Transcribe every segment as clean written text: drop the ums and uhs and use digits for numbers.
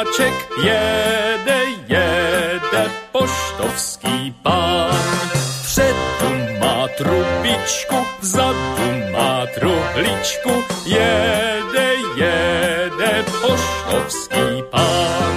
panáček, jede poštovský pán. Vpředu má trubičku, vzadu má truhličku, jede poštovský pán.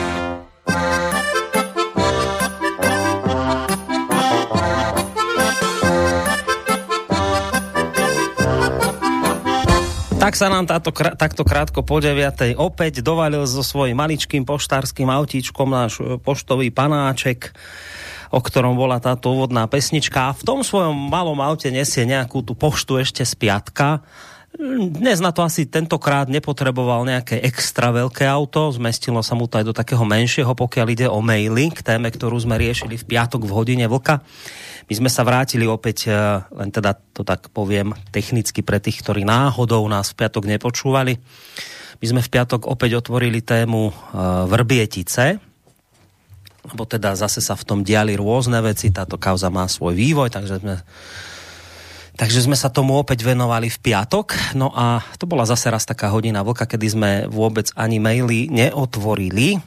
Tak sa nám takto krátko po 9:00 opäť dovalil so svojím maličkým poštárskym autíčkom náš poštový panáček, o ktorom bola táto úvodná pesnička. A v tom svojom malom aute nesie nejakú tú poštu ešte z piatka. Dnes na to asi tentokrát nepotreboval nejaké extra veľké auto, zmestilo sa mu to aj do takého menšieho, pokiaľ ide o maily, k téme, ktorú sme riešili v piatok v hodine vlka. My sme sa vrátili opäť, len teda to tak poviem technicky pre tých, ktorí náhodou nás v piatok nepočúvali. My sme v piatok opäť otvorili tému Vrbietice, lebo teda zase sa v tom diali rôzne veci, táto kauza má svoj vývoj, takže sme sa tomu opäť venovali v piatok. No a to bola zase raz taká hodina vlka, kedy sme vôbec ani maily neotvorili,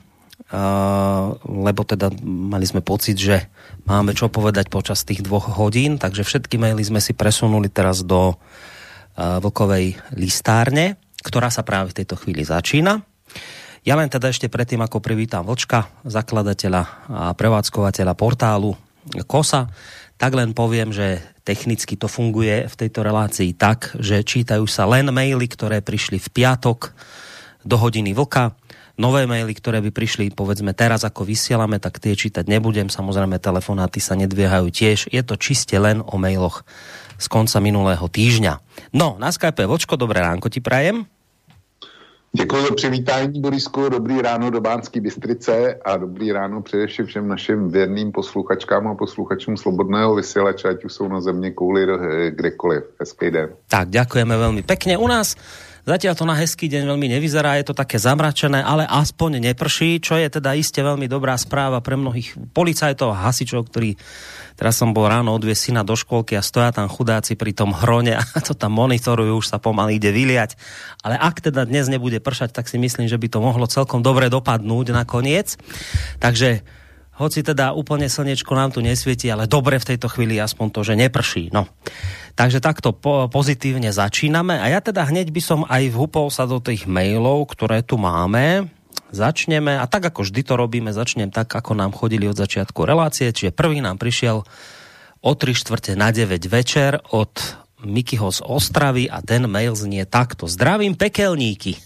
lebo teda mali sme pocit, že máme čo povedať počas tých 2 hodín, takže všetky maily sme si presunuli teraz do vlkovej listárne, ktorá sa práve v tejto chvíli začína. Ja len teda ešte predtým, ako privítam Vlčka, zakladateľa a prevádzkovateľa portálu KOSA, tak len poviem, že technicky to funguje v tejto relácii tak, že čítajú sa len maily, ktoré prišli v piatok do hodiny vlka. Nové maily, ktoré by prišli, povedzme, teraz ako vysielame, tak tie čítať nebudem. Samozrejme, telefonáty sa nedviehajú tiež. Je to čiste len o mailoch z konca minulého týždňa. No, na Skype Vlčko, dobré ránko ti prajem. Děkuji za přivítání, Borisku. Dobrý ráno do Banské Bystrice a dobrý ráno především všem našim věrným posluchačkám a posluchačům Slobodného vysielača, ať už jsou na země kouli kdekoliv. Hezký den. Tak, ďakujeme veľmi pekne. U nás zatiaľ to na hezký deň veľmi nevyzerá, je to také zamračené, ale aspoň neprší, čo je teda iste veľmi dobrá správa pre mnohých policajtov a hasičov, ktorí teraz som bol ráno odviesť syna do škôlky a stoja tam chudáci pri tom hrone a to tam monitorujú, už sa pomaly ide vyliať. Ale ak teda dnes nebude pršať, tak si myslím, že by to mohlo celkom dobre dopadnúť nakoniec. Takže hoci teda úplne slniečko nám tu nesvieti, ale dobre v tejto chvíli aspoň to, že neprší. No. Takže takto pozitívne začíname a ja teda hneď by som aj vhúpol sa do tých mailov, ktoré tu máme. Začneme, a tak ako vždy to robíme, začnem tak, ako nám chodili od začiatku relácie, čiže prvý nám prišiel o 8:45 večer od Mikyho z Ostravy a ten mail znie takto. Zdravím pekelníky.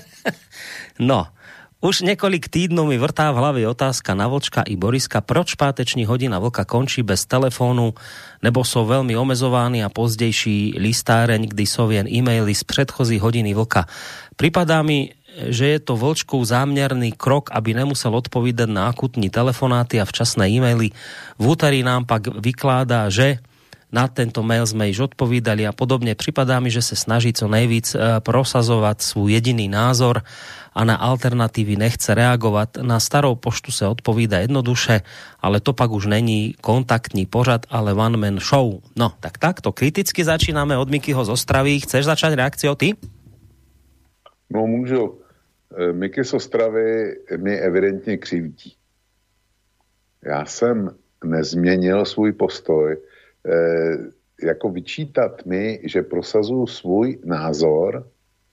No, už niekoľko týdnov mi vrtá v hlave otázka na Vlčka i Boriska, proč páteční hodina vlka končí bez telefónu, nebo sú veľmi omezovaní a pozdejší listáreň, kdy sú jen e-maily z predchozí hodiny vlka. Pripadá mi, že je to Vlčkov zámerný krok, aby nemusel odpovídať na akutní telefonáty a včasné e-maily. V úterý nám pak vykládá, že na tento mail sme již odpovídali a podobne. Pripadá mi, že sa snaží co nejvíc prosazovať svoj jediný názor a na alternatívy nechce reagovať. Na starou poštu sa odpovída jednoduše, ale to pak už není kontaktní pořad, ale one man show. No, tak takto kriticky začíname od Mikyho z Ostravy. Chceš začať reakciou ty? No, můžu. Miky z Ostravy mi evidentně křivdí. Já jsem nezměnil svůj postoj. Jako vyčítat mi, že prosazuju svůj názor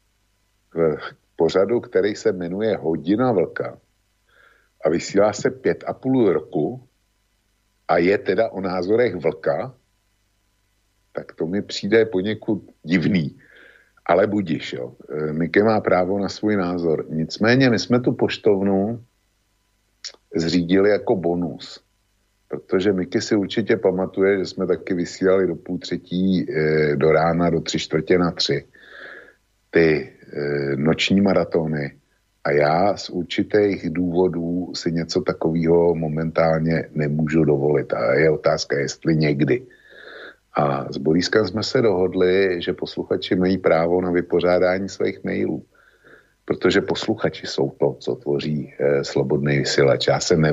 v pořadu, který se jmenuje Hodina vlka a vysílá se 5,5 roku a je teda o názorech vlka, tak to mi přijde poněkud divný. Ale budiš, jo. Miky má právo na svůj názor. Nicméně my jsme tu poštovnu zřídili jako bonus. Protože Miky si určitě pamatuje, že jsme taky vysílali do 2:30 do rána, do 3:45 ty noční maratony. A já z určitých důvodů si něco takového momentálně nemůžu dovolit. A je otázka, jestli někdy. A s Boriskem jsme se dohodli, že posluchači mají právo na vypořádání svých mailů. Protože posluchači jsou to, co tvoří slobodný vysílač. Já se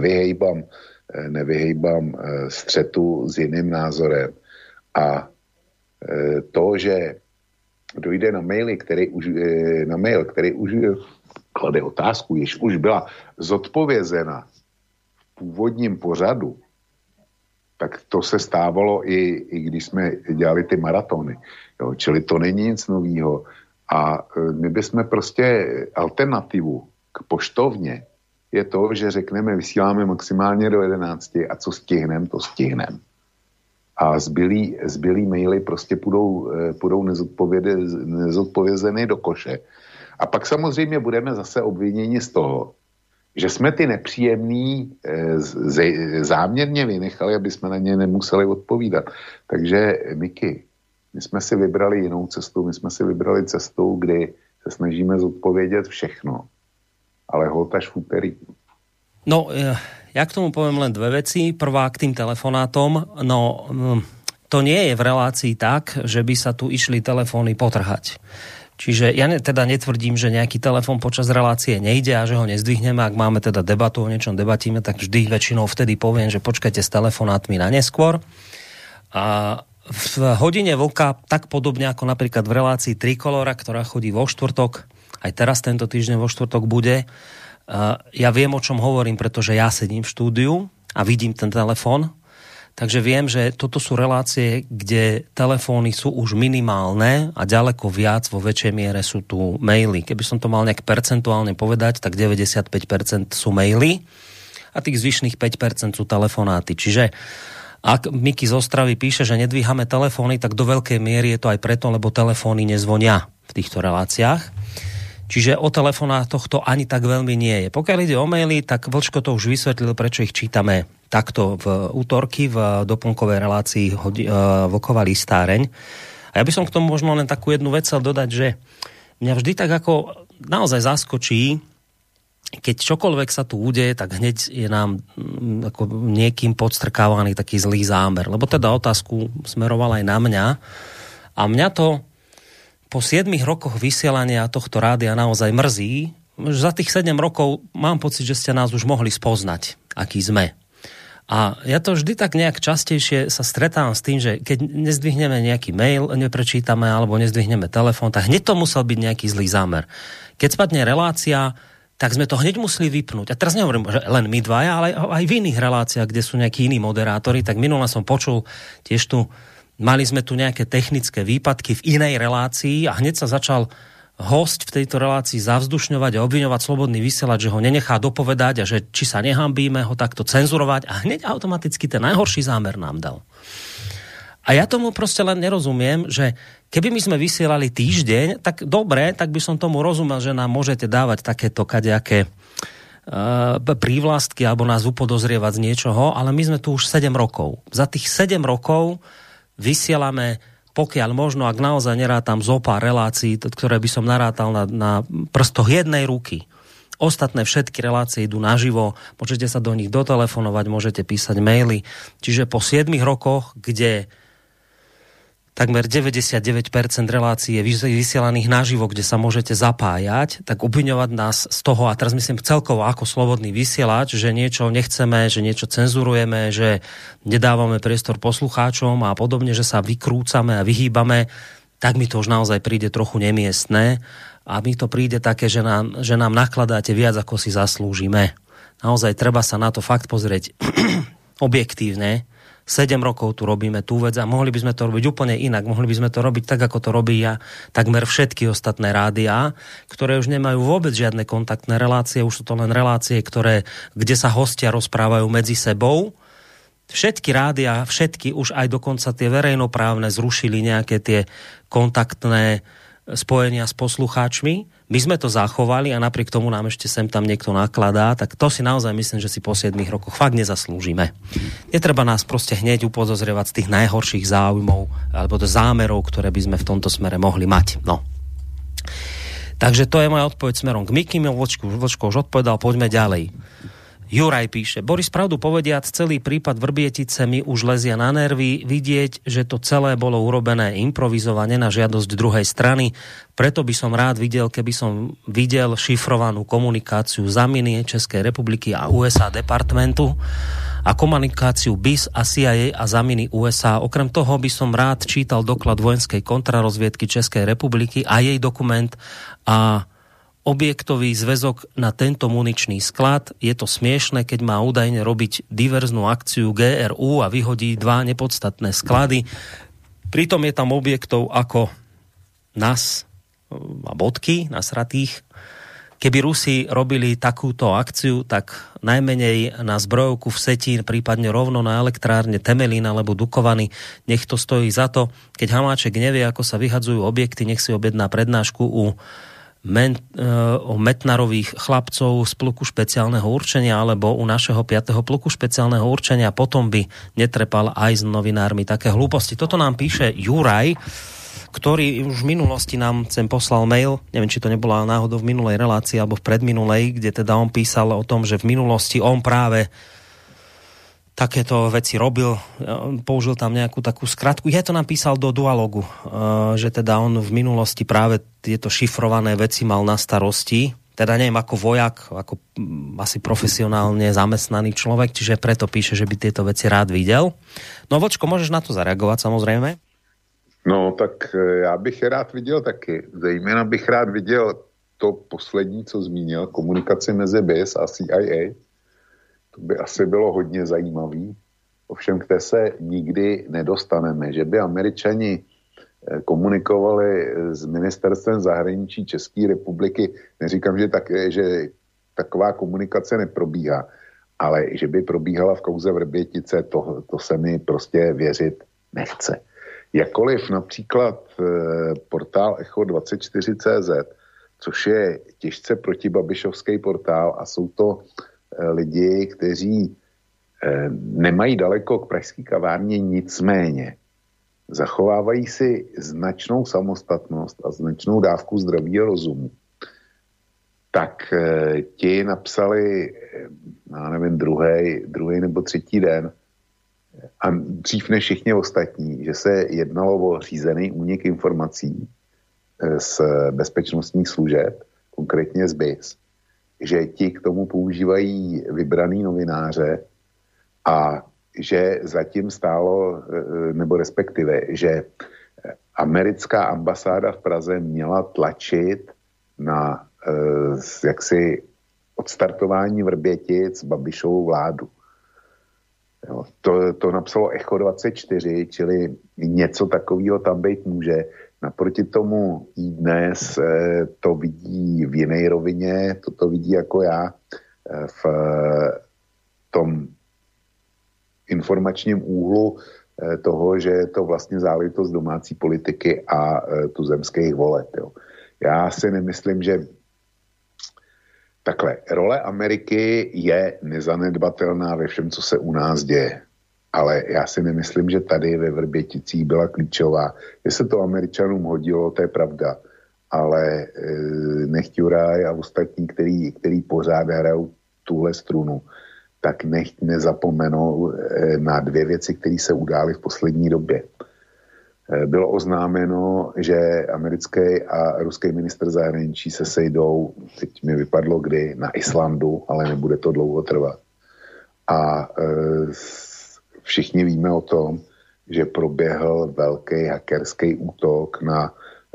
nevyhejbám střetu s jiným názorem. A to, že dojde na mail, který už klade otázku, jež už byla zodpovězena v původním pořadu, tak to se stávalo i když jsme dělali ty maratony. Jo, čili to není nic novýho. A my bychom prostě alternativu k poštovně je to, že řekneme, vysíláme maximálně do 11 a co stihnem, to stihnem. A zbylý maily prostě půjdou nezodpovězeny do koše. A pak samozřejmě budeme zase obviněni z toho, že jsme ty nepříjemný záměrně vynechali, aby jsme na ně nemuseli odpovídat. Takže, Miky, my jsme si vybrali jinou cestu, my jsme si vybrali cestu, kdy se snažíme zodpovědět všechno, ale holt až v úterý. No, ja k tomu poviem len dve veci. Prvá k tým telefonátom. No, to nie je v relácii tak, že by sa tu išli telefóny potrhať. Čiže ja teda netvrdím, že nejaký telefón počas relácie nejde a že ho nezdvihneme. Ak máme teda debatu, o niečom debatíme, tak vždy väčšinou vtedy poviem, že počkajte s telefonátmi na neskôr. A v hodine vlka, tak podobne ako napríklad v relácii Trikolora, ktorá chodí vo štvrtok, aj teraz tento týždeň vo štvrtok bude, ja viem, o čom hovorím, pretože ja sedím v štúdiu a vidím ten telefón, takže viem, že toto sú relácie, kde telefóny sú už minimálne a ďaleko viac, vo väčšej miere sú tu maily. Keby som to mal nejak percentuálne povedať, tak 95% sú maily a tých zvyšných 5% sú telefonáty. Čiže ak Miky z Ostravy píše, že nedvíhame telefóny, tak do veľkej miery je to aj preto, lebo telefóny nezvonia v týchto reláciách. Čiže o telefonátoch to ani tak veľmi nie je. Pokiaľ ide o maily, tak Vlčko to už vysvetlil, prečo ich čítame takto v útorky v doplnkovej relácii Vlková listáreň. A ja by som k tomu možno len takú jednu vec chcel dodať, že mňa vždy tak ako naozaj zaskočí, keď čokoľvek sa tu udeje, tak hneď je nám ako niekým podstrkávaný taký zlý zámer. Lebo teda otázku smeroval aj na mňa. A mňa to po 7 rokoch vysielania tohto rádia naozaj mrzí. Za tých 7 rokov mám pocit, že ste nás už mohli spoznať, aký sme. A ja to vždy tak nejak častejšie sa stretávam s tým, že keď nezdvihneme nejaký mail, neprečítame alebo nezdvihneme telefón, tak hneď to musel byť nejaký zlý zámer. Keď spadne relácia, tak sme to hneď museli vypnúť. A teraz nehovorím, že len my dvaja, ale aj v iných reláciách, kde sú nejakí iní moderátori, tak minule som počul tiež tu, mali sme tu nejaké technické výpadky v inej relácii a hneď sa začal host v tejto relácii zavzdušňovať a obviňovať Slobodný vysielač, že ho nenechá dopovedať a že či sa nehambíme ho takto cenzurovať a hneď automaticky ten najhorší zámer nám dal. A ja tomu proste len nerozumiem, že keby my sme vysielali týždeň, tak dobre, tak by som tomu rozumel, že nám môžete dávať takéto kadejaké prívlastky alebo nás upodozrievať z niečoho, ale my sme tu už 7 rokov. Za tých 7 rokov vysielame, pokiaľ možno, ak naozaj nerátam zopár relácií, ktoré by som narátal na prstoch jednej ruky. Ostatné všetky relácie idú naživo, môžete sa do nich dotelefonovať, môžete písať maily. Čiže po 7 rokoch, kde takmer 99% relácií je vysielaných naživo, kde sa môžete zapájať, tak obviňovať nás z toho, a teraz myslím celkovo ako Slobodný vysielač, že niečo nechceme, že niečo cenzurujeme, že nedávame priestor poslucháčom a podobne, že sa vykrúcame a vyhýbame, tak mi to už naozaj príde trochu nemiestné a mi to príde také, že nám nakladáte viac, ako si zaslúžime. Naozaj treba sa na to fakt pozrieť objektívne. 7 rokov tu robíme tú vec a mohli by sme to robiť úplne inak. Mohli by sme to robiť tak, ako to robia takmer všetky ostatné rádiá, ktoré už nemajú vôbec žiadne kontaktné relácie. Už sú to len relácie, kde sa hostia rozprávajú medzi sebou. Všetky rádiá, všetky, už aj dokonca tie verejnoprávne zrušili nejaké tie kontaktné spojenia s poslucháčmi. My sme to zachovali a napriek tomu nám ešte sem tam niekto nakladá, tak to si naozaj myslím, že si po 7 rokoch fakt nezaslúžime. Netreba nás proste hneď upozorňovať z tých najhorších záujmov alebo zámerov, ktoré by sme v tomto smere mohli mať. No. Takže to je moja odpoveď smerom k Mikimu. Vlčko už odpovedal, poďme ďalej. Juraj píše, Boris, pravdu povediac, celý prípad Vrbietice mi už lezia na nervy, vidieť, že to celé bolo urobené improvizovane na žiadosť druhej strany, preto by som rád videl, keby som videl šifrovanú komunikáciu Zaminy Českej republiky a USA departmentu a komunikáciu BIS a CIA a Zaminy USA. Okrem toho by som rád čítal doklad vojenskej kontrarozviedky Českej republiky a jej dokument a objektový zväzok na tento muničný sklad. Je to smiešne, keď má údajne robiť diverznú akciu GRU a vyhodí 2 nepodstatné sklady. Pritom je tam objektov ako NAS a bodky nasratých. Keby Rusi robili takúto akciu, tak najmenej na zbrojovku v Setín, prípadne rovno na elektrárne Temelín alebo Dukovany, nech to stojí za to. Keď Hamáček nevie, ako sa vyhadzujú objekty, nech si objedná prednášku o Metnarových chlapcov z pluku špeciálneho určenia alebo u našeho 5. pluku špeciálneho určenia. Potom by netrepal aj s novinármi také hlúposti. Toto nám píše Juraj, ktorý už v minulosti nám sem poslal mail, neviem, či to nebola náhodou v minulej relácii alebo v predminulej, kde teda on písal o tom, že v minulosti on práve takéto veci robil, použil tam nejakú takú skratku. Ja to nám písal do Dualogu, že teda on v minulosti práve tieto šifrované veci mal na starosti, teda neviem, ako vojak, ako asi profesionálne zamestnaný človek, čiže preto píše, že by tieto veci rád videl. No Vočko, môžeš na to zareagovať samozrejme? No, tak já bych rád viděl taky. Zejména bych rád viděl to poslední, co zmínil, komunikaci mezi BIS a CIA. To by asi bylo hodně zajímavý. Ovšem, k té se nikdy nedostaneme. Že by Američani komunikovali s ministerstvem zahraničí České republiky, neříkám, že taková komunikace neprobíhá, ale že by probíhala v kauze Vrbětice, to se mi prostě věřit nechce. Jakkoliv například portál Echo24.cz, což je těžce protibabišovský portál a jsou to lidi, kteří nemají daleko k pražské kavárně, nicméně zachovávají si značnou samostatnost a značnou dávku zdravého rozumu. Tak ti napsali, já nevím, druhý nebo třetí den, a dřív než všichni ostatní, že se jednalo o řízený únik informací z bezpečnostních služeb, konkrétně z BIS, že ti k tomu používají vybraný novináře a že zatím stálo, nebo respektive, že americká ambasáda v Praze měla tlačit na jaksi odstartování Vrbětic Babišovou vládu. Jo, to napsalo Echo24, čili něco takového tam být může. Naproti tomu i dnes to vidí v jiné rovině, to vidí jako já v tom informačním úhlu toho, že je to vlastně záležitost domácí politiky a tuzemských voleb. Jo. Já si nemyslím, že takhle, role Ameriky je nezanedbatelná ve všem, co se u nás děje. Ale já si nemyslím, že tady ve Vrběticích byla klíčová. Že se to Američanům hodilo, to je pravda. Ale nechť Juraj a ostatní, který pořád hrajou tuhle strunu, tak nechť nezapomenou na 2 věci, které se udály v poslední době. Bylo oznámeno, že americký a ruský ministr zahraničí se sejdou, teď mi vypadlo kdy, na Islandu, ale nebude to dlouho trvat. A všichni víme o tom, že proběhl velký hackerský útok na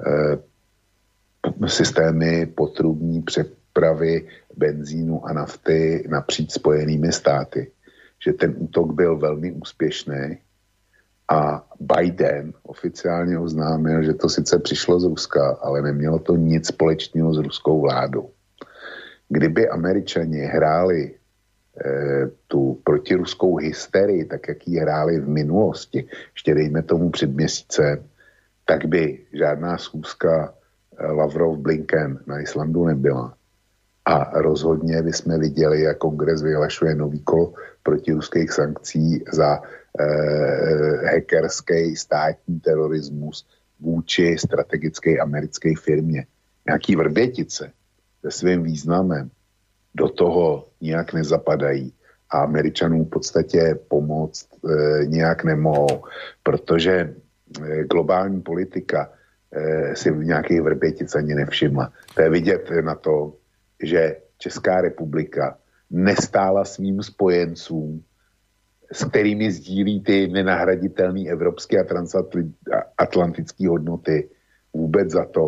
systémy potrubní přepravy benzínu a nafty napříč Spojenými státy. Že ten útok byl velmi úspěšný a Biden oficiálně oznámil, že to sice přišlo z Ruska, ale nemělo to nic společného s ruskou vládou. Kdyby Američani hráli tu protiruskou hysterii, tak jak ji hráli v minulosti, ještě dejme tomu před měsícem, tak by žádná schůzka Lavrov-Blinken na Islandu nebyla. A rozhodně bychom viděli, jak kongres vyhlašuje nový kolo protiruských sankcí za hackerský státní terorismus vůči strategické americké firmě. Nějaký Vrbětice se svým významem do toho nijak nezapadají a Američanům v podstatě pomoct nijak nemohou, protože globální politika si v nějakých Vrbětic ani nevšimla. To je vidět na to, že Česká republika nestála svým spojencům, s kterými sdílí ty nenahraditelné evropské a transatlantické hodnoty, vůbec za to,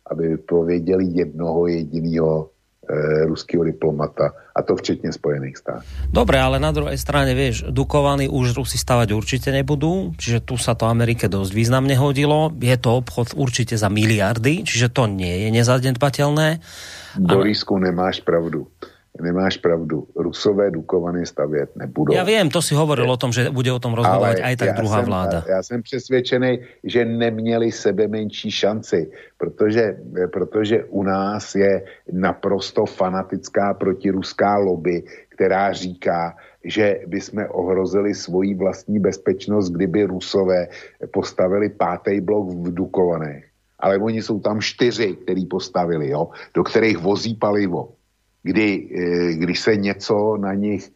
aby vypověděli jednoho jediného ruského diplomata, a to včetne Spojených státov. Dobre, ale na druhej strane, vieš, Dukovany už Rusi stavať určite nebudú, čiže tu sa to Amerike dosť významne hodilo. Je to obchod určite za miliardy, čiže to nie je nezanedbateľné. Borisku, nemáš pravdu. Nemáš pravdu. Rusové Dukovany stavět nebudou. Ja viem, to si hovoril o tom, že bude o tom rozhodovať aj tak druhá vláda. Já jsem přesvědčený, že neměli sebe menší šanci, protože u nás je naprosto fanatická protiruská lobby, která říká, že bychom ohrozili svoji vlastní bezpečnost, kdyby Rusové postavili 5. blok v Dukovanech. Ale oni jsou tam 4, který postavili, jo, do kterých vozí palivo. Když se něco na nich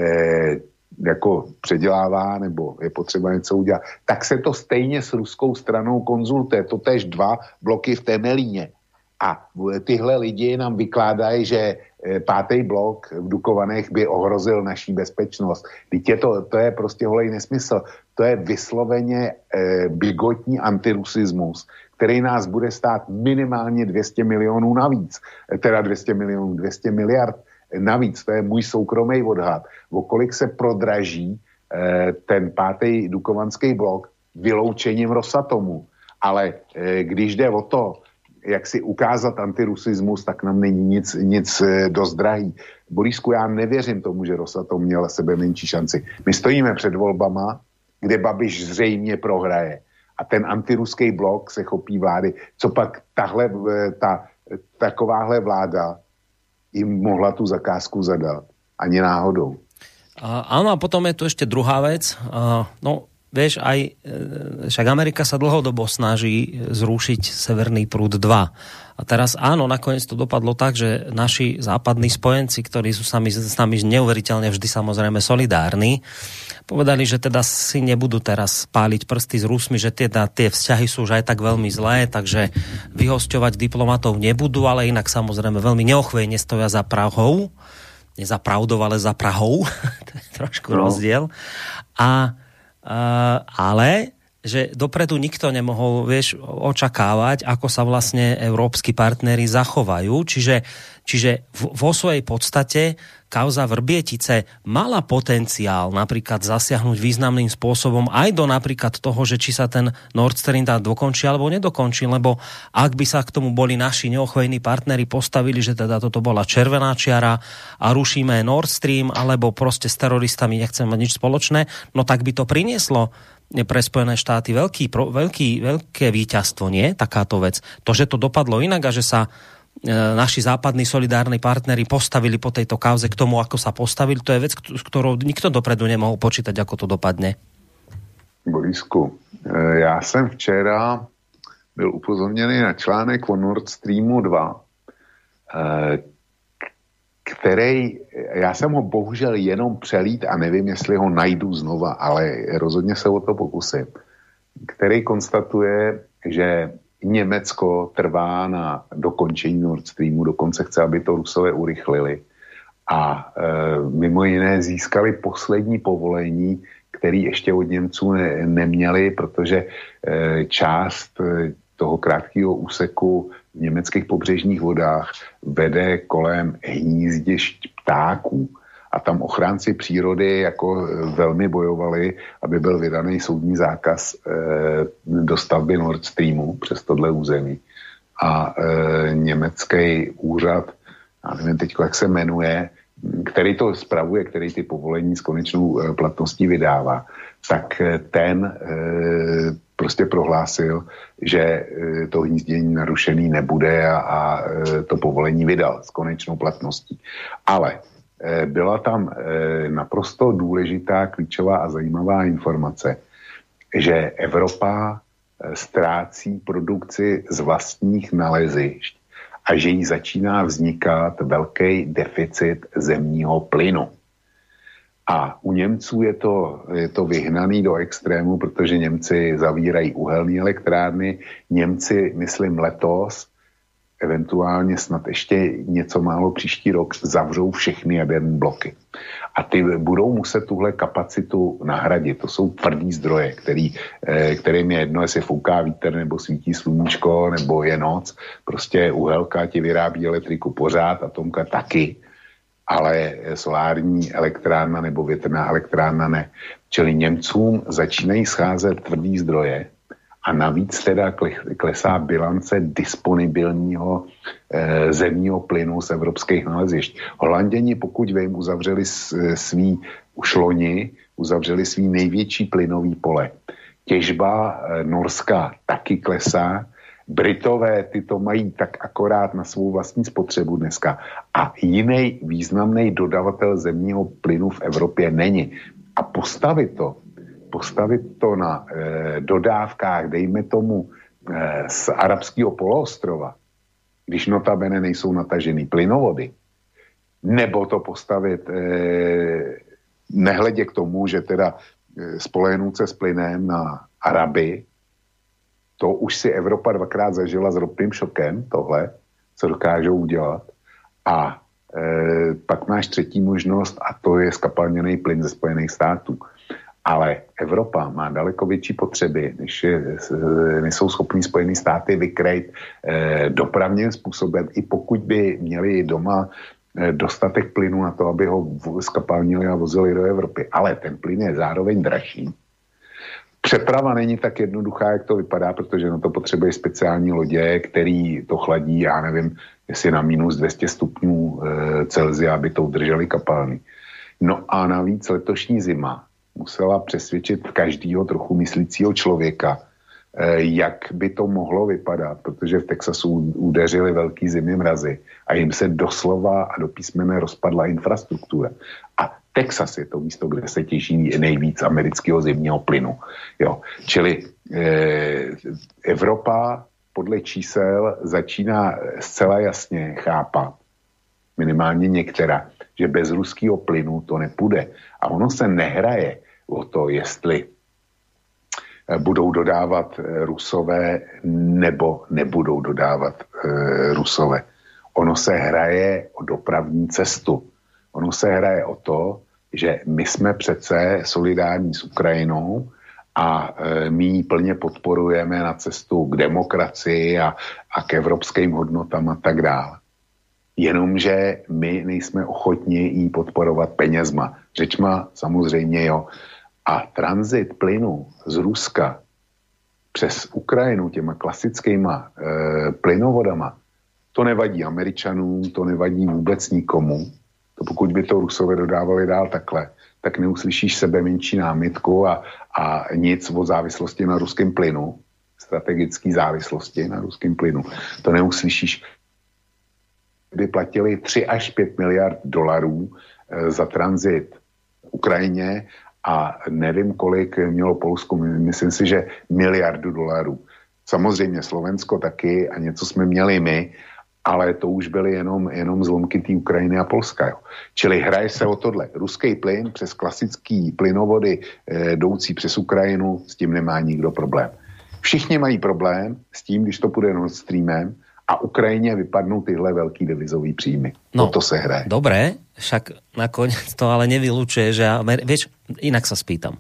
jako předělává nebo je potřeba něco udělat, tak se to stejně s ruskou stranou konzultuje. To též 2 bloky v Temelíně. A tyhle lidi nám vykládají, že 5. blok v Dukovanech by ohrozil naší bezpečnost. Teď to je prostě holej nesmysl. To je vysloveně bigotní antirusismus, který nás bude stát minimálně 200 milionů navíc. Teda 200 miliard navíc. To je můj soukromý odhad. O kolik se prodraží ten 5. dukovanský blok vyloučením Rosatomu. Ale když jde o to, jak si ukázat antirusismus, tak nám není nic dost drahý. Borisku, já nevěřím tomu, že Rosatom měl sebe menší šanci. My stojíme před volbama, kde Babiš zřejmě prohraje. A ten antiruský blok se chopí vlády. Co pak takováhle vláda jim mohla tu zakázku zadat? Ani náhodou. Áno, a potom je tu ešte druhá vec. No, vieš, však Amerika sa dlhodobo snaží zrušiť Severný prúd 2. A teraz áno, nakoniec to dopadlo tak, že naši západní spojenci, ktorí sú s nami neuveriteľne vždy samozrejme solidárni, povedali, že teda si nebudú teraz páliť prsty s Rusmi, že tie vzťahy sú už aj tak veľmi zlé, takže vyhosťovať diplomatov nebudú, ale inak samozrejme veľmi neochvejne stoja za Prahou. Nie za pravdou, ale za Prahou. To je trošku rozdiel. Ale že dopredu nikto nemohol, vieš, očakávať, ako sa vlastne európski partneri zachovajú. Čiže vo svojej podstate kauza Vrbietice mala potenciál napríklad zasiahnuť významným spôsobom aj do napríklad toho, že či sa ten Nord Stream dokončí alebo nedokončí, lebo ak by sa k tomu boli naši neochvejní partneri postavili, že teda toto bola červená čiara a rušíme Nord Stream, alebo proste s teroristami nechceme mať nič spoločné, no tak by to prinieslo pre Spojené štáty veľké víťazstvo, nie? Takáto vec. To, že to dopadlo inak a že sa naši západní solidárni partneri postavili po tejto kauze k tomu, ako sa postavili, to je vec, ktorou nikto dopredu nemohol počítať, ako to dopadne. Borisku, já jsem včera byl upozorněný na článek o Nord Streamu 2, který, já jsem ho bohužel jenom přelít a nevím, jestli ho najdu znova, ale rozhodně se o to pokusím, který konstatuje, že Německo trvá na dokončení Nord Streamu, dokonce chce, aby to Rusové urychlili a mimo jiné získali poslední povolení, který ještě od Němců neměli, protože část toho krátkého úseku v německých pobřežních vodách vede kolem hnízdišť ptáků. A tam ochránci přírody jako velmi bojovali, aby byl vydaný soudní zákaz dostavby Nord Streamu přes tohle území. A německý úřad, já nevím teď, jak se jmenuje, který to spravuje, který ty povolení s konečnou platností vydává, tak ten prostě prohlásil, že to hnízdění narušený nebude a to povolení vydal s konečnou platností. Ale byla tam naprosto důležitá, klíčová a zajímavá informace, že Evropa ztrácí produkci z vlastních nalezišť a že jí začíná vznikat velký deficit zemního plynu. A u Němců je to vyhnaný do extrému, protože Němci zavírají uhelné elektrárny. Němci, myslím letos, eventuálně snad ještě něco málo příští rok zavřou všechny jaderné bloky. A ty budou muset tuhle kapacitu nahradit. To jsou tvrdý zdroje, kterým je jedno, jestli fouká vítr, nebo svítí sluníčko, nebo je noc. Prostě uhelka ti vyrábí elektriku pořád, atomka taky, ale solární elektrárna nebo větrná elektrárna ne. Čili Němcům začínají scházet tvrdý zdroje a navíc teda klesá bilance disponibilního zemního plynu z evropských nalezišť. Holanděni, pokud vím, uzavřeli uzavřeli svý největší plynový pole. Těžba norská taky klesá, Britové ty to mají tak akorát na svou vlastní spotřebu dneska. A jiný významný dodavatel zemního plynu v Evropě není. A postavit to na dodávkách, dejme tomu, z arabského poloostrova, když notabene nejsou natažený plynovody, nebo to postavit nehledě k tomu, že teda spolehnout se s plynem na Araby, to už si Evropa dvakrát zažila s ropným šokem, tohle, co dokážou udělat. A pak máš třetí možnost a to je skapalněný plyn ze Spojených států. Ale Evropa má daleko větší potřeby, než jsou schopní Spojené státy vykrejt dopravním způsobem, i pokud by měli doma dostatek plynu na to, aby ho skapalnili a vozili do Evropy. Ale ten plyn je zároveň dražší. Přeprava není tak jednoduchá, jak to vypadá, protože na to potřebuje speciální lodě, který to chladí, já nevím, jestli na minus 200 stupňů Celsia, aby to udrželi kapalný. No a navíc letošní zima musela přesvědčit každýho trochu myslícího člověka, jak by to mohlo vypadat, protože v Texasu udeřily velký zimy mrazy a jim se doslova a do písmene rozpadla infrastruktura. A Texas je to místo, kde se těží nejvíc amerického zimního plynu. Jo. Čili Evropa podle čísel začíná zcela jasně chápat, minimálně některá, že bez ruského plynu to nepůjde. A ono se nehraje o to, jestli budou dodávat Rusové nebo nebudou dodávat Rusové. Ono se hraje o dopravní cestu. Ono se hraje o to, že my jsme přece solidární s Ukrajinou a my ji plně podporujeme na cestu k demokracii a k evropským hodnotám a tak dále. Jenomže my nejsme ochotni ji podporovat penězma. Řečma samozřejmě jo. A tranzit plynu z Ruska přes Ukrajinu těma klasickýma plynovodama, to nevadí Američanům, to nevadí vůbec nikomu. To pokud by to Rusové dodávali dál takhle, tak neuslyšíš sebe menší námitku a nic o závislosti na ruském plynu, strategické závislosti na ruském plynu. To neuslyšíš. By platili 3 až 5 miliard dolarů za tranzit Ukrajině a nevím, kolik mělo Polsko, myslím si, že miliardu dolarů. Samozřejmě Slovensko taky a něco jsme měli my, ale to už byly jenom zlomky té Ukrajiny a Polska. Jo. Čili hraje se o tohle. Ruský plyn přes klasický plynovody jdoucí přes Ukrajinu, s tím nemá nikdo problém. Všichni mají problém s tím, když to půjde Nord Streamem a Ukrajině vypadnou tyhle velký devizový příjmy. No, to se hraje. Dobré, však nakoniec to ale nevylučuje, že vieš, inak sa spýtam.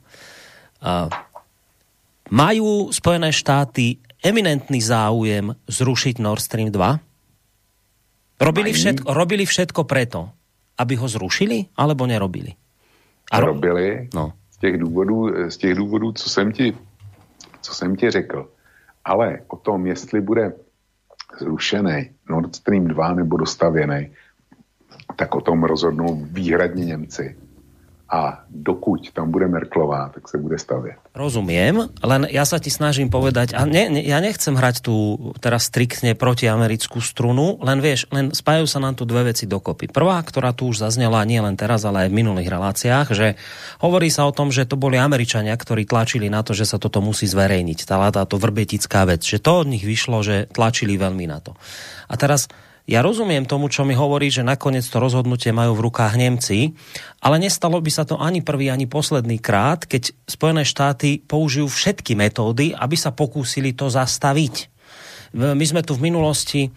Majú Spojené štáty eminentný záujem zrušiť Nord Stream 2? Robili všetko preto, aby ho zrušili, alebo nerobili? Robili. No. Z těch důvodů, co jsem ti řekl. Ale o tom, jestli bude zrušený Nord Stream 2 nebo dostavěný, tak o tom rozhodnou výhradně Němci. A dokud tam bude Merkelová, tak se bude stavět. Rozumiem, len ja sa ti snažím povedať, a ja nechcem hrať tu teraz striktne protiamerickú strunu, len vieš, spájajú sa nám tu dve veci dokopy. Prvá, ktorá tu už zaznela nie len teraz, ale aj v minulých reláciách, že hovorí sa o tom, že to boli Američania, ktorí tlačili na to, že sa toto musí zverejniť. Táto vrbetická vec, že to od nich vyšlo, že tlačili veľmi na to. A teraz ja rozumiem tomu, čo mi hovorí, že nakoniec to rozhodnutie majú v rukách Nemci, ale nestalo by sa to ani prvý, ani posledný krát, keď Spojené štáty použijú všetky metódy, aby sa pokúsili to zastaviť. My sme tu v minulosti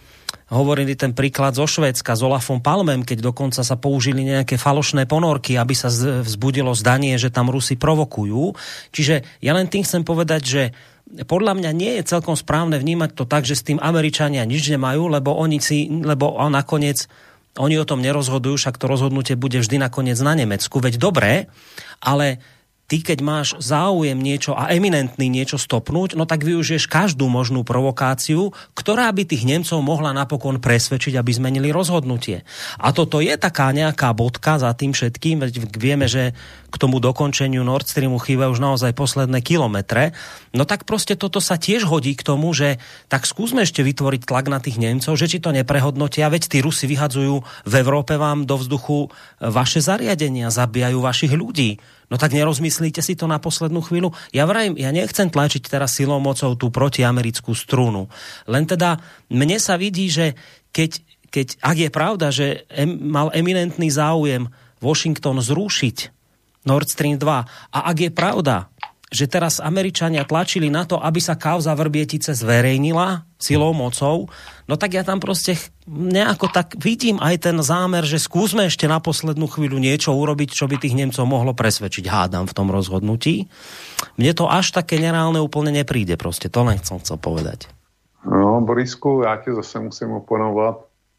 hovorili ten príklad zo Švédska s Olafom Palmem, keď dokonca sa použili nejaké falošné ponorky, aby sa vzbudilo zdanie, že tam Rusi provokujú. Čiže ja len tým chcem povedať, že podľa mňa nie je celkom správne vnímať to tak, že s tým Američania nič nemajú, lebo nakoniec oni o tom nerozhodujú, však to rozhodnutie bude vždy nakoniec na Nemecku. Veď dobre, ale ty, keď máš záujem niečo a eminentný niečo stopnúť, no tak využiješ každú možnú provokáciu, ktorá by tých Nemcov mohla napokon presvedčiť, aby zmenili rozhodnutie. A toto je taká nejaká bodka za tým všetkým, veď vieme, že k tomu dokončeniu Nord Streamu chýbajú už naozaj posledné kilometre. No tak proste toto sa tiež hodí k tomu, že tak skúsme ešte vytvoriť tlak na tých Nemcov, že či to neprehodnotia, veď tí Rusi vyhadzujú v Európe vám do vzduchu vaše zariadenia, zabíjajú vašich ľudí. No tak nerozmyslíte si to na poslednú chvíľu? Ja nechcem tlačiť teraz silou mocou tú protiamerickú strunu. Len teda mne sa vidí, že keď ak je pravda, že mal eminentný záujem Washington zrušiť Nord Stream 2 a ak je pravda, že teraz Američania tlačili na to, aby sa kauza Vrbietice zverejnila silou mocou, no tak ja tam proste nejako tak vidím aj ten zámer, že skúsme ešte na poslednú chvíľu niečo urobiť, čo by tých Nemcov mohlo presvedčiť, hádam, v tom rozhodnutí. Mne to až také nereálne úplne nepríde, proste to len chcel povedať. No, Borisku, já tě zase musím oponovat.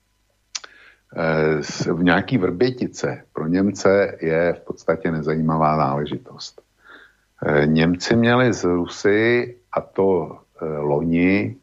V nějaký Vrbětice pro Němce je v podstatě nezajímavá záležitost. Němci měli z Rusy, a to loni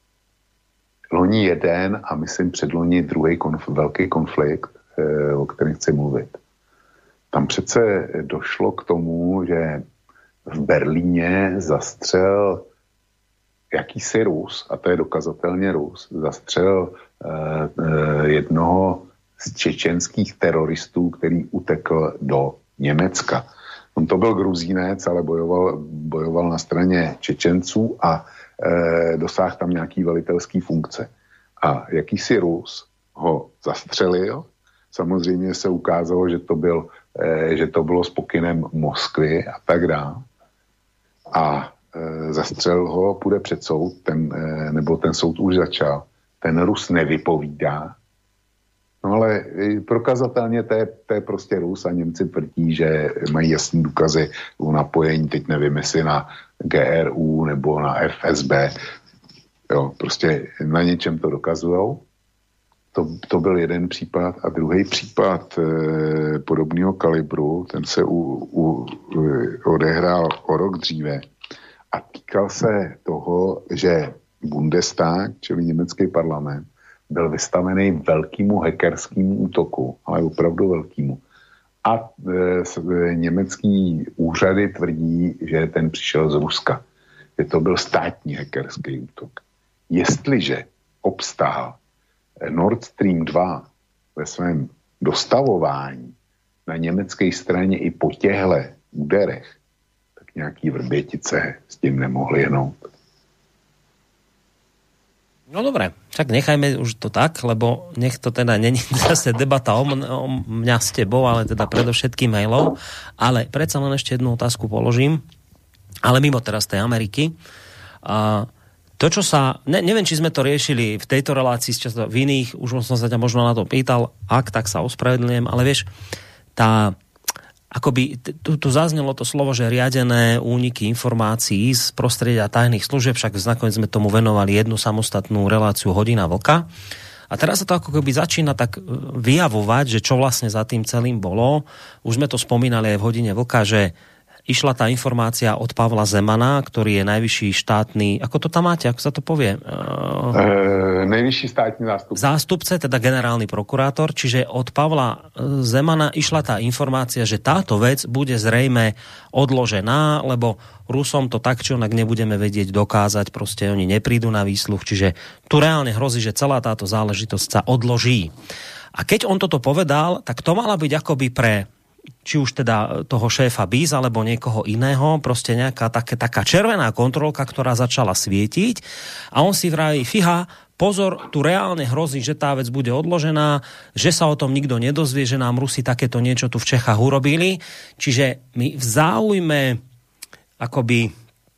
jeden a myslím předloni druhý velký konflikt, o kterém chci mluvit. Tam přece došlo k tomu, že v Berlíně zastřel jakýsi Rus, a to je dokazatelně Rus, zastřel jednoho z čečenských teroristů, který utekl do Německa. On to byl Gruzínec, ale bojoval na straně Čečenců a dosáhl tam nějaký velitelský funkce. A jakýsi Rus ho zastřelil. Samozřejmě se ukázalo, že to bylo s pokynem Moskvy a tak dále. A zastřelil ho, půjde před soud, ten soud už začal. Ten Rus nevypovídá. No ale prokazatelně to je prostě Rus a Němci tvrdí, že mají jasný důkazy o napojení, teď nevím, jestli na GRU nebo na FSB. Jo, prostě na něčem to dokazujou. To byl jeden případ a druhý případ podobného kalibru, ten se odehrál o rok dříve a týkal se toho, že Bundestag, čili německý parlament, byl vystavený velkému hackerskému útoku, ale opravdu velkému. A německý úřady tvrdí, že ten přišel z Ruska. Že to byl státní hackerský útok. Jestliže obstál Nord Stream 2 ve svém dostavování na německé straně i po těchto úderech, tak nějaký Vrbětice s tím nemohli jenout. No dobre, však nechajme už to tak, lebo nech to teda není zase debata o mňa s tebou, ale teda predovšetkým mailov. Ale predsa len ešte jednu otázku položím, ale mimo teraz tej Ameriky. To, čo sa, neviem, či sme to riešili v tejto relácii, často v iných, už som sa ťa možno na to pýtal, ak, tak sa ospravedlňujem, ale vieš, akoby tu zaznelo to slovo, že riadené úniky informácií z prostredia tajných služieb, však nakoniec sme tomu venovali jednu samostatnú reláciu Hodina vlka. A teraz sa to ako keby začína tak vyjavovať, že čo vlastne za tým celým bolo. Už sme to spomínali aj v Hodine vlka, že išla tá informácia od Pavla Zemana, ktorý je najvyšší štátny, ako to tam máte, ako sa to povie? Najvyšší štátny zástupca. Zástupce, teda generálny prokurátor, čiže od Pavla Zemana išla tá informácia, že táto vec bude zrejme odložená, lebo Rusom to tak, či onak nebudeme vedieť dokázať, proste oni neprídu na výsluch, čiže tu reálne hrozí, že celá táto záležitosť sa odloží. A keď on toto povedal, tak to mala byť akoby pre či už teda toho šéfa BIS alebo niekoho iného, proste nejaká taká červená kontrolka, ktorá začala svietiť a on si vraví, fíha, pozor, tu reálne hrozí, že tá vec bude odložená, že sa o tom nikto nedozvie, že nám Rusi takéto niečo tu v Čechách urobili. Čiže my v záujme akoby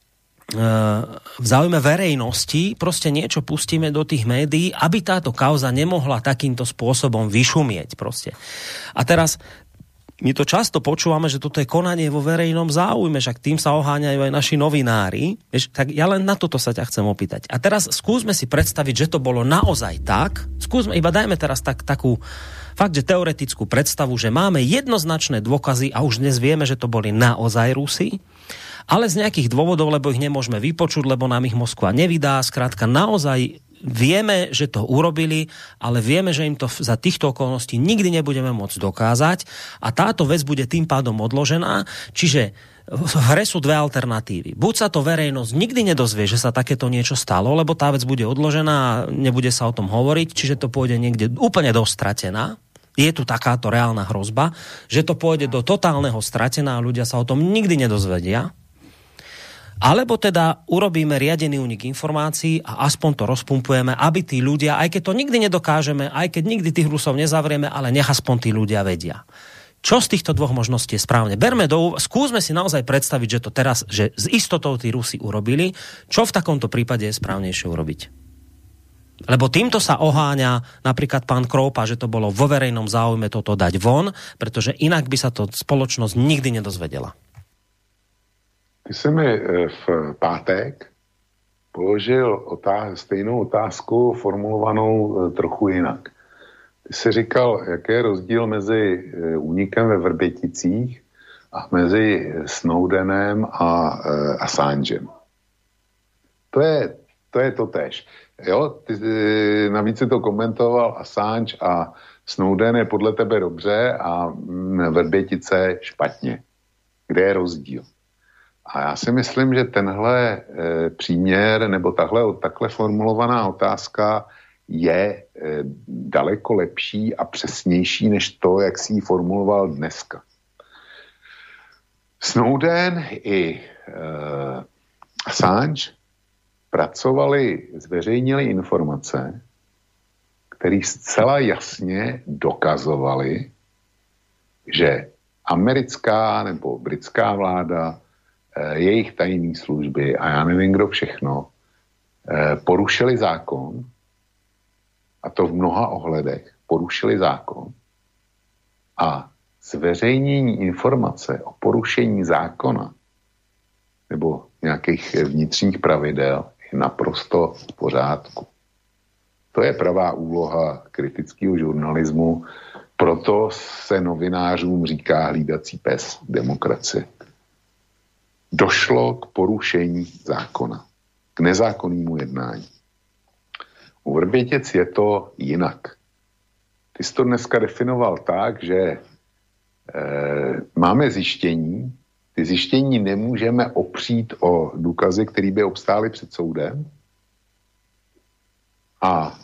v záujme verejnosti proste niečo pustíme do tých médií, aby táto kauza nemohla takýmto spôsobom vyšumieť proste. A teraz my to často počúvame, že toto je konanie vo verejnom záujme, však tým sa oháňajú aj naši novinári. Vieš, tak ja len na toto sa ťa chcem opýtať. A teraz skúsme si predstaviť, že to bolo naozaj tak. Skúsme, iba dajme teraz takú fakt, že teoretickú predstavu, že máme jednoznačné dôkazy a už dnes vieme, že to boli naozaj Rusi, ale z nejakých dôvodov, lebo ich nemôžeme vypočuť, lebo nám ich Moskva nevydá. Skrátka, naozaj vieme, že to urobili, ale vieme, že im to za týchto okolností nikdy nebudeme môcť dokázať a táto vec bude tým pádom odložená. Čiže v hre sú dve alternatívy. Buď sa to verejnosť nikdy nedozvie, že sa takéto niečo stalo, lebo tá vec bude odložená a nebude sa o tom hovoriť, čiže to pôjde niekde úplne dostratená. Je tu takáto reálna hrozba, že to pôjde do totálneho stratená a ľudia sa o tom nikdy nedozvedia. Alebo teda urobíme riadený únik informácií a aspoň to rozpumpujeme, aby tí ľudia, aj keď to nikdy nedokážeme, aj keď nikdy tých Rusov nezavrieme, ale nech aspoň tí ľudia vedia. Čo z týchto dvoch možností je správne? Skúsme si naozaj predstaviť, že to teraz, že s istotou tí Rusi urobili. Čo v takomto prípade je správnejšie urobiť? Lebo týmto sa oháňa napríklad pán Kroupa, že to bolo vo verejnom záujme toto dať von, pretože inak by sa to spoločnosť nikdy nedozvedela. Ty jsi mi v pátek položil stejnou otázku formulovanou trochu jinak. Ty jsi říkal, jaký je rozdíl mezi únikem ve Vrběticích a mezi Snowdenem a Assangem. To je to též. Jo, ty navíc si to komentoval Assange a Snowden je podle tebe dobře a Vrbětice špatně. Kde je rozdíl? A já si myslím, že tenhle příměr nebo takhle formulovaná otázka je daleko lepší a přesnější než to, jak si ji formuloval dneska. Snowden i Assange zveřejnili informace, které zcela jasně dokazovaly, že americká nebo britská vláda, jejich tajné služby a já nevím, kdo všechno, porušili zákon, a to v mnoha ohledech, porušili zákon a zveřejnění informace o porušení zákona nebo nějakých vnitřních pravidel je naprosto v pořádku. To je pravá úloha kritického žurnalismu, proto se novinářům říká hlídací pes demokracie. Došlo k porušení zákona, k nezákonnému jednání. U Vrbětic je to jinak. Ty jsi to dneska definoval tak, že máme zjištění, ty zjištění nemůžeme opřít o důkazy, které by obstály před soudem a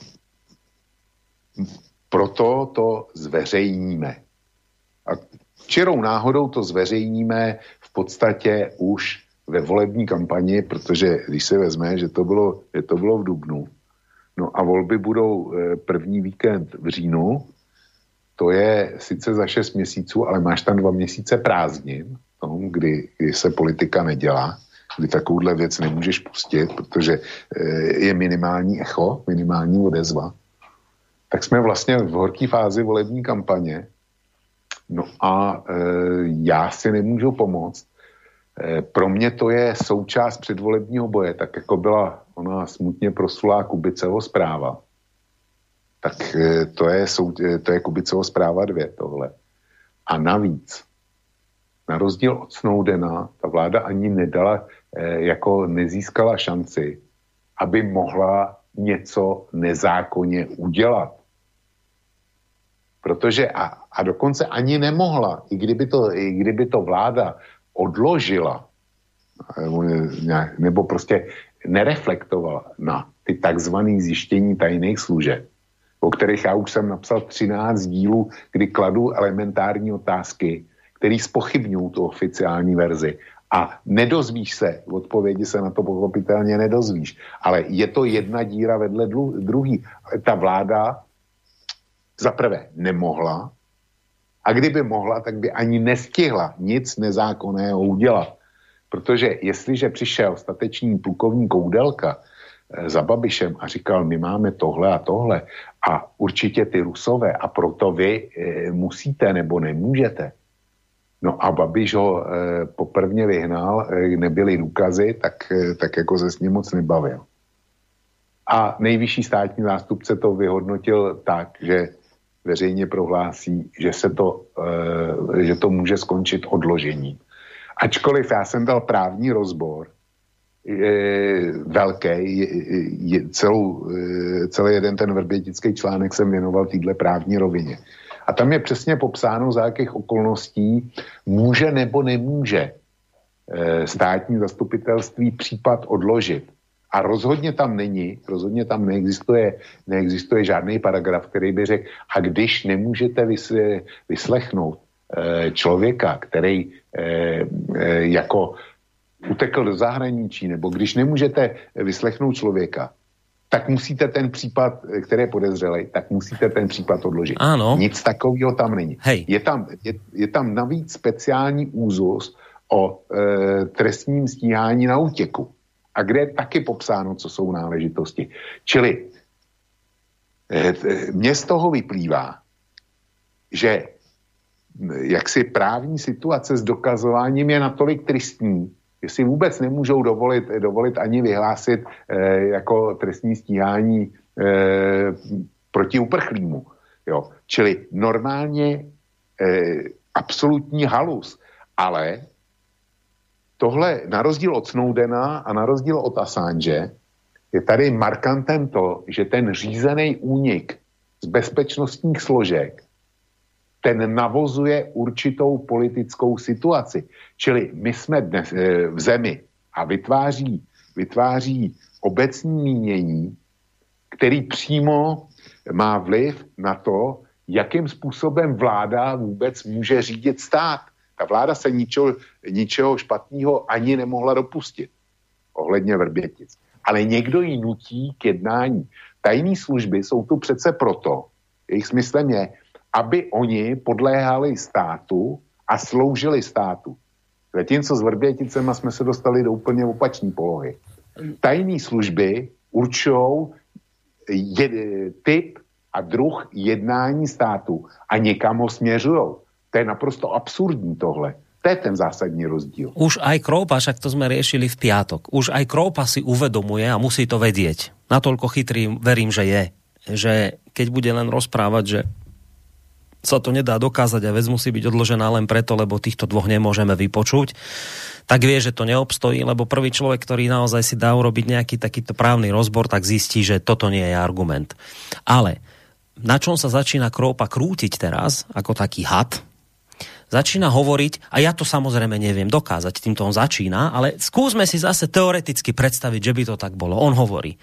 proto to zveřejníme. A čirou náhodou to zveřejníme v podstatě už ve volební kampani, protože když se vezme, že to bylo v dubnu, no a volby budou první víkend v říjnu, to je sice za 6 měsíců, ale máš tam 2 měsíce prázdnin, kdy se politika nedělá, kdy takovouhle věc nemůžeš pustit, protože je minimální echo, minimální odezva, tak jsme vlastně v horké fázi volební kampaně. No a já si nemůžu pomoct. Pro mě to je součást předvolebního boje, tak jako byla ona smutně proslulá Kubiceho zpráva. Tak to je Kubiceho zpráva 2 tohle. A navíc, na rozdíl od Snowdena, ta vláda ani nezískala šanci, aby mohla něco nezákonně udělat. Protože a dokonce ani nemohla, i kdyby to vláda odložila, nebo prostě nereflektovala na ty takzvané zjištění tajných služeb, o kterých já už jsem napsal 13 dílů, kdy kladu elementární otázky, který zpochybňují tu oficiální verzi. A nedozvíš se, odpovědi se na to pochopitelně nedozvíš. Ale je to jedna díra vedle druhý. Ta vláda zaprvé nemohla a kdyby mohla, tak by ani nestihla nic nezákonného udělat. Protože jestliže přišel statečný plukovník Koudelka za Babišem a říkal, my máme tohle a tohle a určitě ty Rusové a proto vy musíte nebo nemůžete. No a Babiš ho poprvně vyhnal, nebyly důkazy, tak jako se s ním moc nebavil. A nejvyšší státní zástupce to vyhodnotil tak, že veřejně prohlásí, že to může skončit odložením. Ačkoliv já jsem dal právní rozbor, velký, celý jeden ten vrbětický článek jsem věnoval téhle právní rovině. A tam je přesně popsáno, za jakých okolností může nebo nemůže státní zastupitelství případ odložit. A rozhodně tam neexistuje žádný paragraf, který by řekl, a když nemůžete vyslechnout člověka, který jako utekl do zahraničí, nebo když nemůžete vyslechnout člověka, tak musíte ten případ, který je podezřelej, tak musíte ten případ odložit. Áno. Nic takového tam není. Hej. Je tam navíc speciální úzus o trestním stíhání na útěku. A kde je taky popsáno, co jsou náležitosti. Čili mně z toho vyplývá, že jaksi právní situace s dokazováním je natolik tristní, že si vůbec nemůžou dovolit ani vyhlásit jako trestní stíhání proti uprchlímu. Jo. Čili normálně absolutní halus. Ale tohle, na rozdíl od Snowdena a na rozdíl od Assange, je tady markantem to, že ten řízený únik z bezpečnostních složek, ten navozuje určitou politickou situaci. Čili my jsme dnes v zemi a vytváří obecní mínění, který přímo má vliv na to, jakým způsobem vláda vůbec může řídit stát. Ta vláda se ničeho špatného ani nemohla dopustit ohledně Vrbětic. Ale někdo ji nutí k jednání. Tajné služby jsou tu přece proto, jejich smyslem je, aby oni podléhali státu a sloužili státu. Zatímco s Vrběticema jsme se dostali do úplně opačné polohy. Tajné služby určují typ a druh jednání státu a někam ho směřují. To je naprosto absurdní tohle. To je ten zásadní rozdíl. Už aj Kroupa, však to sme riešili v piatok, už aj Kroupa si uvedomuje a musí to vedieť. Natoľko chytrý verím, že je. Že keď bude len rozprávať, že sa to nedá dokázať a vec musí byť odložená len preto, lebo týchto dvoch nemôžeme vypočuť, tak vie, že to neobstojí, lebo prvý človek, ktorý naozaj si dá urobiť nejaký takýto právny rozbor, tak zistí, že toto nie je argument. Ale na čom sa začína Kroupa krútiť teraz, ako taký had, začína hovoriť, a ja to samozrejme neviem dokázať, týmto on začína, ale skúsme si zase teoreticky predstaviť, že by to tak bolo. On hovorí,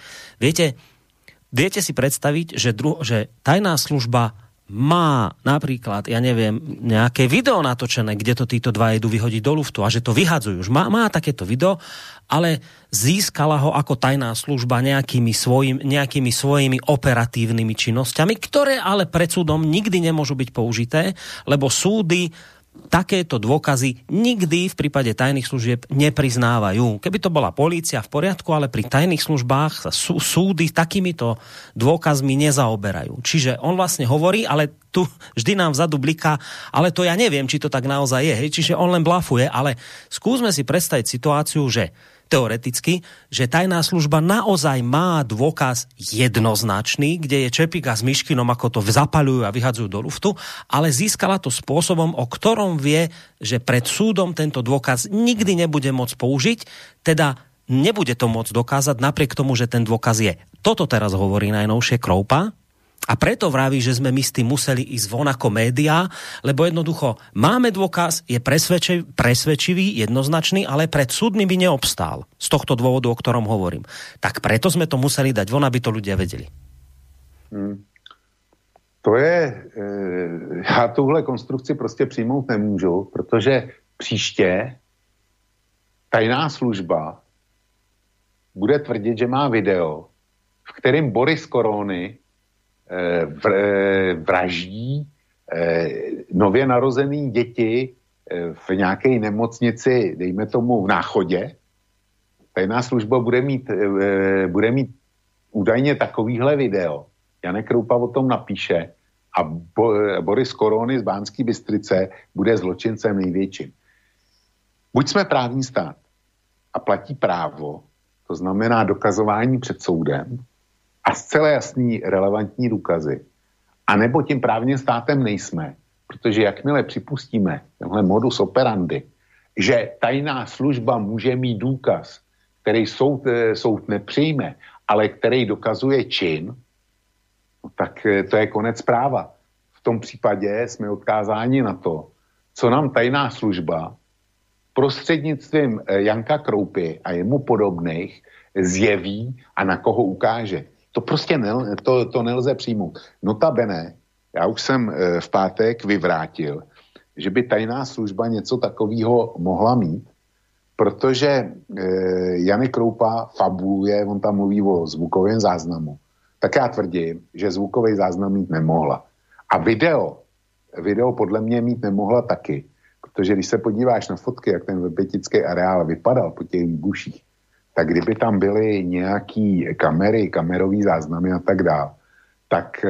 viete si predstaviť, že tajná služba má napríklad, ja neviem, nejaké video natočené, kde to títo dva idú vyhodiť do luftu a že to vyhadzujú. Už má takéto video, ale získala ho ako tajná služba nejakými svojimi operatívnymi činnosťami, ktoré ale pred súdom nikdy nemôžu byť použité, lebo súdy takéto dôkazy nikdy v prípade tajných služieb nepriznávajú. Keby to bola polícia v poriadku, ale pri tajných službách sa súdy takýmito dôkazmi nezaoberajú. Čiže on vlastne hovorí, ale tu vždy nám vzadu bliká, ale to ja neviem, či to tak naozaj je. Čiže on len blafuje, ale skúsme si predstaviť situáciu, že teoreticky, že tajná služba naozaj má dôkaz jednoznačný, kde je Čepík a s Miškinom, ako to zapaľujú a vyhadzujú do luftu, ale získala to spôsobom, o ktorom vie, že pred súdom tento dôkaz nikdy nebude môcť použiť, teda nebude to môcť dokázať napriek tomu, že ten dôkaz je. Toto teraz hovorí najnovšie Kroupa. A preto vraví, že sme my s tým museli ísť von ako médiá, lebo jednoducho máme dôkaz, je presvedčivý, jednoznačný, ale pred súdmi by neobstál. Z tohto dôvodu, o ktorom hovorím. Tak preto sme to museli dať von, aby to ľudia vedeli. To je... Já tuhle konstrukci prostě přijmout nemůžu, protože příště tajná služba bude tvrdit, že má video, v kterém Boris Korony vraždí nově narozený děti v nějaké nemocnici, dejme tomu v Náchodě, tajná služba bude mít údajně takovýhle video. Janek Kroupa o tom napíše a Boris Korony z Banské Bystrice bude zločincem největším. Buď jsme právní stát a platí právo, to znamená dokazování před soudem a zcela jasný relevantní důkazy, anebo tím právním státem nejsme, protože jakmile připustíme tenhle modus operandi, že tajná služba může mít důkaz, který soud nepřijme, ale který dokazuje čin, no tak to je konec práva. V tom případě jsme odkázáni na to, co nám tajná služba prostřednictvím Janka Kroupy a jemu podobných zjeví a na koho ukáže. To prostě to nelze přijmout. Notabene, já už jsem v pátek vyvrátil, že by tajná služba něco takového mohla mít, protože Janek Kroupa fabuluje, on tam mluví o zvukovém záznamu. Tak já tvrdím, že zvukový záznam mít nemohla. A video podle mě mít nemohla taky, protože když se podíváš na fotky, jak ten vrbětický areál vypadal po těch výbuších, tak kdyby tam byly nějaký kamerový záznamy a tak dál, tak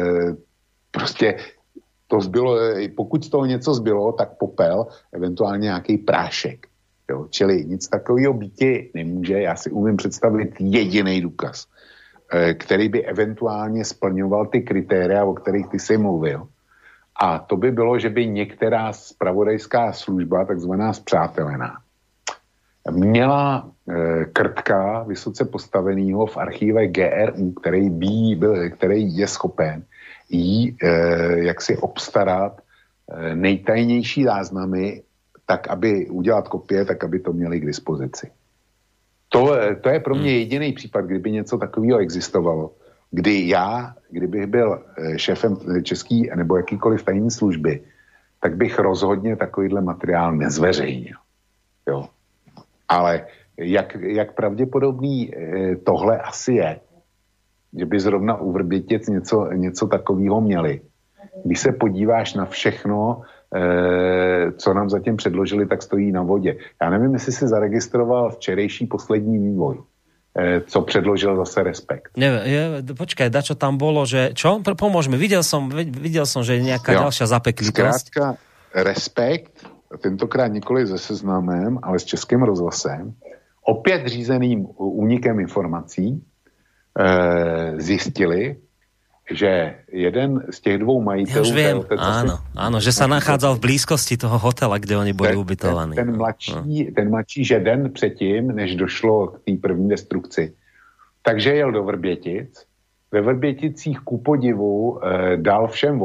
prostě to zbylo, pokud z toho něco zbylo, tak popel, eventuálně nějaký prášek. Jo? Čili nic takového býti nemůže. Já si umím představit jediný důkaz, který by eventuálně splňoval ty kritéria, o kterých ty jsi mluvil. A to by bylo, že by některá zpravodajská služba, takzvaná spřátelená, měla krtka vysoce postavenýho v archíve GRU, který je schopen jí jaksi obstarat nejtajnější záznamy, tak aby udělat kopie, tak aby to měli k dispozici. To je pro mě jediný případ, kdyby něco takového existovalo, kdybych byl šéfem český nebo jakýkoliv tajné služby, tak bych rozhodně takovýhle materiál nezveřejnil. Jo. Ale jak pravděpodobný tohle asi je, že by zrovna u Vrbětic něco takového měli. Když se podíváš na všechno, co nám zatím předložili, tak stojí na vodě. Já nevím, jestli si zaregistroval včerejší poslední vývoj, co předložil zase Respekt. Počkaj, dačo tam bolo, že čo? Pomôžme, videl som, že je nejaká ďalšia zapeklitosť. Zkrátka, Respekt, tentokrát nikoli se Seznamem, ale s Českým rozhlasem, opět řízeným únikem informací, zjistili, že jeden z těch dvou majitelů... Ja už viem, áno, že sa nachádzal v blízkosti toho hotela, kde oni boli ubytovaní. Ten mladší, že den předtím, než došlo k té první destrukci, takže jel do Vrbětic, ve Vrběticích ku podivu dal všem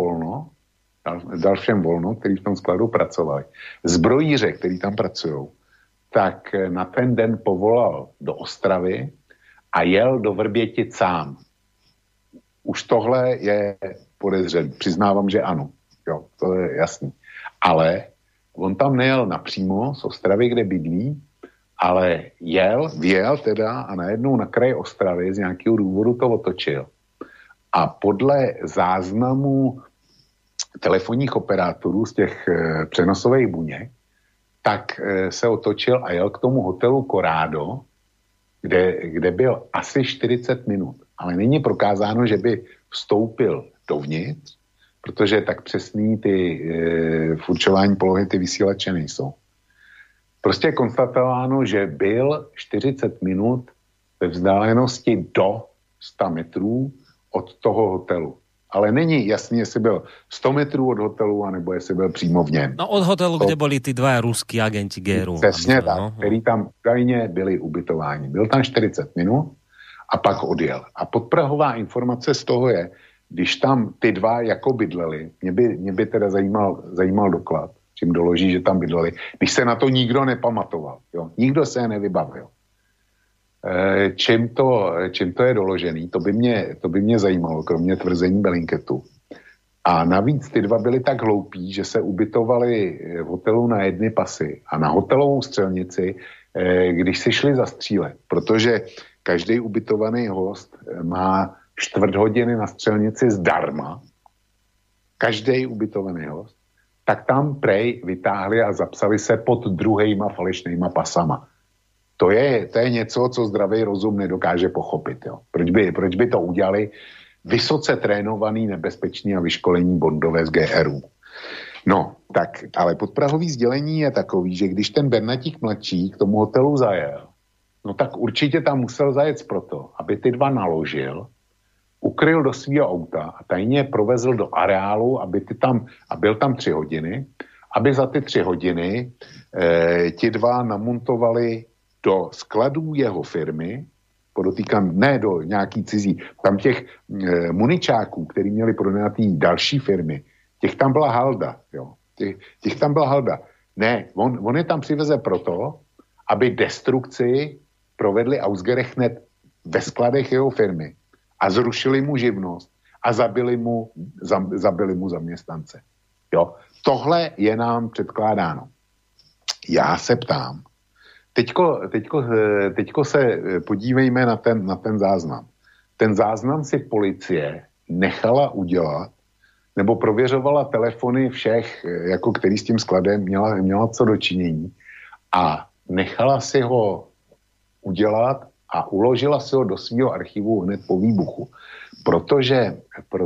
volno, který v tom skladu pracovali. Zbrojíře, který tam pracují, tak na ten den povolal do Ostravy a jel do Vrbětic sám. Už tohle je podezřelý. Přiznávám, že ano. Jo, to je jasný. Ale on tam nejel napřímo z Ostravy, kde bydlí, ale vyjel teda a najednou na kraji Ostravy z nějakého důvodu to otočil. A podle záznamů telefonních operátorů z těch přenosových buněk, tak se otočil a jel k tomu hotelu Corrado, kde byl asi 40 minut. Ale není prokázáno, že by vstoupil dovnitř, protože tak přesný v určování polohy ty vysílače nejsou. Prostě je konstatováno, že byl 40 minut ve vzdálenosti do 100 metrů od toho hotelu. Ale není jasný, jestli byl 100 metrů od hotelu, anebo jestli byl přímo v něm. No od hotelu, kde byli ty dva ruský agenti GRU. Přesně tak, který tam údajně byli ubytováni. Byl tam 40 minut a pak odjel. A podprahová informace z toho je, když tam ty dva jako bydleli, mě by teda zajímal doklad, čím doloží, že tam bydleli, když se na to nikdo nepamatoval. Jo? Nikdo se je nevybavil. Čím to je doložený, to by mě zajímalo, kromě tvrzení Belinketu. A navíc ty dva byli tak hloupí, že se ubytovali v hotelu na jedny pasy a na hotelovou střelnici, když si šli zastřílet, protože každý ubytovaný host má 4 hodiny na střelnici zdarma. Každý ubytovaný host. tak tam prej vytáhli a zapsali se pod druhejma falešnýma pasama. To je něco, co zdravý rozum nedokáže pochopit. Jo. Proč by to udělali vysoce trénovaný, nebezpečný a vyškolení bondové z GRU? No, tak, ale podprahový sdělení je takový, že když ten Bernatík mladší k tomu hotelu zajel, no tak určitě tam musel zajet proto, aby ty dva naložil, ukryl do svého auta a tajně provezl do areálu, a byl tam 3 hodiny, aby za ty 3 hodiny ti dva namontovali do skladů jeho firmy, podotýkám, ne do nějaký cizí, tam těch muničáků, který měli pronajatý další firmy, těch tam byla halda, jo. Těch tam byla halda. Ne, on je tam přiveze proto, aby destrukci provedli ausgerechnet ve skladech jeho firmy a zrušili mu živnost a zabili mu zaměstnance. Jo. Tohle je nám předkládáno. Já se ptám, teďko se podívejme na ten záznam. Ten záznam si policie nechala udělat, nebo prověřovala telefony všech, jako který s tím skladem měla co dočinění, a nechala si ho udělat a uložila si ho do svého archivu hned po výbuchu. Protože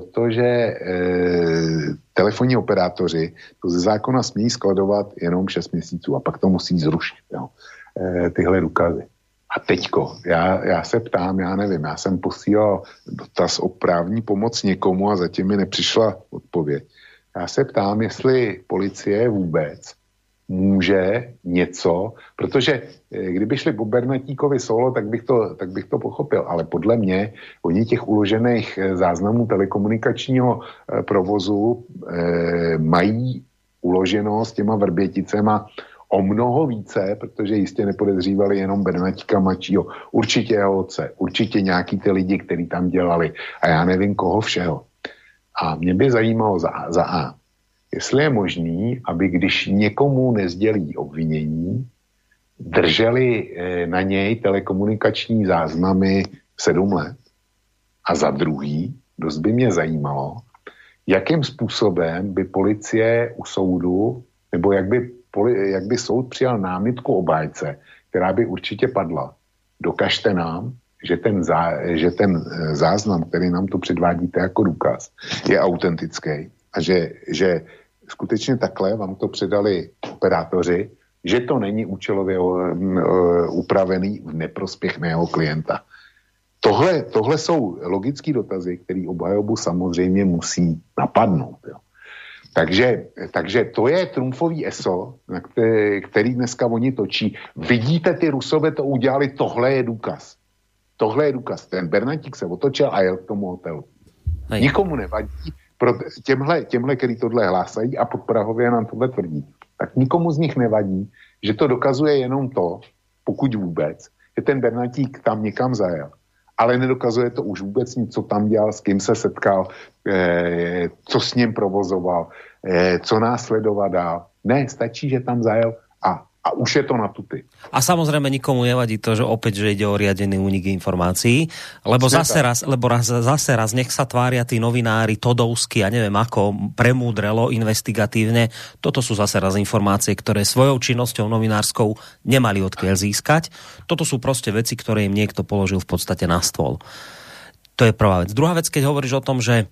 telefonní operátoři to ze zákona smí skladovat jenom 6 měsíců a pak to musí zrušit. Jo. Tyhle důkazy. A teďko, já se ptám, já nevím, já jsem posílal dotaz o právní pomoc někomu a zatím mi nepřišla odpověď. Já se ptám, jestli policie vůbec může něco, protože kdyby šli po Bernatíkovi solo, tak bych to pochopil, ale podle mě oni těch uložených záznamů telekomunikačního provozu mají uloženo s těma Vrběticema o mnoho více, protože jistě nepodezřívali jenom Bernatíka mladšího, určitě jeho otce, určitě nějaký ty lidi, kteří tam dělali a já nevím koho všeho. A mě by zajímalo za A, jestli je možný, aby když někomu nezdělí obvinění, drželi na něj telekomunikační záznamy 7 let. A za druhý, dost by mě zajímalo, jakým způsobem by policie u soudu, nebo jak by soud přijal námitku obhájce, která by určitě padla. Dokažte nám, že ten záznam, který nám tu předvádíte jako důkaz, je autentický a že skutečně takhle vám to předali operátoři, že to není účelově upravený v neprospěch mého klienta. Tohle jsou logické dotazy, které obhajobu samozřejmě musí napadnout. Jo. Takže to je trumfový ESO, na který dneska oni točí. Vidíte, ty Rusové to udělali, tohle je důkaz. Tohle je důkaz. Ten Bernatík se otočil a jel k tomu hotelu. Hej. Nikomu nevadí, pro těmhle, který tohle hlásají a podprahově nám tohle tvrdí, tak nikomu z nich nevadí, že to dokazuje jenom to, pokud vůbec, že ten Bernatík tam někam zajel. Ale nedokazuje to už vůbec nic, co tam dělal, s kým se setkal, co s ním provozoval, co následovat dál. Ne, stačí, že tam zajel a už je to na tuty. A samozrejme nikomu nevadí to, že opäť, že ide o riadený únik informácií, lebo zase raz nech sa tvária tí novinári Todovsky a neviem ako premúdrelo investigatívne. Toto sú zase raz informácie, ktoré svojou činnosťou novinárskou nemali odkiaľ získať. Toto sú proste veci, ktoré im niekto položil v podstate na stôl. To je prvá vec. Druhá vec, keď hovoríš o tom, že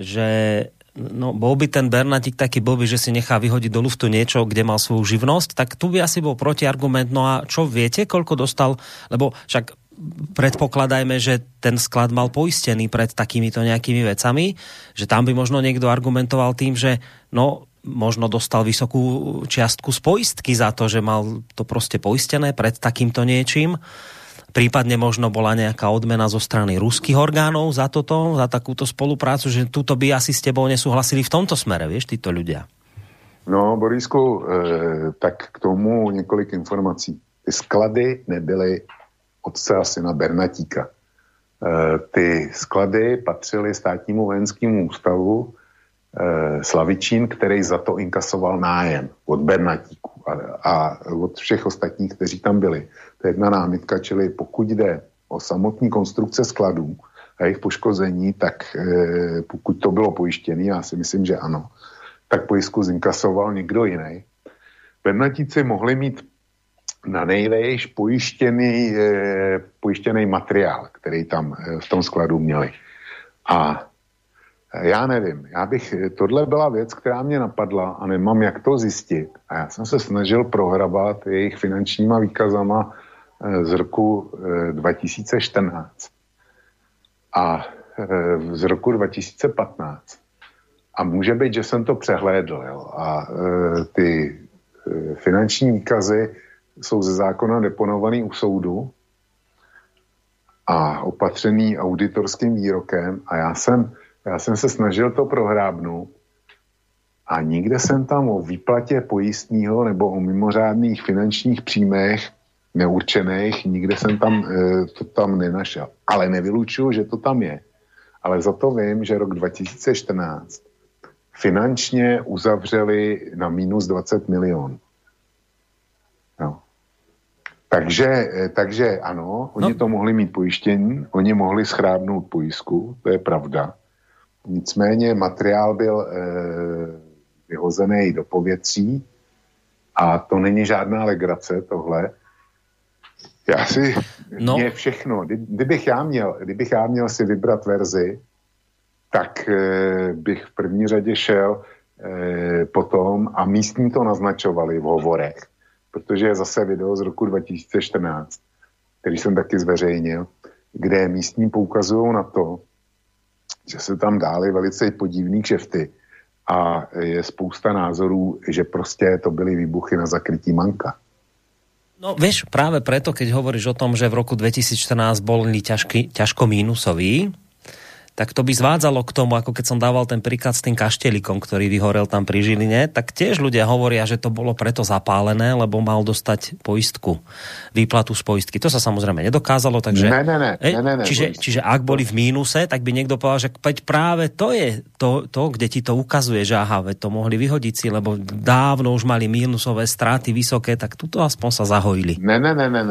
no, bol by ten Bernatík taký blbý, že si nechá vyhodiť do luftu niečo, kde mal svoju živnosť, tak tu by asi bol protiargument. No a čo viete, koľko dostal? Lebo však predpokladajme, že ten sklad mal poistený pred takýmito nejakými vecami, že tam by možno niekto argumentoval tým, že no, možno dostal vysokú čiastku z poistky za to, že mal to proste poistené pred takýmto niečím. Prípadne možno bola nejaká odmena zo strany ruských orgánov za toto, za takúto spoluprácu, že túto by asi s tebou nesúhlasili v tomto smere, vieš, títo ľudia. No, Borisku, tak k tomu několik informací. Ty sklady nebyly otce a syna Bernatíka. Ty sklady patřily státnímu vojenskému ústavu Slavičín, který za to inkasoval nájem od Bernatíku a od všech ostatních, kteří tam byli. To je jedna námitka, čili pokud jde o samotní konstrukce skladů a jejich poškození, tak pokud to bylo pojištěné, já si myslím, že ano, tak pojistku zinkasoval někdo jiný. Bednatíci mohli mít na nejvejš pojištěný materiál, který tam v tom skladu měli. A já nevím, tohle byla věc, která mě napadla a nemám jak to zjistit. A já jsem se snažil prohrabat jejich finančníma výkazama z roku 2014 a z roku 2015. A může být, že jsem to přehlédl. Jo? A ty finanční výkazy jsou ze zákona deponovaný u soudu a opatřený auditorským výrokem a já jsem se snažil to prohrábnout a nikde jsem tam o výplatě pojistného nebo o mimořádných finančních příjmech neurčených, nikde jsem to tam nenašel. Ale nevylučuju, že to tam je. Ale za to vím, že rok 2014 finančně uzavřeli na minus 20 milionů. No. Takže ano, oni to mohli mít pojištění, oni mohli schrábnout pojistku, to je pravda. Nicméně materiál byl vyhozený do povětří a to není žádná legrace tohle. Mě všechno, kdybych já měl si vybrat verzi, tak bych v první řadě šel potom a místní to naznačovali v hovorech, protože je zase video z roku 2014, který jsem taky zveřejnil, kde místní poukazují na to, že se tam dály velice podivný kšefty a je spousta názorů, že prostě to byly výbuchy na zakrytí manka. No vieš, práve preto, keď hovoríš o tom, že v roku 2014 boli ťažko mínusový, tak to by zvádzalo k tomu, ako keď som dával ten príklad s tým kaštelikom, ktorý vyhorel tam pri Žiline, tak tiež ľudia hovoria, že to bolo preto zapálené, lebo mal dostať poistku, výplatu z poistky. To sa samozrejme nedokázalo, takže... Ne. Čiže ak boli v mínuse, tak by niekto povedal, že práve to je to, kde ti to ukazuje, že aha, to mohli vyhodiť si, lebo dávno už mali mínusové straty vysoké, tak tuto aspoň sa zahojili. Ne.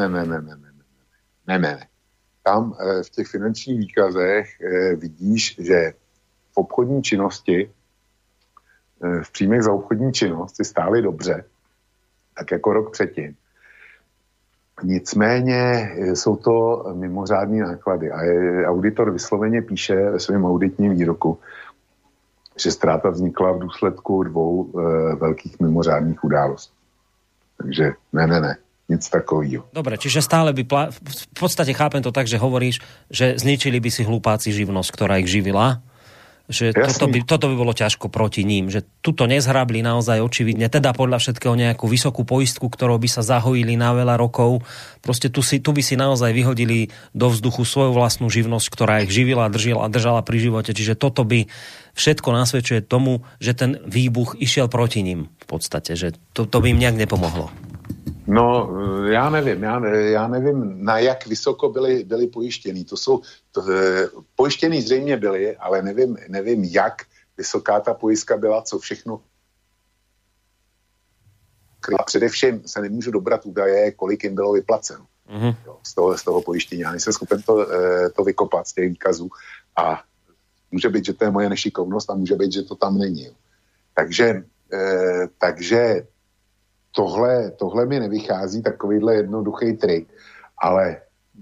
Tam v těch finančních výkazech vidíš, že v obchodní činnosti, v příjmech za obchodní činnost si stály dobře, tak jako rok předtím. Nicméně jsou to mimořádné náklady a auditor vysloveně píše ve svém auditním výroku, že ztráta vznikla v důsledku 2 velkých mimořádných událostí. Takže ne. Nic takového. Dobre, čiže stále by... V podstate chápem to tak, že hovoríš, že zničili by si hlupáci živnosť, ktorá ich živila. Že toto by bolo ťažko proti ním. Že tuto nezhrabli naozaj očividne, teda podľa všetkého nejakú vysokú poistku, ktorou by sa zahojili na veľa rokov. Proste tu by si naozaj vyhodili do vzduchu svoju vlastnú živnosť, ktorá ich živila, držala pri živote. Čiže toto by všetko nasvedčuje tomu, že ten výbuch išiel proti ním v podstate. Že to by im nejak nepomohlo. No, já nevím, na jak vysoko byli pojištění. Pojištění zřejmě byli, ale nevím, jak vysoká ta pojistka byla, co všechno. A především se nemůžu dobrat údaje, kolik jim bylo vyplaceno z toho pojištění. Já nejsem schopen to vykopat z těch výkazů a může být, že to je moje nešikovnost a může být, že to tam není. Takže tohle mi nevychází, takovýhle jednoduchý trik, ale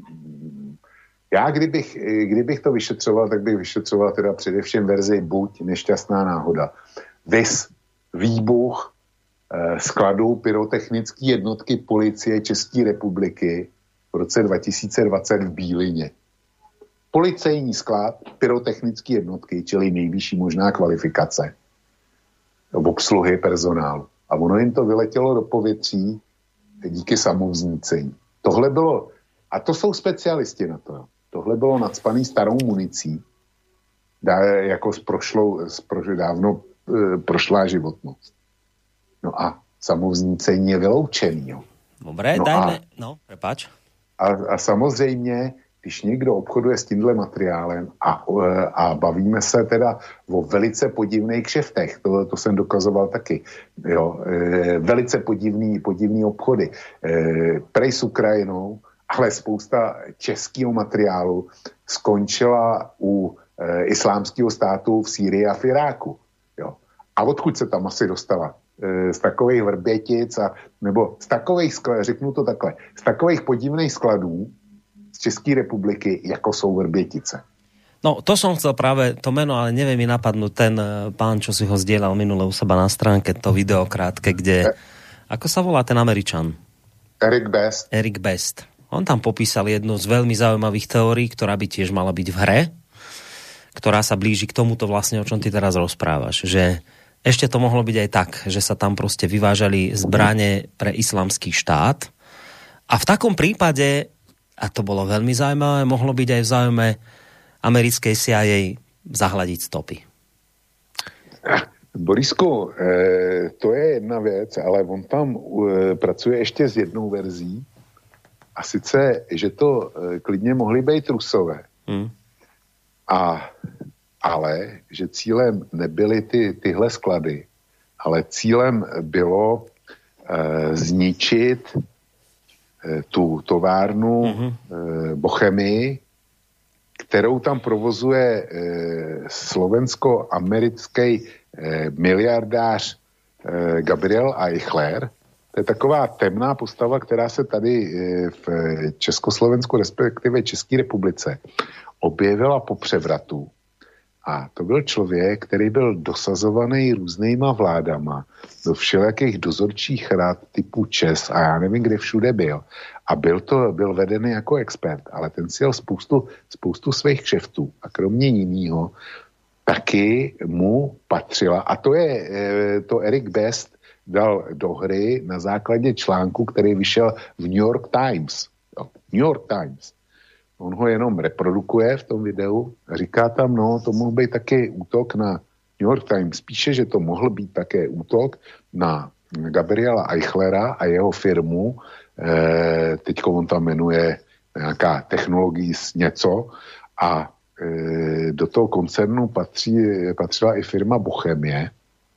já kdybych to vyšetřoval, tak bych vyšetřoval teda především verzi buď nešťastná náhoda. Vys výbuch skladu pyrotechnické jednotky policie České republiky v roce 2020 v Bílině. Policejní sklad pyrotechnické jednotky, čili nejvyšší možná kvalifikace obsluhy personálu. A ono jim to vyletělo do povětří díky samovznícení. Tohle bylo, a to jsou specialisti na to, tohle bylo nacpaný starou municí, jako dávno prošlá životnost. No a samovznícení je vyloučený. Jo. Dobré, dajme, prepáč. A samozřejmě, když někdo obchoduje s tímhle materiálem a bavíme se teda o velice podivných kšeftech, to jsem dokazoval taky, jo, velice podivný obchody, prej s Ukrajinou, ale spousta českého materiálu skončila u islámského státu v Sýrii a v Iráku. Jo. A odkud se tam asi dostala? Z takových Vrbětic, nebo z takových, řeknu to takhle, z takových podivných skladů z České republiky, jako jsou Vrbětice. No, to som chcel práve, to meno, ale neviem mi napadnúť ten pán, čo si ho zdieľal minule u seba na stránke, to video krátke, kde, ako sa volá ten Američan? Eric Best. Eric Best. On tam popísal jednu z veľmi zaujímavých teórií, ktorá by tiež mala byť v hre, ktorá sa blíži k tomuto vlastne, o čom ty teraz rozprávaš, že ešte to mohlo byť aj tak, že sa tam proste vyvážali zbrane pre islamský štát a v takom prípade, a to bolo veľmi zaujímavé, mohlo byť aj v záujme americkej CIA zahľadiť stopy. Borisku, to je jedna věc, ale on tam pracuje ještě s jednou verzí a sice, že to klidně mohly být Rusové. Ale že cílem nebyly tyhle sklady, ale cílem bylo zničit tu továrnu Bochemii, kterou tam provozuje slovensko-americký miliardář Gabriel Eichler. To je taková temná postava, která se tady v Československu, respektive České republice, objevila po převratu. A to byl člověk, který byl dosazovaný různýma vládama do všelijakých dozorčích rad typu ČES a já nevím, kde všude byl. A byl vedený jako expert, ale ten si jel spoustu svých kšeftů. A kromě jinýho taky mu patřila, a to Eric Best dal do hry na základě článku, který vyšel v New York Times. New York Times. On ho jenom reprodukuje v tom videu a říká tam, no, to mohl být také útok na New York Times. Píše, že to mohl být také útok na Gabriela Eichlera a jeho firmu. Teďko on tam jmenuje nějaká technologie něco a do toho koncernu patřila i firma Bochemie,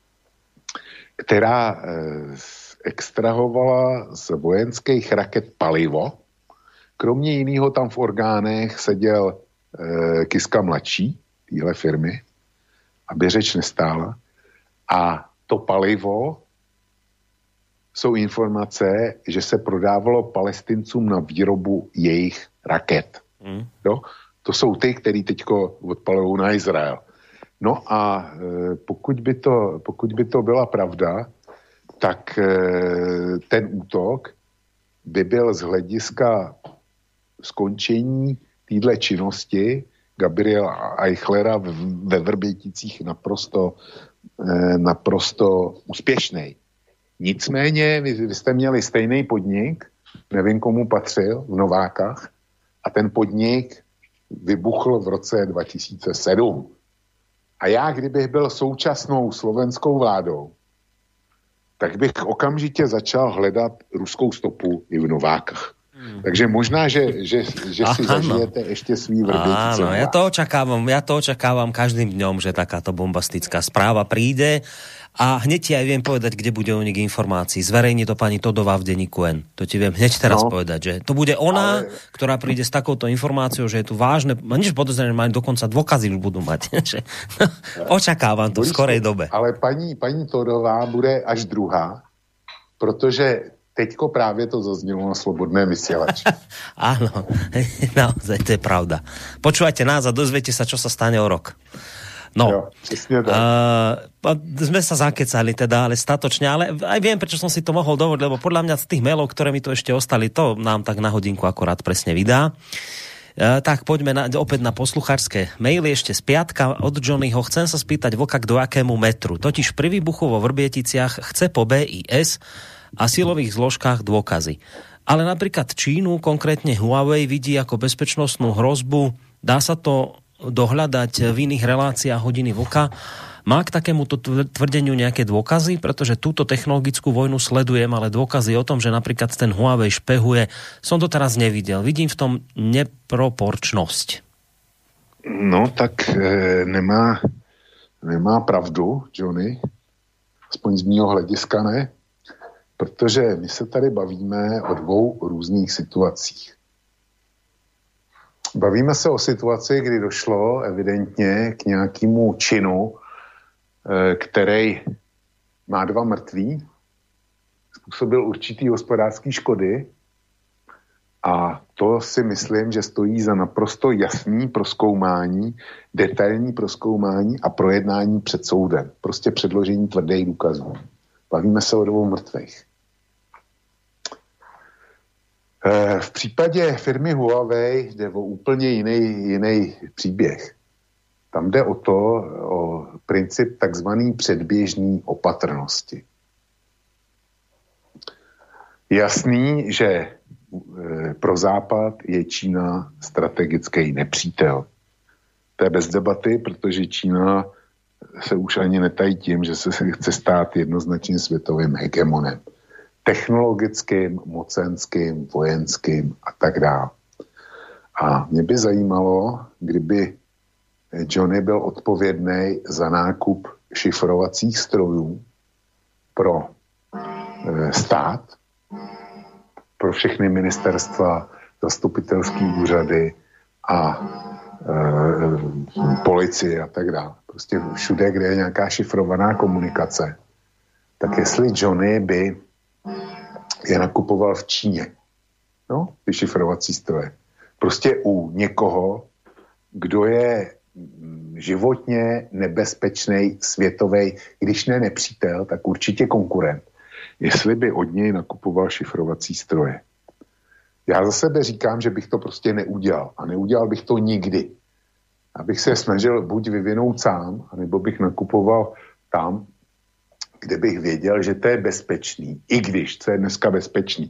která extrahovala z vojenských raket palivo. Kromě jiného tam v orgánech seděl Kiska mladší téhle firmy, aby řeč nestála. A to palivo jsou informace, že se prodávalo Palestincům na výrobu jejich raket. Jo? To jsou ty, který teďko odpalují na Izrael. No a pokud by to byla pravda, tak ten útok by byl z hlediska skončení téhle činnosti Gabriela Eichlera ve Vrběticích naprosto úspěšný. Nicméně vy jste měli stejný podnik, nevím komu patřil, v Novákách, a ten podnik vybuchl v roce 2007. A já, kdybych byl současnou slovenskou vládou, tak bych okamžitě začal hledat ruskou stopu i v Novákách. Takže možná, že si zažijete ešte svý Vrbětice. Áno, ja to očakávam každým dňom, že takáto bombastická správa príde a hneď ti aj viem povedať, kde bude unik informácií. Zverejní to pani Todová v denníku N. To ti viem hneď teraz povedať, že to bude ona, ktorá príde s takouto informáciou, že je tu vážne, nič podozrenie, majú dokonca dôkazy budú mať. Očakávam to v skorej dobe. Ale paní Todová bude až druhá, protože teďko právě to zaznělo na Slobodné vysielači. Áno, naozaj, to je pravda. Počúvajte nás a dozviete sa, čo sa stane o rok. No, jo, presne tak. Sme sa zakecali teda, ale statočne, ale aj viem, prečo som si to mohol dovoliť, lebo podľa mňa z tých mailov, ktoré mi tu ešte ostali, to nám tak na hodinku akorát presne vydá. Tak poďme opäť na poslucháčske maily ešte z piatka od Johnnyho. Chcem sa spýtať Vlka, do akému metru. Totiž pri výbuchu vo Vrbieticiach chce po BIS a silových zložkách dôkazy. Ale napríklad Čínu, konkrétne Huawei, vidí ako bezpečnostnú hrozbu. Dá sa to dohľadať v iných reláciách Hodiny Vlka. Má k takémuto tvrdeniu nejaké dôkazy? Pretože túto technologickú vojnu sledujem, ale dôkazy o tom, že napríklad ten Huawei špehuje, som to teraz nevidel. Vidím v tom neproporčnosť. No tak nemá pravdu, Johnny. Aspoň z mýho hlediska ne. Protože my se tady bavíme o dvou různých situacích. Bavíme se o situaci, kdy došlo evidentně k nějakému činu který má 2 mrtví, způsobil určitý hospodářský škody a to si myslím, že stojí za naprosto jasný prozkoumání, detailní prozkoumání a projednání před soudem. Prostě předložení tvrdých důkazů. Bavíme se o 2 mrtvých. V případě firmy Huawei jde o úplně jiný příběh. Tam jde o princip takzvaný předběžný opatrnosti. Jasný, že pro Západ je Čína strategický nepřítel. To je bez debaty, protože Čína se už ani netají tím, že se chce stát jednoznačně světovým hegemonem. Technologickým, mocenským, vojenským a tak dále. A mě by zajímalo, kdyby Johnny byl odpovědný za nákup šifrovacích strojů pro stát, pro všechny ministerstva, zastupitelské úřady a policii a tak dále. Prostě všude, kde je nějaká šifrovaná komunikace, tak jestli Johnny by je nakupoval v Číně, no, ty šifrovací stroje. Prostě u někoho, kdo je životně nebezpečný světový, když ne nepřítel, tak určitě konkurent, jestli by od něj nakupoval šifrovací stroje. Já za sebe říkám, že bych to prostě neudělal. A neudělal bych to nikdy. Abych se snažil buď vyvinout sám, anebo bych nakupoval tam, kde bych věděl, že to je bezpečný. I když, co je dneska bezpečný.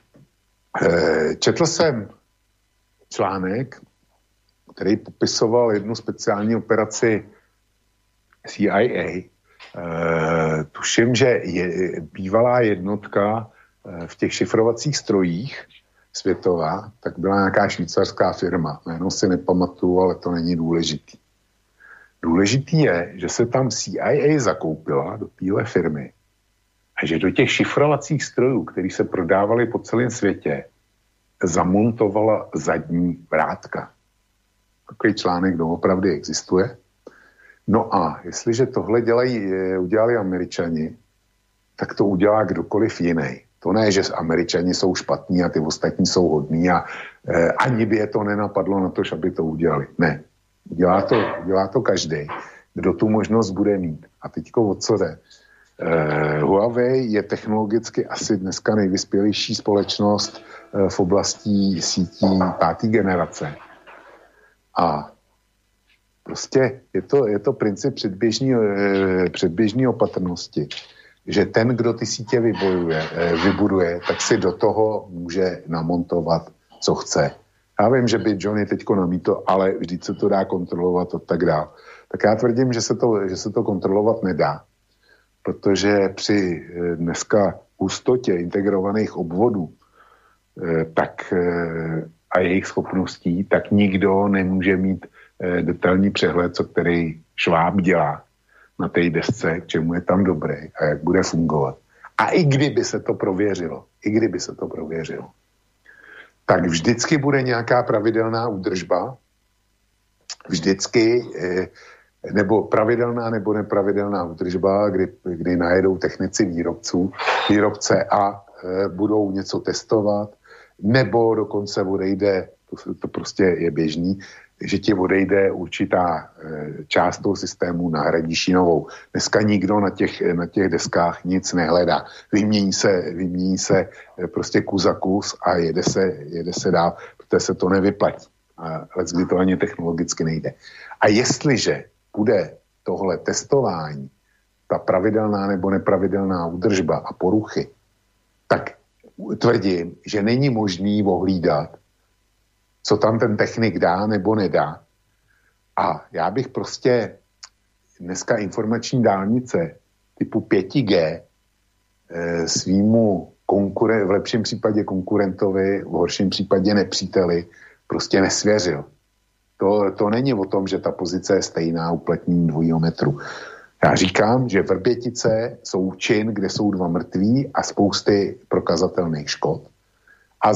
Četl jsem článek, který popisoval jednu speciální operaci CIA. Tuším, že bývalá jednotka v těch šifrovacích strojích světová, tak byla nějaká švýcarská firma. Jméno si nepamatuju, ale to není důležitý. Důležitý je, že se tam CIA zakoupila do téhle firmy a že do těch šifrovacích strojů, které se prodávaly po celém světě, zamontovala zadní vrátka. Takový článek doopravdy existuje. No a jestliže tohle udělali Američani, tak to udělá kdokoliv jiný. To ne, že Američani jsou špatní a ty ostatní jsou hodní a ani by je to nenapadlo na to, aby to udělali. Ne. Dělá to každý, kdo tu možnost bude mít. A teďko o co jde? Huawei je technologicky asi dneska nejvyspělejší společnost v oblasti sítí 5. generace. A prostě je to princip předběžné opatrnosti, že ten, kdo ty sítě vybuduje, tak si do toho může namontovat, co chce. Já vím, že by Johnny teďko namítl, ale vždyť se to dá kontrolovat a tak dále. Tak já tvrdím, že se to kontrolovat nedá, protože při dneska hustotě integrovaných obvodů a jejich schopností, tak nikdo nemůže mít detailní přehled, co který Šváb dělá na té desce, k čemu je tam dobrý a jak bude fungovat. A i kdyby se to prověřilo, tak vždycky bude nějaká pravidelná údržba, vždycky, nebo pravidelná nebo nepravidelná údržba, kdy najedou technici výrobce a budou něco testovat, nebo dokonce odejde, to prostě je běžný, že ti odejde určitá část toho systému, nahradí novou. Dneska nikdo na těch deskách nic nehledá. Vymění se prostě kus za kus a jede se dál, protože se to nevyplatí. Ale kdy to ani technologicky nejde. A jestliže bude tohle testování, ta pravidelná nebo nepravidelná údržba a poruchy, tak tvrdím, že není možný ohlídat, co tam ten technik dá nebo nedá. A já bych prostě dneska informační dálnice typu 5G svýmu v lepším případě konkurentovi, v horším případě nepříteli, prostě nesvěřil. To není o tom, že ta pozice je stejná uplatnění dvojího metru. Já říkám, že Vrbětice jsou čin, kde jsou 2 mrtví a spousty prokazatelných škod. A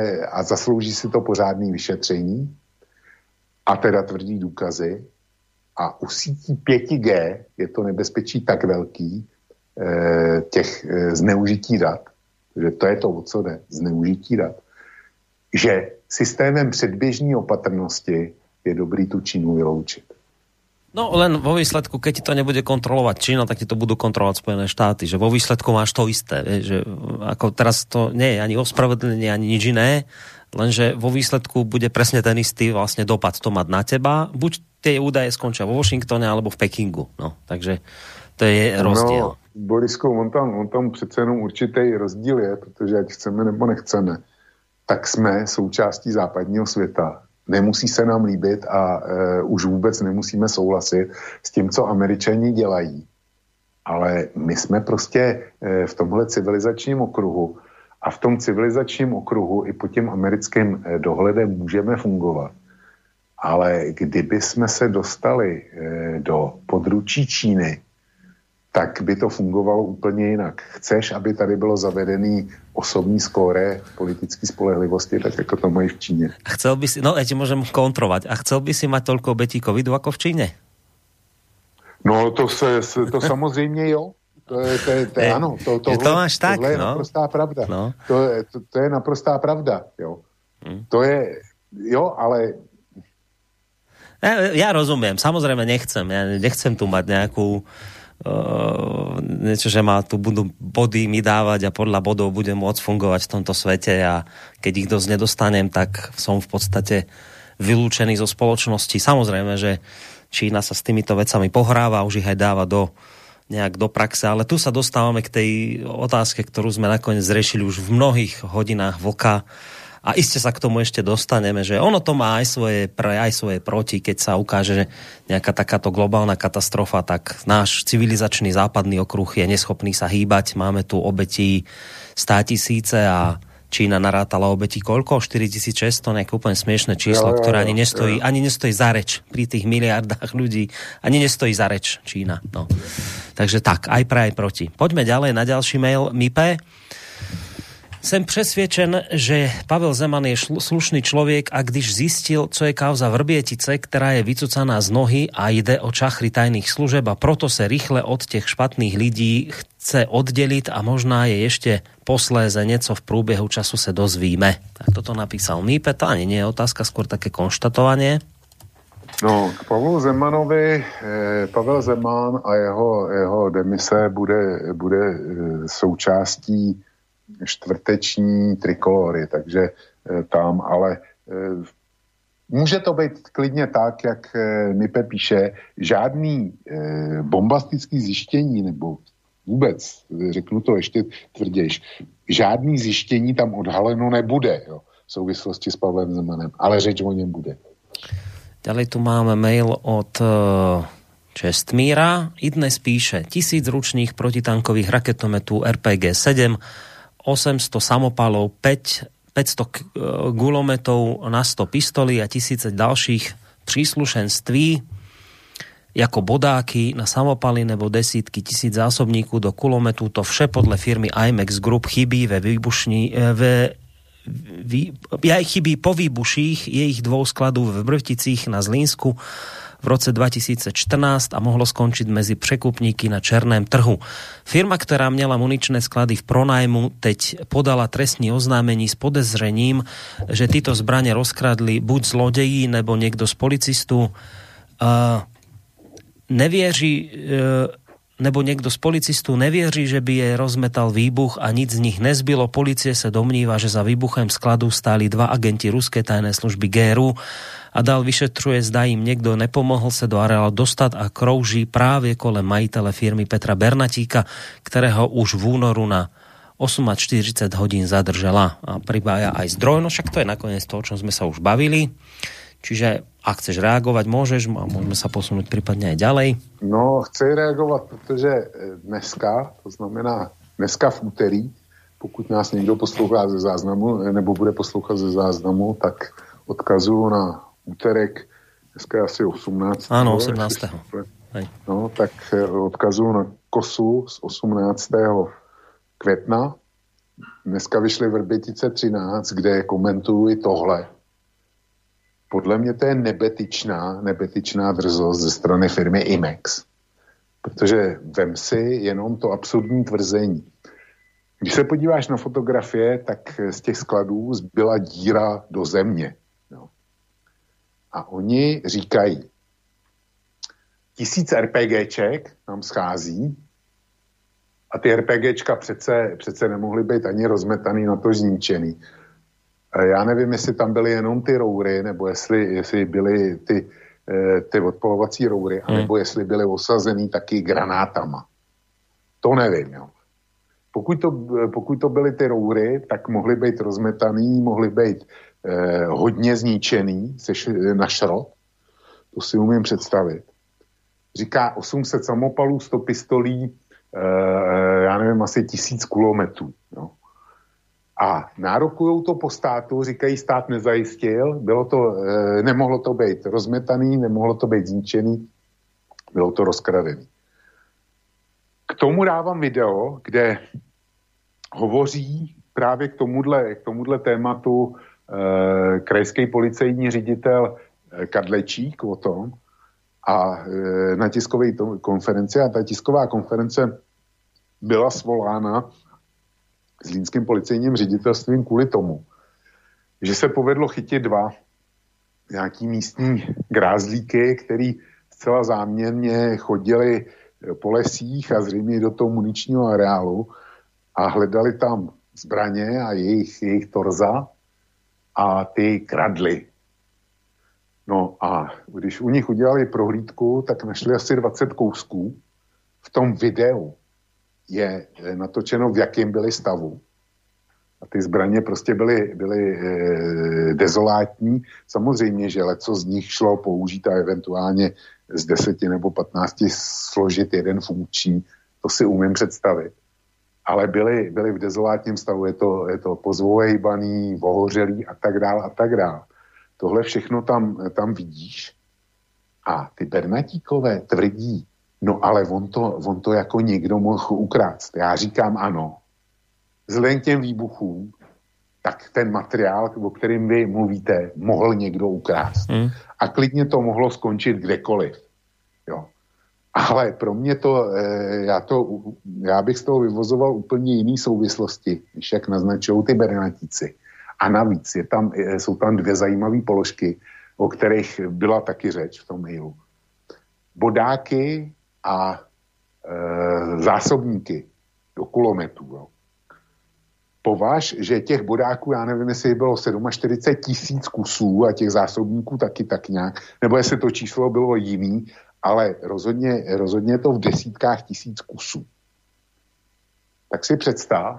zaslouží si to pořádné vyšetření a teda tvrdý důkazy. A u sítí 5G je to nebezpečí tak velký, těch zneužití dat, že to je to, o co jde, zneužití dat, že systémem předběžní opatrnosti je dobrý tu Čínu vyloučit. No len vo výsledku, keď ti to nebude kontrolovať Čína, tak ti to budú kontrolovať Spojené štáty, že vo výsledku máš to isté, že ako teraz to nie je ani ospravedlnenie, ani nič iné, lenže vo výsledku bude presne ten istý vlastne dopad to mať na teba, buď tie údaje skončia vo Washingtone alebo v Pekingu, no, takže to je rozdiel. No, Borisku, on tam přece jenom určitý rozdíl je, protože ať chceme nebo nechceme, tak jsme součástí západního světa. Nemusí se nám líbit a už vůbec nemusíme souhlasit s tím, co Američani dělají. Ale my jsme prostě v tomhle civilizačním okruhu a v tom civilizačním okruhu i pod tím americkým dohledem můžeme fungovat. Ale kdyby jsme se dostali do područí Číny, tak by to fungovalo úplně jinak. Chceš, aby tady bylo zavedený osobní skóre politické spolehlivosti, tak jako to mají v Číně. A chcel by si, no ja ti môžem kontrovať, a chcel by si mať toľko obetí covidu ako v Číne? No to samozřejmě jo. To je ano. To máš tak, tohle je no. naprostá pravda. No. To je naprostá pravda, jo. To je, jo, ale... Ja rozumiem, samozrejme nechcem. Ja nechcem tu mať nejakú niečo, že ma tu budú body mi dávať a podľa bodov budem môcť fungovať v tomto svete a keď ich dosť nedostanem, tak som v podstate vylúčený zo spoločnosti. Samozrejme, že Čína sa s týmito vecami pohráva, už ich aj dáva nejak do praxe, ale tu sa dostávame k tej otázke, ktorú sme nakoniec zriešili už v mnohých hodinách vlka. A iste sa k tomu ešte dostaneme, že ono to má aj svoje pre, aj svoje proti, keď sa ukáže, že nejaká takáto globálna katastrofa, tak náš civilizačný západný okruh je neschopný sa hýbať. Máme tu obetí 100 000 a Čína narátala obetí koľko? 4600, nejaké úplne smiešné číslo, ktoré ani nestojí za reč pri tých miliardách ľudí. Ani nestojí za reč Čína. No. Takže tak, aj pre, aj proti. Poďme ďalej na ďalší mail. Mipe. Jsem přesvědčen, že Pavel Zeman je slušný člověk a když zistil, co je kauza Vrbietice, která je vycucaná z nohy a jde o čachry tajných služeb a proto se rychle od těch špatných lidí chce oddeliť a možná je ešte posléze něco v průběhu času se dozvíme. Tak toto napísal Mípe, to ani nie je otázka, skôr také konštatovanie. No, k Pavlu Zemanovi, Pavel Zeman a jeho demise bude součástí čtvrteční trikolory, takže tam, ale může to být klidně tak, jak Mipe píše, žádný bombastický zjištění, nebo vůbec, řeknu to ještě tvrdějš, žádný zjištění tam odhaleno nebude, jo, v souvislosti s Pavlem Zemanem, ale řeč o něm bude. Ďalej tu máme mail od Čestmíra. I dnes píše 1000 ručných protitankových raketometů RPG-7, 800 samopalov, 500 gulometov na 100 pistolí a 1000 ďalších príslušenství jako bodáky na samopaly nebo desítky tisíc zásobníků do kulometu. To vše podle firmy IMEX Group chybí chybí po výbuších jejich 2 skladů v Brvticích na Zlínsku v roce 2014 a mohlo skončiť medzi překupníky na černém trhu. Firma, ktorá měla muničné sklady v pronajmu, teď podala trestní oznámení s podezřením, že tyto zbrane rozkradli buď zlodeji, nebo niekto z policistů. Nebo niekto z policistů nevěří, že by je rozmetal výbuch a nic z nich nezbylo. Policie se domnívá, že za výbuchem skladu stáli 2 agenti ruské tajné služby GRU a dál vyšetřuje, zda im niekto nepomohol se do areálu dostat a krouží právě kolem majitele firmy Petra Bernatíka, ktorého už v únoru na 48 hodín zadržala a pribája aj zdroj. No však to je nakoniec to, o čom sme sa už bavili. Čiže ak chceš reagovať, môžeš a môžeme sa posunúť prípadne aj ďalej. No, chci reagovat, protože dneska, to znamená dneska v úterý, pokud nás někdo poslouchá ze záznamu, nebo bude poslouchat ze záznamu, tak odkazuju na úterek, dneska je asi 18. Áno, 18. No, tak odkazuju na kosu z 18. května. Dneska vyšly Vrbětice 13, kde komentují tohle. podle mě to je nebetyčná drzost ze strany firmy Imex. Protože vem si jenom to absurdní tvrzení. Když se podíváš na fotografie, tak z těch skladů zbyla díra do země. No. A oni říkají, 1000 RPGček nám schází a ty RPGčka přece nemohly být ani rozmetaný, na to zničený. Já nevím, jestli tam byly jenom ty roury, nebo jestli byly ty odpalovací roury, anebo jestli byly osazený taky granátama. To nevím, jo. Pokud to byly ty roury, tak mohly být rozmetaný, mohly být hodně zničený na šrot. To si umím představit. Říká 800 samopalů, 100 pistolí, já nevím, asi 1000 kulometů. Jo. A nárokujou to po státu, říkají, stát nezajistil, nemohlo to být rozmetaný, nemohlo to být zničený, bylo to rozkradený. K tomu dávám video, kde hovoří právě k tomuhle tématu krajský policejní ředitel Kadlečík o tom a na tiskové konferenci, a ta tisková konference byla svolána Zlínským policejním ředitelstvím kvůli tomu, že se povedlo chytit 2 nějaký místní grázlíky, který zcela záměrně chodili po lesích a zřejmě do toho muničního areálu a hledali tam zbraně a jejich torza a ty kradly. No a když u nich udělali prohlídku, tak našli asi 20 kousků. V tom videu je natočeno, v jakém byli stavu. A ty zbraně prostě byly dezolátní. Samozřejmě, že leco z nich šlo použít a eventuálně z 10 nebo 15 složit jeden funkční. To si umím představit. Ale byly v dezolátním stavu. Je to pozvolejbaný, ohořelý a tak dále. Tohle všechno tam vidíš. A ty Bernatíkové tvrdí, no ale on to jako někdo mohl ukrást. Já říkám ano. Vzhledem k těm výbuchům, tak ten materiál, o kterém vy mluvíte, mohl někdo ukrást. A klidně to mohlo skončit kdekoliv. Jo. Ale pro mě já bych z toho vyvozoval úplně jiný souvislosti, než jak naznačují ty Bernatíci. A navíc jsou tam 2 zajímavé položky, o kterých byla taky řeč v tom mailu. Bodáky a zásobníky do kulometů. Jo. Považ, že těch bodáků, já nevím, jestli bylo 47 000 kusů a těch zásobníků taky tak nějak, nebo jestli to číslo bylo jiný, ale rozhodně to v desítkách tisíc kusů. Tak si představ,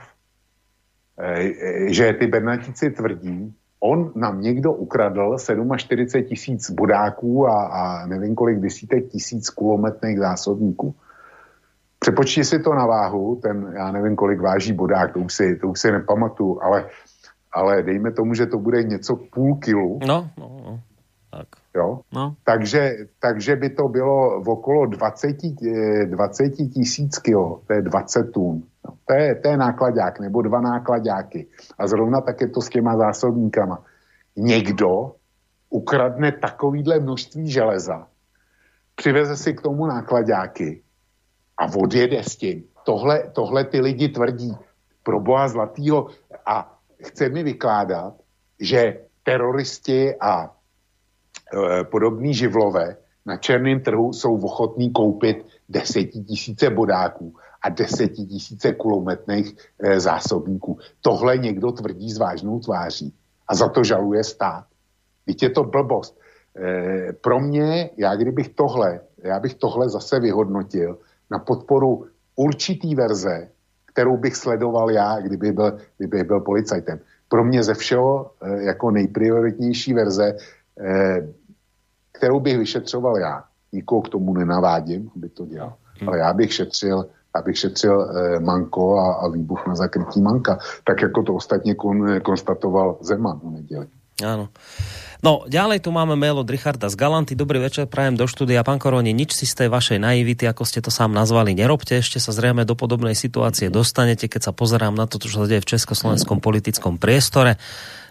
že ty Bernatíci tvrdí, on nám někdo ukradl 47 000 bodáků a nevím kolik desítek tisíc kulometných zásobníků. Přepočti si to na váhu, já nevím kolik váží bodák, to už si nepamatuju, ale dejme tomu, že to bude něco půl kilu. No. Tak. Jo? No. Takže by to bylo v okolo 20 000 kilo, to je 20 tun. No, to je nákladák, nebo 2 nákladáky. A zrovna tak je to s těma zásobníkama. Někdo ukradne takovýhle množství železa, přiveze si k tomu nákladáky a odjede s tím. Tohle ty lidi tvrdí. Pro boha zlatýho. A chce mi vykládat, že teroristi a podobný živlové na černém trhu jsou ochotní koupit 10 000 bodáků a 10 000 kulometných zásobníků. Tohle někdo tvrdí s vážnou tváří a za to žaluje stát. Víte, je to blbost. Pro mě, já bych tohle zase vyhodnotil na podporu určitý verze, kterou bych sledoval já, kdyby byl policajtem. Pro mě ze všeho jako nejprioritnější verze, kterou bych vyšetřoval já. Nikoho k tomu nenavádím, aby to dělal. Ale já bych šetřil Manko a výbuch na zakrytí Manka. Tak jako to ostatně konstatoval Zeman v neděli. Áno. No, ďalej tu máme mail od Richarda z Galanty. Dobrý večer, prajem do štúdia. Pán Koroni, nič si z tej vašej naivity, ako ste to sám nazvali, nerobte. Ešte sa zrejme do podobnej situácie dostanete, keď sa pozerám na to, čo sa deje v československom politickom priestore.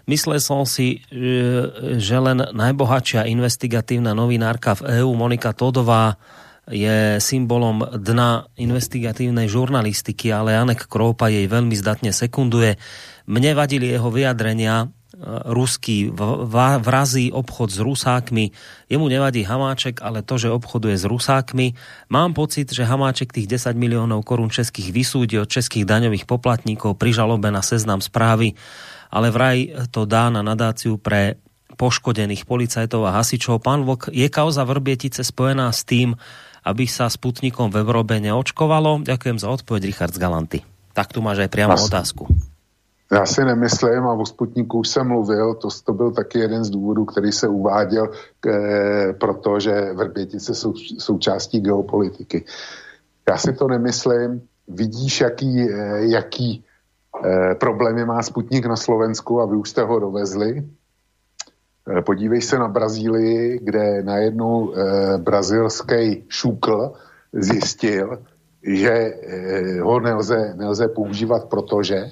Myslel som si, že len najbohatšia investigatívna novinárka v EÚ Monika Todová je symbolom dna investigatívnej žurnalistiky, ale Janek Kroupa jej veľmi zdatne sekunduje. Mne vadili jeho vyjadrenia, ruský vrazí obchod s Rusákmi. Jemu nevadí Hamáček, ale to, že obchoduje s Rusákmi. Mám pocit, že Hamáček tých 10 miliónov korún českých vysúdi od českých daňových poplatníkov pri žalobe na Seznam Správy, ale vraj to dá na nadáciu pre poškodených policajtov a hasičov. Pán Vlk, je kauza Vrbietice spojená s tým, aby sa Sputnikom v Európe neočkovalo? Ďakujem za odpoveď, Richard z Galanty. Tak tu máš aj priamo otázku. Já si nemyslím, a o Sputniku už jsem mluvil, to byl taky jeden z důvodů, který se uváděl, protože Vrbětice jsou součástí geopolitiky. Já si to nemyslím. Vidíš, jaký problémy má Sputnik na Slovensku a vy už jste ho dovezli. Podívej se na Brazílii, kde najednou brazilský šukl zjistil, že ho nelze používat, protože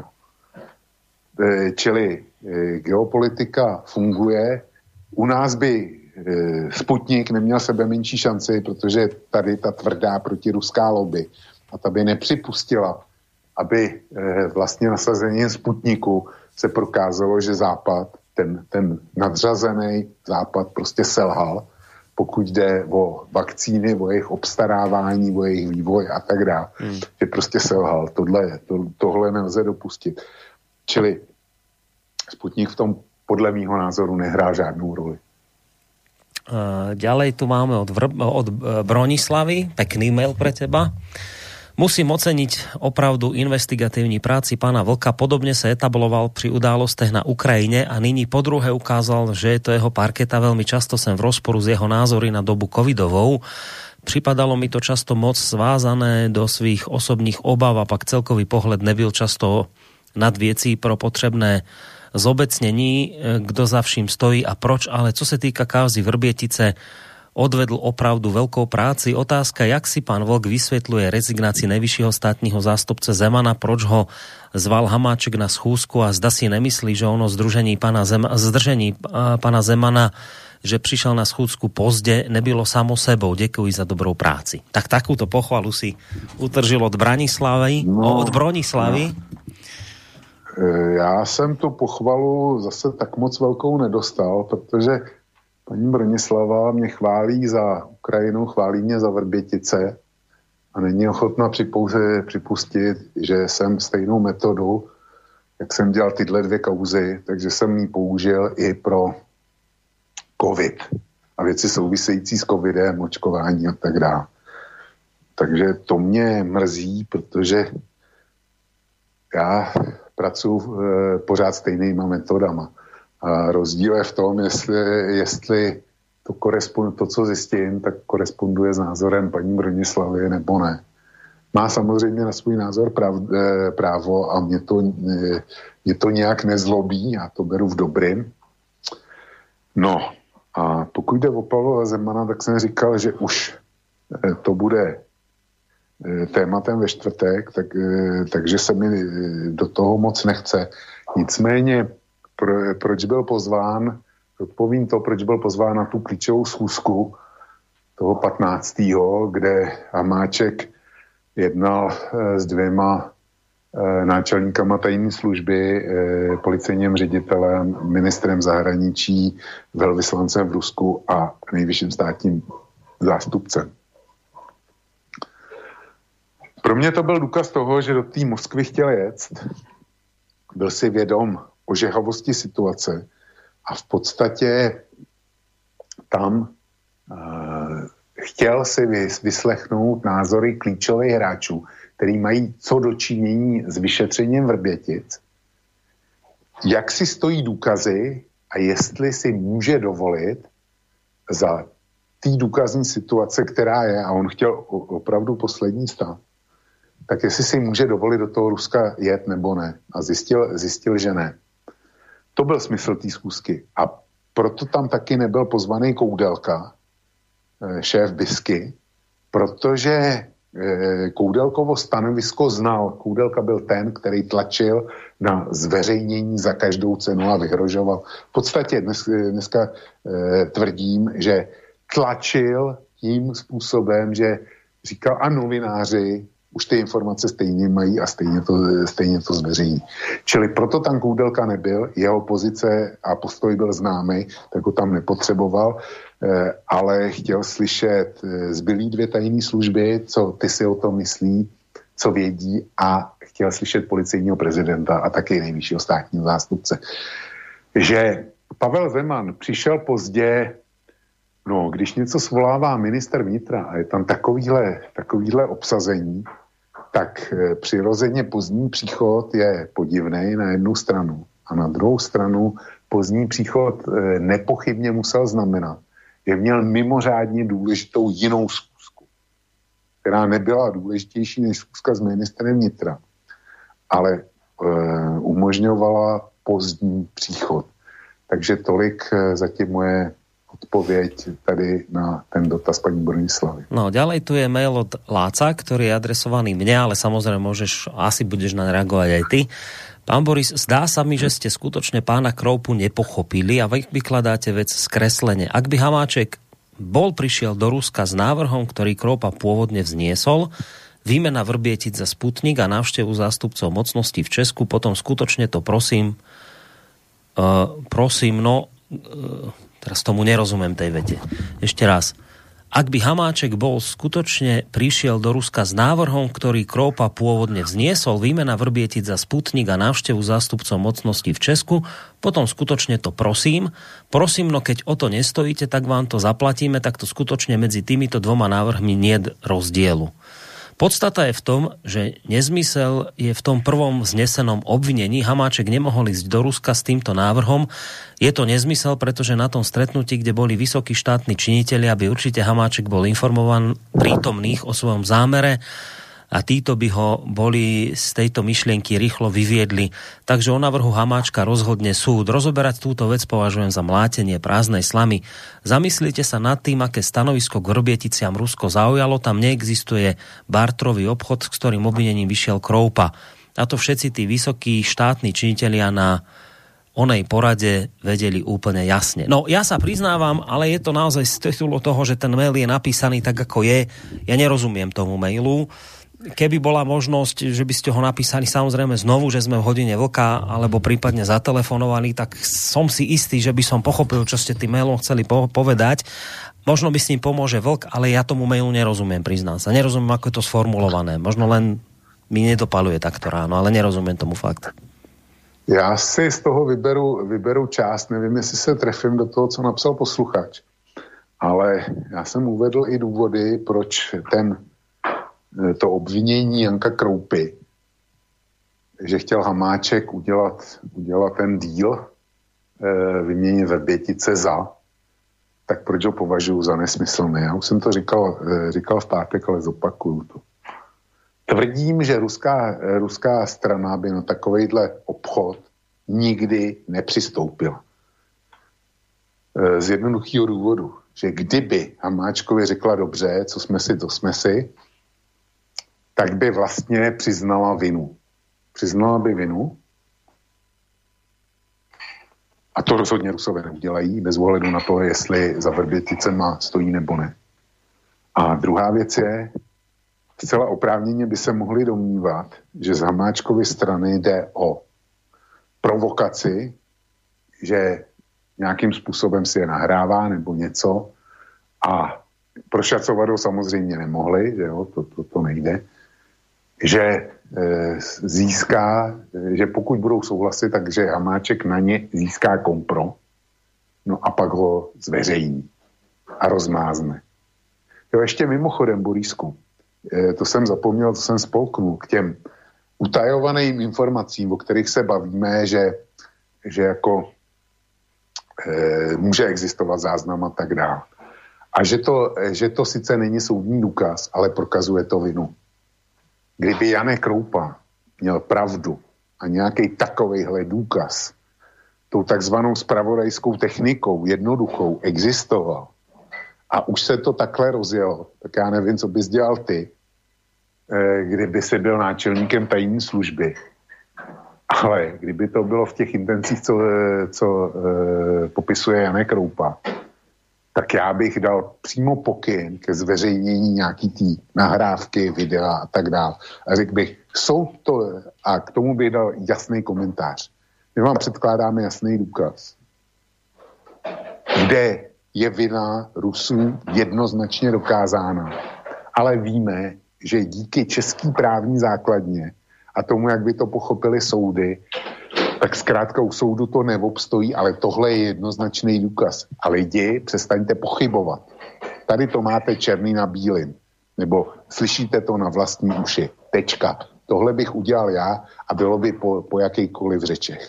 čili geopolitika funguje. U nás by Sputnik neměl sebe menší šanci, protože tady ta tvrdá protiruská lobby a ta by nepřipustila, aby vlastně nasazením Sputniku se prokázalo, že Západ, ten nadřazený Západ prostě selhal, pokud jde o vakcíny, o jejich obstarávání, o jejich vývoj a tak dále. Že prostě selhal. Tohle nelze dopustit. Čili Sputnik v tom podle mýho názoru nehrá žádnou roli. Ďalej tu máme od Bronislavy, pekný mail pre teba. Musím oceniť opravdu investigatívní práci pána Vlka. Podobne sa etabloval pri událostech na Ukrajine a nyní po druhé ukázal, že je to jeho parketa. Veľmi často som v rozporu s jeho názory na dobu covidovou. Připadalo mi to často moc svázané do svých osobních obav a pak celkový pohled nebyl často nad věcí pro potřebné zobecnení, kdo za vším stojí a proč, ale co se týka kauzy Vrbietice, odvedl opravdu veľkou práci. Otázka, jak si pán Vlk vysvetľuje rezignácii najvyššieho státního zástupce Zemana, proč ho zval Hamáček na schůzku a zda si nemyslí, že ono zdržení pana Zemana, že přišel na schůzku pozdě, nebylo samo sebou. Děkuji za dobrou práci. Tak takúto pochvalu si utržil od Branislavy, od Bronislavy. Já jsem tu pochvalu zase tak moc velkou nedostal, protože paní Bronislava mě chválí za Ukrajinu, chválí mě za Vrbětice a není ochotná připustit, že jsem stejnou metodu, jak jsem dělal tyhle dvě kauzy, takže jsem ji použil i pro covid a věci související s covidem, očkování a tak dále. Takže to mě mrzí, protože já pracuji pořád stejnýma metodama. A rozdíl je v tom, jestli to, co zjistím, tak koresponduje s názorem paní Bronislavy nebo ne. Má samozřejmě na svůj názor právo a mě to nějak nezlobí, já to beru v dobrým. No a pokud jde o Pavla Zemana, tak jsem říkal, že už to bude tématem ve čtvrtek, takže se mi do toho moc nechce. Nicméně, proč byl pozván, odpovím to, proč byl pozván na tu klíčovou schůzku toho 15., kde Hamáček jednal s dvěma náčelníkama tajné služby, policejním ředitelem, ministrem zahraničí, velvyslancem v Rusku a nejvyšším státním zástupcem. Pro mě to byl důkaz toho, že do té Moskvy chtěl jet, byl si vědom ožehavosti situace a v podstatě tam chtěl si vyslechnout názory klíčových hráčů, který mají co dočinění s vyšetřením Vrbětic, jak si stojí důkazy a jestli si může dovolit za té důkazní situace, která je, a on chtěl opravdu poslední stav, tak jestli si může dovolit do toho Ruska jet nebo ne. A zjistil, že ne. To byl smysl té schůzky. A proto tam taky nebyl pozvaný Koudelka, šéf BISky, protože Koudelkovo stanovisko znal. Koudelka byl ten, který tlačil na zveřejnění za každou cenu a vyhrožoval. V podstatě dneska tvrdím, že tlačil tím způsobem, že říkal, a novináři už ty informace stejně mají a stejně to zveřejní. Čili proto tam Koudelka nebyl, jeho pozice a postoj byl známý, tak ho tam nepotřeboval, ale chtěl slyšet zbylý 2 tajné služby, co ty si o tom myslí, co vědí, a chtěl slyšet policejního prezidenta a taky nejvyššího státního zástupce. Že Pavel Zeman přišel pozdě. No, když něco svolává minister vnitra a je tam takovýhle obsazení, tak přirozeně pozdní příchod je podivný na jednu stranu. A na druhou stranu pozdní příchod nepochybně musel znamenat, že měl mimořádně důležitou jinou schůzku, která nebyla důležitější než schůzka s ministrem vnitra, ale umožňovala pozdní příchod. Takže tolik zatím moje odpověď tady na ten dotaz pani Bronislavy. No, ďalej tu je mail od Láca, ktorý je adresovaný mne, ale samozrejme asi budeš na reagovať aj ty. Pán Boris, zdá sa mi, že ste skutočne pána Kroupu nepochopili a vy vykladáte vec skreslene. Ak by Hamáček prišiel do Ruska s návrhom, ktorý Kroupa pôvodne vzniesol, výmena Vrbietic za Sputnik a návštevu zástupcov mocností v Česku, potom skutočne to prosím, teraz tomu nerozumiem tej vete. Ešte raz. Ak by Hamáček skutočne prišiel do Ruska s návrhom, ktorý Kroupa pôvodne vzniesol, výmena Vrbietic za Sputnik a návštevu zástupcov mocností v Česku, potom skutočne to prosím, no keď o to nestojíte, tak vám to zaplatíme, tak to skutočne medzi týmito 2 návrhmi niet rozdielu. Podstata je v tom, že nezmysel je v tom prvom vznesenom obvinení. Hamáček nemohol ísť do Ruska s týmto návrhom. Je to nezmysel, pretože na tom stretnutí, kde boli vysokí štátni činitelia, by určite Hamáček bol informovaný prítomných o svojom zámere a títo by ho boli z tejto myšlienky rýchlo vyviedli. Takže o návrhu Hamáčka rozhodne súd. Rozoberať túto vec považujem za mlátenie prázdnej slamy. Zamyslite sa nad tým, aké stanovisko k Vrbieticiam Rusko zaujalo. Tam neexistuje bartrový obchod, s ktorým obvinením vyšiel Kroupa. A to všetci tí vysokí štátni činitelia na onej porade vedeli úplne jasne. No, ja sa priznávam, ale je to naozaj z titulu toho, že ten mail je napísaný tak, ako je. Ja nerozumiem tomu mailu. Keby bola možnosť, že by ste ho napísali samozrejme znovu, že sme v hodine vlka, alebo prípadne zatelefonovali, tak som si istý, že by som pochopil, čo ste tým mailom chceli povedať. Možno by s ním pomôže vlk, ale ja tomu mailu nerozumiem, priznám sa. Nerozumiem, ako je to sformulované. Možno len mi nedopaluje takto ráno, ale nerozumiem tomu fakt. Já si z toho vyberu část, nevím, jestli se trefím do toho, co napsal posluchač, ale já jsem uvedl i důvody, proč to obvinění Janka Kroupy, že chtěl Hamáček udělat ten díl, vyměnit Vrbětice za, tak proč ho považuji za nesmyslný. Já už jsem to říkal v pátek, ale zopakuju to. Tvrdím, že ruská strana by na takovejhle obchod nikdy nepřistoupila. Z jednoduchého důvodu, že kdyby Hamáčkovi řekla dobře, co jsme si, to jsme si, tak by vlastně přiznala vinu. Přiznala by vinu. A to rozhodně Rusové neudělají, bez ohledu na to, jestli za Vrběticema stojí nebo ne. A druhá věc je, zcela oprávněně by se mohli domnívat, že z Hamáčkovy strany jde o provokaci, že nějakým způsobem si je nahrává nebo něco a prošacovat ho samozřejmě nemohli, že jo, to nejde, že získá, že pokud budou souhlasit, takže Hamáček na ně získá kompro, no a pak ho zveřejní a rozmázne. Jo, ještě mimochodem, Borísku, to jsem zapomněl, to jsem spolknul k těm utajovaným informacím, o kterých se bavíme, že jako může existovat záznam a tak dále. A že to sice není soudní důkaz, ale prokazuje to vinu. Kdyby Janek Kroupa měl pravdu a nějaký takovejhle důkaz tou takzvanou zpravodajskou technikou jednoduchou existoval a už se to takhle rozjelo, tak já nevím, co bys dělal ty, kdyby si byl náčelníkem tajné služby. Ale kdyby to bylo v těch intencích, co popisuje Janek Kroupa, tak já bych dal přímo pokyn ke zveřejnění nějaký tý nahrávky, videa a tak dále. A řekl bych, a k tomu bych dal jasný komentář. My vám předkládáme jasný důkaz, kde je vina Rusů jednoznačně dokázána. Ale víme, že díky český právní základně a tomu, jak by to pochopili soudy, tak zkrátka u soudu to neobstojí, ale tohle je jednoznačný důkaz. A lidi, přestaňte pochybovat. Tady to máte černý na bílým. Nebo slyšíte to na vlastní uši. Tečka. Tohle bych udělal já a bylo by po jakýkoliv řečech.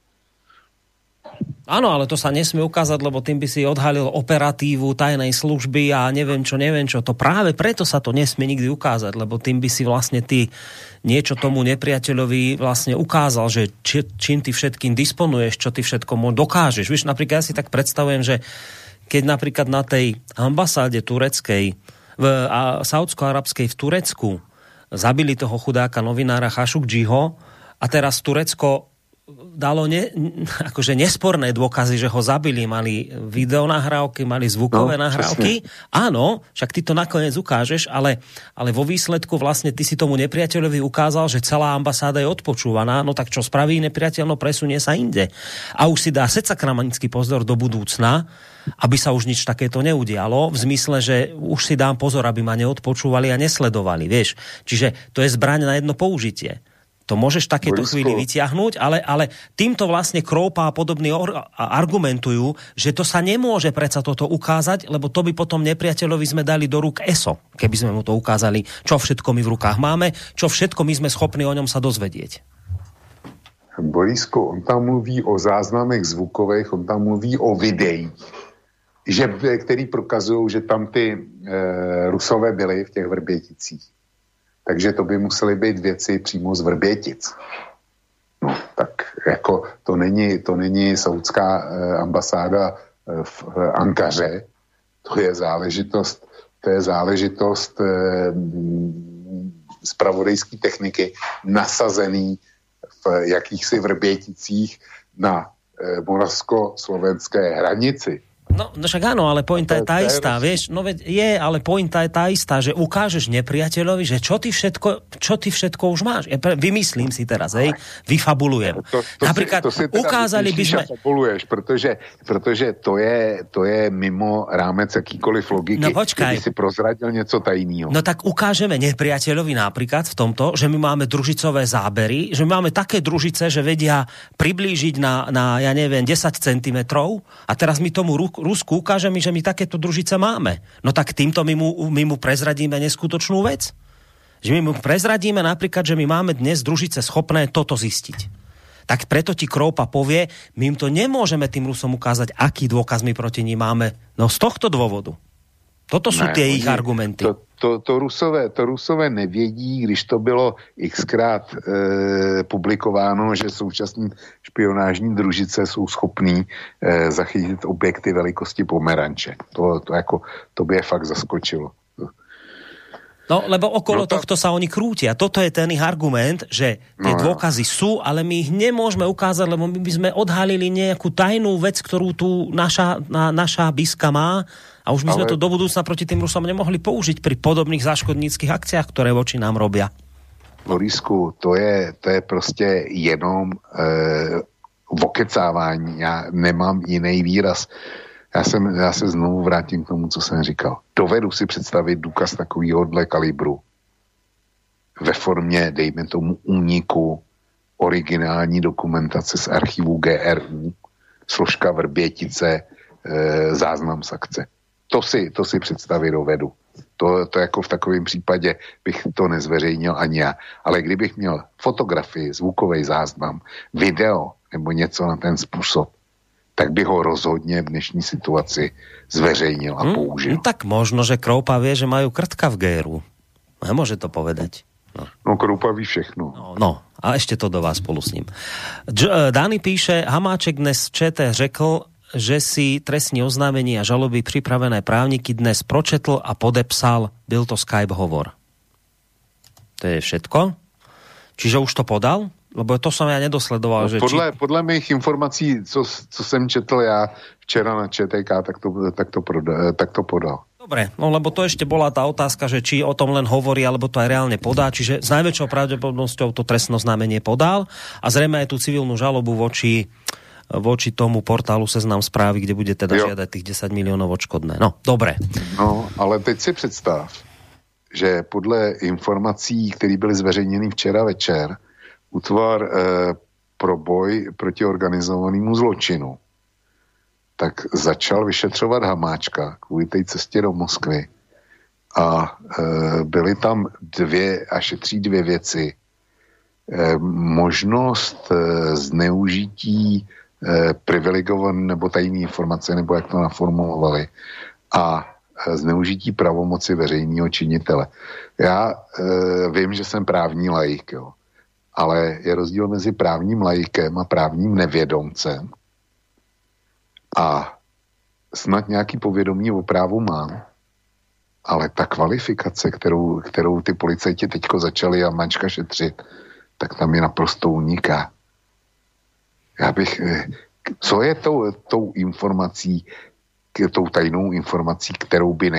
Áno, ale to sa nesmie ukázať, lebo tým by si odhalil operatívu tajnej služby a neviem čo. To práve preto sa to nesmie nikdy ukázať, lebo tým by si vlastne ty niečo tomu nepriateľovi vlastne ukázal, že čím ty všetkým disponuješ, čo ty všetko dokážeš. Víš, napríklad ja si tak predstavujem, že keď napríklad na tej ambasáde tureckej, saúdsko-arabskej v Turecku zabili toho chudáka novinára Khashoggiho a teraz Turecko dalo akože nesporné dôkazy, že ho zabili, mali videonahrávky, mali zvukové nahrávky. Presne. Áno, však ty to nakoniec ukážeš, ale vo výsledku vlastne ty si tomu nepriateľovi ukázal, že celá ambasáda je odpočúvaná, no tak čo spraví nepriateľ, no presunie sa inde. A už si dá secakramanický pozor do budúcna, aby sa už nič takéto neudialo, v zmysle, že už si dám pozor, aby ma neodpočúvali a nesledovali, vieš. Čiže to je zbraň na jedno použitie. To môžeš v takéto chvíli vyťahnuť, ale týmto vlastne Kroupa a podobní argumentujú, že to sa nemôže predsa toto ukázať, lebo to by potom nepriateľovi sme dali do rúk ESO, keby sme mu to ukázali, čo všetko my v rukách máme, čo všetko my sme schopní o ňom sa dozvedieť. Borisku, on tam mluví o záznamech zvukových, on tam mluví o videích, který prokazují, že tam ty Rusové byli v těch Vrběticích. Takže to by musely být věci přímo z Vrbětic. No, tak jako to není saudská ambasáda v Ankaře, to je záležitost zpravodajské techniky nasazený v jakýchsi Vrběticích na moravsko-slovenské hranici. No však áno, ale pointa je tá istá, vieš, no veď je, ale pointa je tá istá, že ukážeš nepriateľovi, že čo ty všetko už máš. Ja vymyslím si teraz, hej, vyfabulujem. Napríklad ukázali by sme... Fabuluješ, protože to je mimo rámec jakýkoliv logiky, no, počkaj. Keby si prozradil něco tajného. No tak ukážeme nepriateľovi napríklad v tomto, že my máme družicové zábery, že my máme také družice, že vedia priblížiť na ja neviem, 10 cm a teraz my tomu Rusku ukáže mi, že my takéto družice máme. No tak týmto my mu prezradíme neskutočnú vec. Že my mu prezradíme napríklad, že my máme dnes družice schopné toto zistiť. Tak preto ti Kroupa povie, my im to nemôžeme tým Rusom ukázať, aký dôkaz my proti nim máme. No z tohto dôvodu. Toto sú tie ich argumenty. To Rusové nevědí, když to bylo xkrát publikováno, že současní špionážní družice jsou schopní zachytit objekty velikosti pomeranče. To by je fakt zaskočilo. No, lebo okolo tohto sa oni krútia. Toto je ten ich argument, že tie dôkazy sú, ale my ich nemôžeme ukázať, lebo my by sme odhalili nejakú tajnú vec, ktorú tu naša biska má a už by sme to do budúcna proti tým Rusom nemohli použiť pri podobných záškodníckých akciách, ktoré voči nám robia. Borisku, to je prostě jenom vokecávání. Já nemám jiný výraz. Já se znovu vrátím k tomu, co jsem říkal. Dovedu si představit důkaz takovýhodle kalibru ve formě, dejme tomu, úniku originální dokumentace z archivu GRU, složka Vrbětice, záznam z akce. To si představit dovedu. To jako v takovém případě bych to nezveřejnil ani já. Ale kdybych měl fotografii, zvukový záznam, video nebo něco na ten způsob, tak by ho rozhodně v dnešní situaci zveřejnil a použil. No tak možno, že Kroupa vie, že majú krtka v GRU. Nemôže to povedať. No Kroupa ví všechno. No, a ešte to do vás spolu s ním. Dani píše, Hamáček dnes v ČT řekl, že si trestní oznámení a žaloby pripravené právniky dnes pročetl a podepsal. Byl to Skype hovor. To je všetko? Čiže už to podal? Lebo to som ja nedosledoval. Že podle mých informací, co jsem četl já včera na ČTK, tak to podal. Dobre, no lebo to ešte bola tá otázka, že či o tom len hovorí, alebo to aj reálne podá. Čiže s najväčšou pravdepodobnosťou to trestné oznámenie podal a zrejme aj tú civilnú žalobu voči tomu portálu Seznam Správy, kde bude teda žiadať tých 10 miliónov odškodné. No, dobre. No, ale teď si představ, že podle informací, které byly zveřejněny včera večer, útvar pro boj proti organizovanému zločinu tak začal vyšetřovat Hamáčka kvůli té cestě do Moskvy. A byly tam šetří dvě věci. Možnost zneužití privilegované nebo tajné informace, nebo jak to naformulovali, a zneužití pravomoci veřejného činitele. Já vím, že jsem právní laik, jo. Ale je rozdíl mezi právním laikem a právním nevědomcem. A snad nějaký povědomí o právu mám, ale ta kvalifikace, kterou ty policajti teďko začali Hamáčka šetřit, tak tam je naprosto uniká. Co je tou informací, tou tajnou informací, kterou by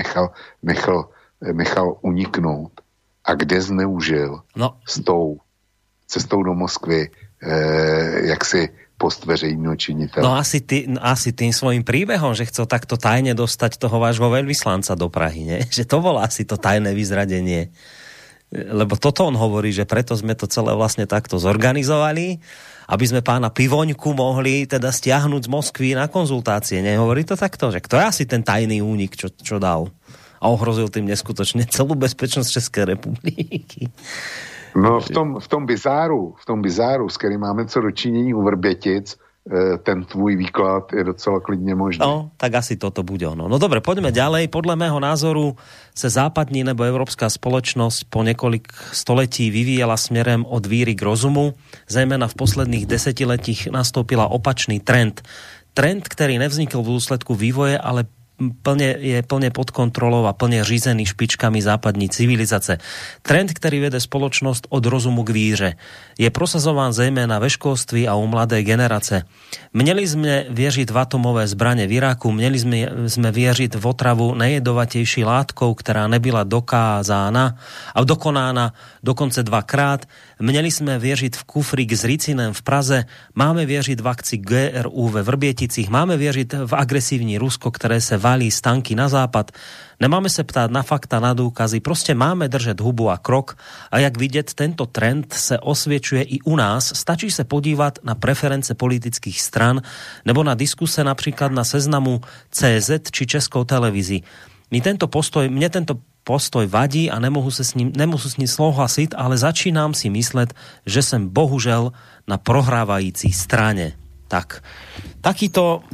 nechal uniknout a kde zneužil s tou cestou do Moskvy jaksi post veřejného činiteľa. No asi tým svojím príbehom, že chcel takto tajne dostať toho vášho veľvyslanca do Prahy, nie? Že to bolo asi to tajné vyzradenie. Lebo toto on hovorí, že preto sme to celé vlastne takto zorganizovali, aby sme pána Pivoňku mohli teda stiahnuť z Moskvy na konzultácie. Nehovorí to takto? Že kto je asi ten tajný únik, čo dal? A ohrozil tým neskutočne celú bezpečnosť Českej republiky. No v tom bizáru, s kterým máme co dočinění u Vrbětic, ten tvůj výklad je docela klidně možný. No, tak asi toto bude ono. No dobre, poďme ďalej. Podľa mého názoru sa západní nebo európska spoločnosť po niekoľk století vyvíjala smerem od víry k rozumu. Zejména v posledných desetiletích nastúpila opačný trend. Trend, ktorý nevznikol v dôsledku vývoje, ale je plne pod kontrolou a plne řízený špičkami západní civilizace. Trend, ktorý vede spoločnosť od rozumu k víře, je prosazován zejména ve školství a u mladé generace. Měli sme věřit v atomové zbraně v Iraku, měli sme věřit v otravu nejjedovatejší látkou, která nebyla dokázána a dokonána dokonce 2krát. Měli sme věřit v kufrík s ricinem v Praze, máme věřit v akci GRU ve Vrběticích, máme věřit v agresívní Rusko, které se valí z tanky na západ. Nemáme se ptát na fakta, na důkazy, prostě máme držet hubu a krok a jak vidět, tento trend se osvědčuje i u nás. Stačí se podívat na preference politických stran nebo na diskuse například na Seznamu CZ či Českou televizi. Mne tento postoj vadí a nemohu s ním souhlasit, ale začínám si myslet, že jsem bohužel na prohrávající straně. Tak, takýto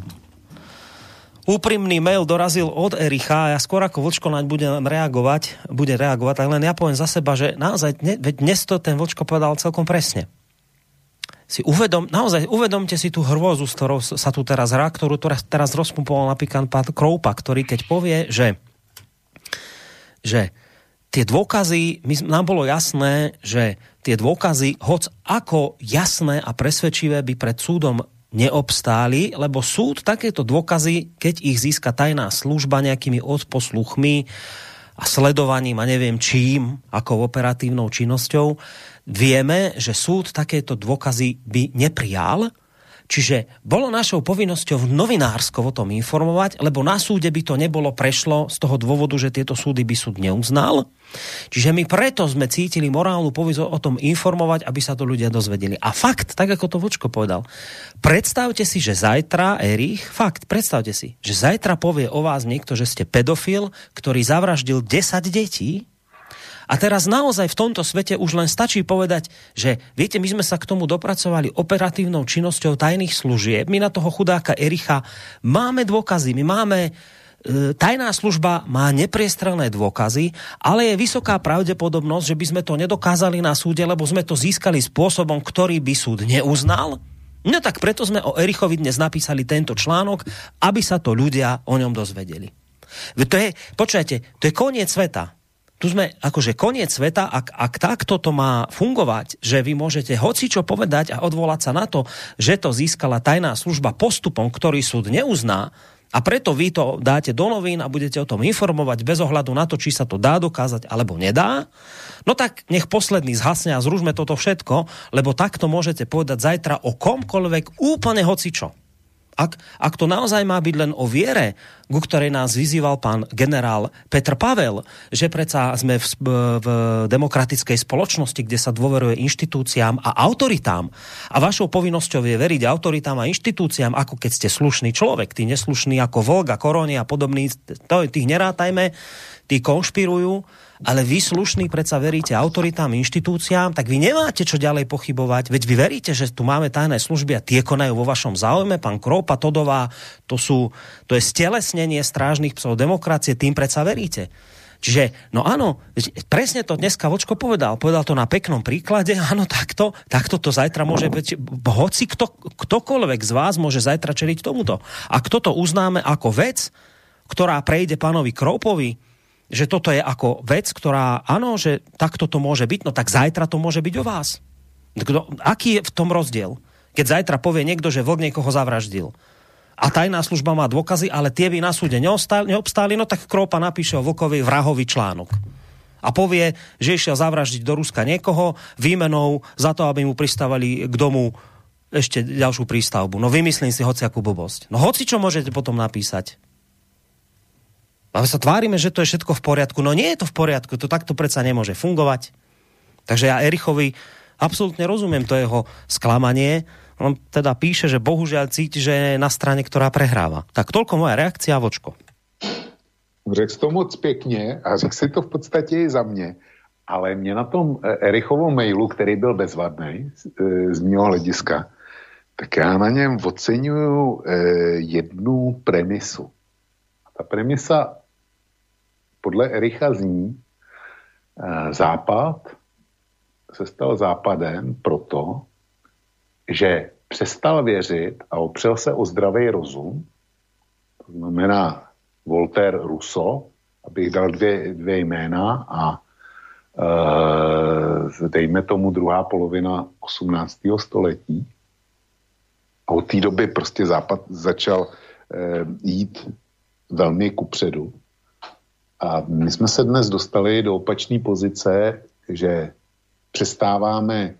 úprimný mail dorazil od Ericha a ja skôr ako Vlčko naň bude reagovať, tak len ja poviem za seba, že naozaj dnes to ten Vlčko povedal celkom presne. Uvedomte si tú hrôzu, s ktorou sa tu teraz hrá, ktorú teraz rozpumpoval napríklad pán Kroupa, ktorý keď povie, že tie dôkazy, nám bolo jasné, že tie dôkazy, hoc ako jasné a presvedčivé by pred súdom neobstáli, lebo súd takéto dôkazy, keď ich získa tajná služba nejakými odposluchmi a sledovaním a neviem čím, ako operatívnou činnosťou, vieme, že súd takéto dôkazy by neprijal. Čiže bolo našou povinnosťou novinársko o tom informovať, lebo na súde by to nebolo prešlo z toho dôvodu, že tieto súdy by súd neuznal. Čiže my preto sme cítili morálnu povinnosť o tom informovať, aby sa to ľudia dozvedeli. A fakt, tak ako to Vočko povedal, predstavte si, že zajtra, Erich, predstavte si, že zajtra povie o vás niekto, že ste pedofil, ktorý zavraždil 10 detí. A teraz naozaj v tomto svete už len stačí povedať, že viete, my sme sa k tomu dopracovali operatívnou činnosťou tajných služieb. My na toho chudáka Ericha máme dôkazy, my máme tajná služba má nepriestrelné dôkazy, ale je vysoká pravdepodobnosť, že by sme to nedokázali na súde, lebo sme to získali spôsobom, ktorý by súd neuznal. No tak preto sme o Erichovi dnes napísali tento článok, aby sa to ľudia o ňom dozvedeli. Počujete, to je koniec sveta. tu sme akože koniec sveta, ak takto to má fungovať, že vy môžete hocičo povedať a odvolať sa na to, že to získala tajná služba postupom, ktorý súd neuzná, a preto vy to dáte do novín a budete o tom informovať bez ohľadu na to, či sa to dá dokázať alebo nedá, no tak nech posledný zhasne a zružme toto všetko, lebo takto môžete povedať zajtra o komkoľvek úplne hocičo. Ak to naozaj má byť len o viere, ku ktorej nás vyzýval pán generál Petr Pavel, že predsa sme v demokratickej spoločnosti, kde sa dôveruje inštitúciám a autoritám, a vašou povinnosťou je veriť autoritám a inštitúciám, ako keď ste slušný človek, tí neslušní ako Volga, Koroni a podobní, tých nerátajme, tí konšpirujú, ale vy slušní predsa veríte autoritám, inštitúciám, tak vy nemáte čo ďalej pochybovať. Veď vy veríte, že tu máme tajné služby a tie konajú vo vašom záujme. Pán Kroupa, Todová, to je stelesnenie strážnych psov demokracie, tým predsa veríte. Čiže, no áno, presne to dneska Vočko povedal. Povedal to na peknom príklade. Áno, takto to zajtra môže byť. Hoci ktokoľvek z vás môže zajtra čeliť tomuto. A kto to uznáme ako vec, ktorá prejde pánovi Kroupovi, že toto je ako vec, ktorá, áno, že takto to môže byť, no tak zajtra to môže byť o vás. Aký je v tom rozdiel? Keď zajtra povie niekto, že Vlk niekoho zavraždil a tajná služba má dôkazy, ale tie by na súde neobstáli, no tak Kroupa napíše o Vlkovi vrahový článok. A povie, že išiel zavraždiť do Ruska niekoho výmenou za to, aby mu pristávali k domu ešte ďalšiu prístavbu. No vymyslím si hociakú blbosť. No hoci čo môžete potom napísať. A my sa tvárime, že to je všetko v poriadku. No nie je to v poriadku, to takto predsa nemôže fungovať. Takže ja Erichovi absolútne rozumiem to jeho sklamanie. On teda píše, že bohužiaľ cíti, že je na strane, ktorá prehráva. Tak toľko moja reakcia, Vočko. Řekl to moc pěkně a řekl si to v podstatě i za mě. Ale mě na tom Erichovom mailu, který byl bezvadný z mého hlediska, tak já na něm oceňuju jednu premisu. Ta premisa podle Ericha zní, Západ se stal Západem proto, že přestal věřit a opřel se o zdravý rozum, to znamená Voltaire, Rousseau, abych dal dvě jména a dejme tomu druhá polovina 18. století. A od té doby prostě Západ začal jít velmi kupředu. A my jsme se dnes dostali do opačné pozice, že přestáváme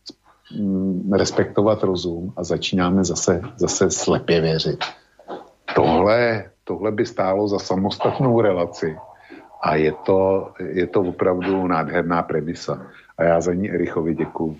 respektovat rozum a začínáme zase slepě věřit. Tohle by stálo za samostatnou relaci a je to opravdu nádherná premisa. A já za ní Erichovi děkuju.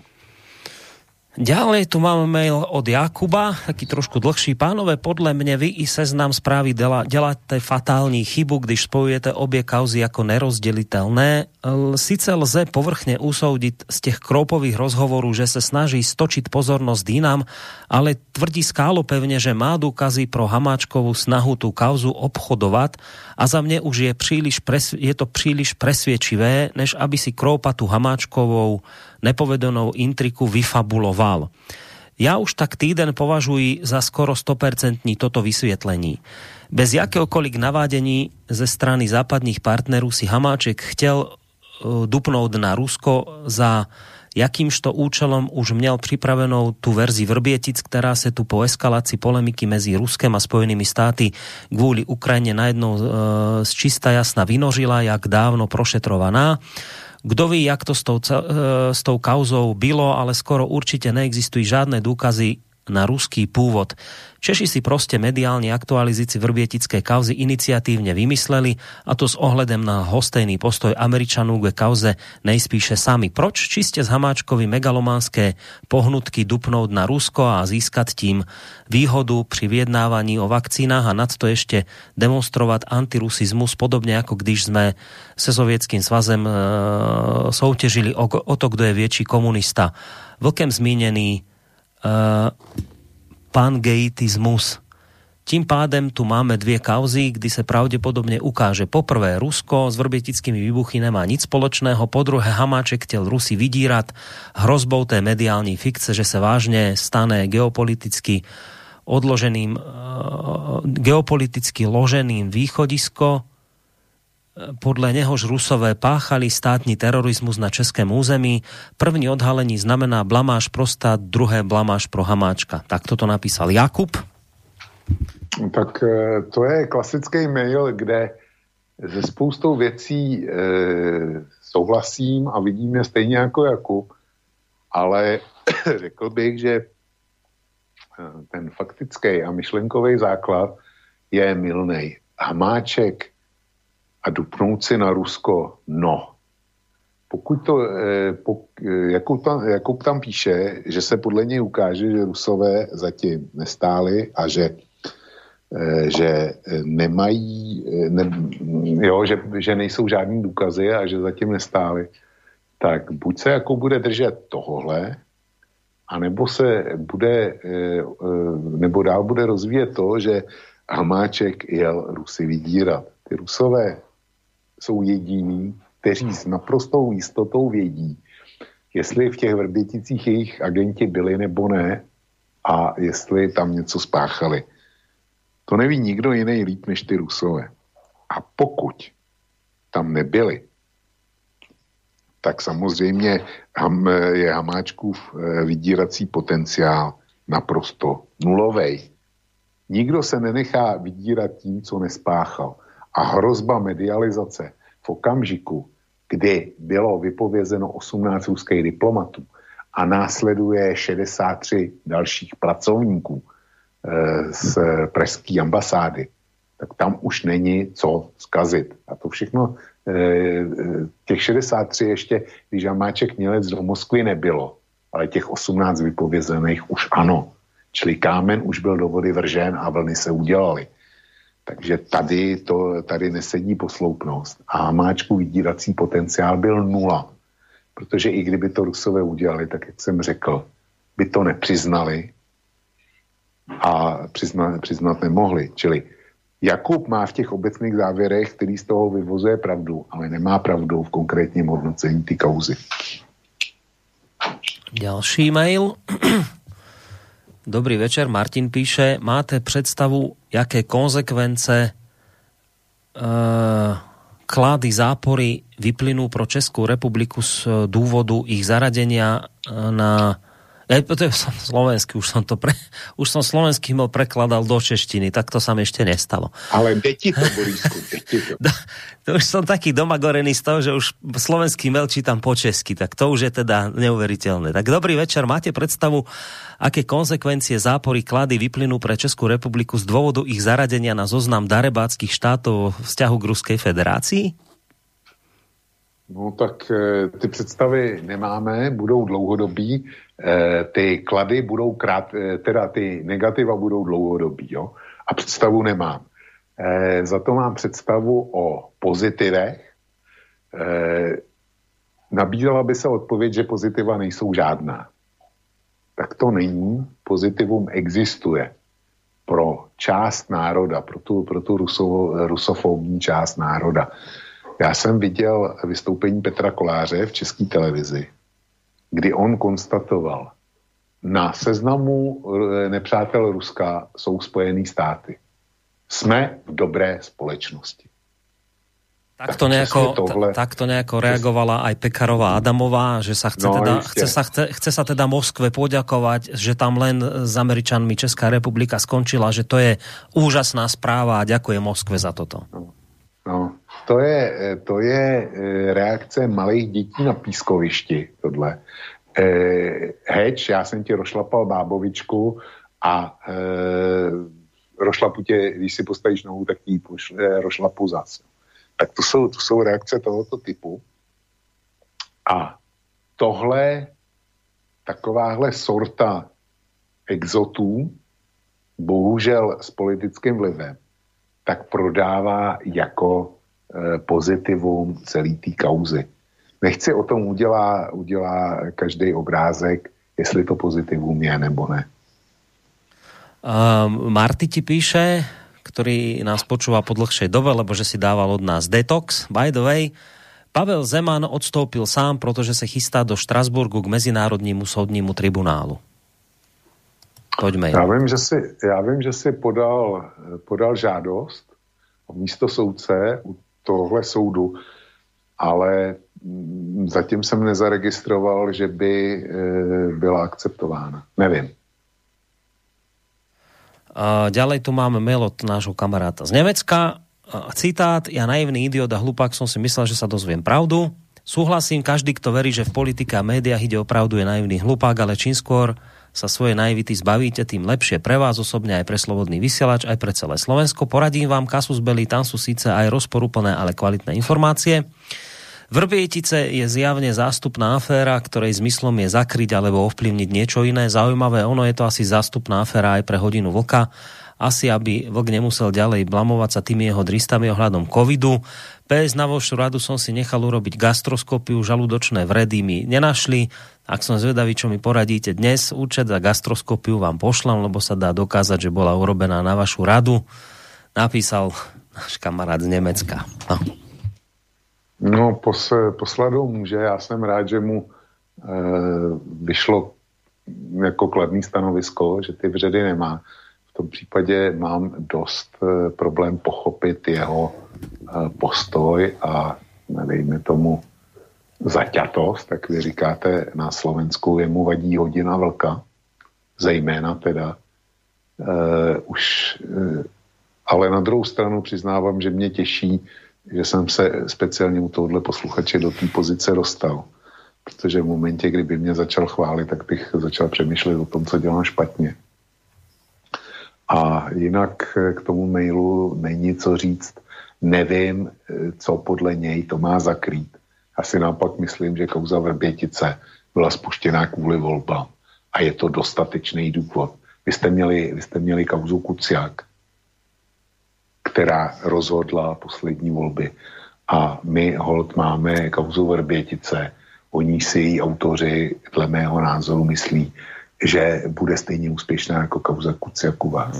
Ďalej tu máme mail od Jakuba, taký trošku dlhší. Pánové, podle mne vy i Seznam Správy děláte fatální chybu, když spojujete obě kauzy jako nerozdělitelné. Sice lze povrchne usoudiť z těch Kroupových rozhovorů, že se snaží stočiť pozornosť jinam, ale tvrdí skálopevne, že má důkazy pro Hamáčkovú snahu tú kauzu obchodovať a za mne už je to príliš presviedčivé, než aby si Kroupa tú Hamáčkovou nepovedenou intriku vyfabuloval. Ja už tak týden považuji za skoro 100% toto vysvietlení. Bez jakéhokoliv navádení ze strany západných partnerů si Hamáček chtěl dupnout na Rusko, za jakýmžto účelom už měl připravenou tu verzi Vrbětic, která se tu po eskalaci polemiky mezi Ruskem a Spojenými státy kvůli Ukrajine najednou z čista jasna vynožila, jak dávno prošetrovaná. Kdo ví, jak to s tou kauzou bylo, ale skoro určite neexistujú žiadne dôkazy na ruský pôvod. Češi si proste mediálne aktualizici vrbietickej kauzy iniciatívne vymysleli, a to s ohledem na hostejný postoj Američanů k kauze nejspíše sami. Proč čiste z Hamáčkovi megalománske pohnutky dupnúť na Rusko a získať tím výhodu pri vyjednávaní o vakcínách a nad to ešte demonstrovať antirusizmus, podobne ako když sme se Sovietským svazem soutěžili o to, kdo je větší komunista. Vlkem zmínený pangeitismus. Tím pádem tu máme dvě kauzy, kdy se pravděpodobně ukáže. Poprvé, Rusko s vrbietickými výbuchy nemá nic spoločného, po druhé, Hamáček chtěl Rusy vydírat hrozbou té mediální fikce, že se vážně stane geopoliticky loženým východisko podľa nehož Rusové páchali státny terorizmus na českém území. První odhalení znamená blamáž pro stát, druhé blamáž pro Hamáčka. Tak toto napísal Jakub. Tak to je klasický mail, kde ze spoustou věcí souhlasím a vidím je stejně jako Jakub, ale řekl bych, že ten faktický a myšlenkový základ je mylnej. Hamáček a dupnout si na Rusko, no. Pokud to, Jakub tam píše, že se podle něj ukáže, že Rusové zatím nestáli a že nemají, že nejsou žádný důkazy a že zatím nestáli, tak buď se jako bude držet tohohle, anebo se bude, nebo dál bude rozvíjet to, že Hamáček jel Rusy vydírat. Ty Rusové jsou jediní, kteří s naprostou jistotou vědí, jestli v těch Vrběticích jejich agenti byli nebo ne a jestli tam něco spáchali. To neví nikdo jiný líp než ty Rusové. A pokud tam nebyli, tak samozřejmě je Hamáčkův vydírací potenciál naprosto nulovej. Nikdo se nenechá vydírat tím, co nespáchal. A hrozba medializace v okamžiku, kdy bylo vypovězeno 18 ruských diplomatů a následuje 63 dalších pracovníků z pražské ambasády, tak tam už není co zkazit. A to všechno, těch 63 ještě, když Hamáček měl jít do Moskvy, nebylo, ale těch 18 vypovězených už ano. Čili kámen už byl do vody vržen a vlny se udělaly. Takže tady nesedí posloupnost. A Hamáčku vydírací potenciál byl nula. Protože i kdyby to Rusové udělali, tak jak jsem řekl, by to nepřiznali a přiznat nemohli. Čili Jakub má v těch obecných závěrech, který z toho vyvozuje pravdu, ale nemá pravdu v konkrétním hodnocení ty kauzy. Ďalší mail. Dobrý večer, Martin píše, máte představu, jaké konsekvence klady zápory vyplynú pro Českou republiku z důvodu ich zaradenia na... to je slovenský, už som slovenský mal prekladal do češtiny, tak to sa mi ešte nestalo. Ale deti to, Borisku, deti to. To už som taký domagorený z toho, že už slovenský mail čítam po česky, tak to už je teda neuveriteľné. Tak dobrý večer, máte predstavu, aké konsekvencie zápory klady vyplynú pre Českú republiku z dôvodu ich zaradenia na zoznam darebáckých štátov vzťahu k Ruskej federácii? No tak ty představy nemáme, budou dlouhodobí, ty klady budou teda ty negativa budou dlouhodobí, jo? A představu nemám. Za to mám představu o pozitivech. Nabízela by se odpověď, že pozitiva nejsou žádná. Tak to není. Pozitivum existuje pro část národa, pro tu rusofobní část národa. Já jsem viděl vystoupení Petra Koláře v České televizi, kdy on konstatoval, na seznamu nepřátel Ruska jsou Spojené státy. Jsme v dobré společnosti. Takto nejako reagovala aj Pekarová Adamová, že sa chce sa teda Moskve poďakovať, že tam len s Američanmi Česká republika skončila, že to je úžasná správa a ďakujem Moskve za toto. No, to je reakce malých dětí na pískovišti, tohle. Heč, já jsem ti rošlapal bábovičku a rošlapu tě, když si postavíš nohu, tak ti rošlapu zas. Tak to jsou reakce tohoto typu. A tohle, takováhle sorta exotů, bohužel s politickým vlivem, tak prodává jako pozitivum celý té kauzy. Nechci o tom udělá každý obrázek, jestli to pozitivum je nebo ne. Marty ti píše, ktorý nás počúva po dlhšej dobe, lebo že si dával od nás detox. By the way, Pavel Zeman odstoupil sám, protože se chystá do Štrasburgu k Mezinárodnímu soudnímu tribunálu. Poďme. Já vím, že si podal žádost a místo soudce tohle soudu, ale zatím jsem nezaregistroval, že by byla akceptována. Nevím. Ďalej tu máme mail od nášho kamaráta z Nemecka. Citát: ja naivný idiot a hlupák som si myslel, že sa dozviem pravdu. Súhlasím, každý, kto verí, že v politike a médiách ide o pravdu, je naivný hlupák, ale čím skôr sa svojej naivity zbavíte, tým lepšie pre vás osobne, aj pre Slobodný vysielač, aj pre celé Slovensko. Poradím vám Kasus belli, tam sú síce aj rozporúplné, ale kvalitné informácie. Vrbietice je zjavne zástupná aféra, ktorej zmyslom je zakryť alebo ovplyvniť niečo iné. Zaujímavé, ono je to asi zástupná aféra aj pre Hodinu vlka. Asi, aby vlk nemusel ďalej blamovať sa tými jeho dristami ohľadom covidu. PS na vašu radu som si nechal urobiť gastroskopiu, žalúdočné vredy mi nenašli. Ak som zvedavý, čo mi poradíte dnes, účet za gastroskopiu vám pošlem, lebo sa dá dokázať, že bola urobená na vašu radu. Napísal náš kamarát z Nemecka. No, posladou může. Já jsem rád, že mu vyšlo jako kladný stanovisko, že ty vředy nemá. V tom případě mám dost problém pochopit jeho postoj a dejme tomu zaťatost, tak vy říkáte na Slovensku, jemu vadí Hodina vlka, zejména teda. Ale na druhou stranu přiznávám, že mě těší, že jsem se speciálně u tohohle posluchače do té pozice dostal. Protože v momentě, kdyby mě začal chválit, tak bych začal přemýšlet o tom, co dělám špatně. A jinak k tomu mailu není co říct. Nevím, co podle něj to má zakrýt. Asi naopak myslím, že kauza Vrbětice byla spuštěná kvůli volbám. A je to dostatečný důvod. Vy jste měli kauzu Kuciak, která rozhodla poslední volby. A my holt máme kauzu Vrbětice. Oni si její autoři, dle mého názoru, myslí, že bude stejně úspěšná jako kauza Kuciak u vás.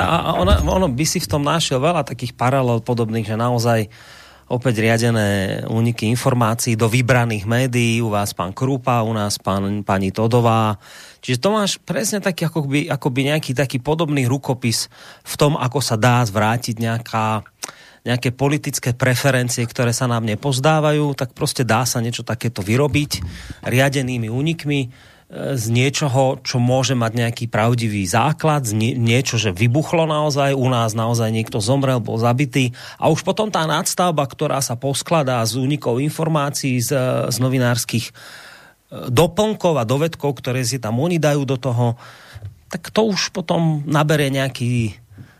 Ono by si v tom našiel veľa takých paralel podobných, že naozaj opäť riadené úniky informácií do vybraných médií, u vás pán Krupa, u nás pani Todová. Čiže to máš presne taký akoby nejaký taký podobný rukopis v tom, ako sa dá zvrátiť nejaké politické preferencie, ktoré sa nám nepozdávajú, tak proste dá sa niečo takéto vyrobiť riadenými únikmi z niečoho, čo môže mať nejaký pravdivý základ, niečo, že vybuchlo naozaj, u nás naozaj niekto zomrel, bol zabitý a už potom tá nadstavba, ktorá sa poskladá z únikov informácií z novinárskych doplnkov a dovedkov, ktoré si tam oni dajú do toho, tak to už potom naberie nejaký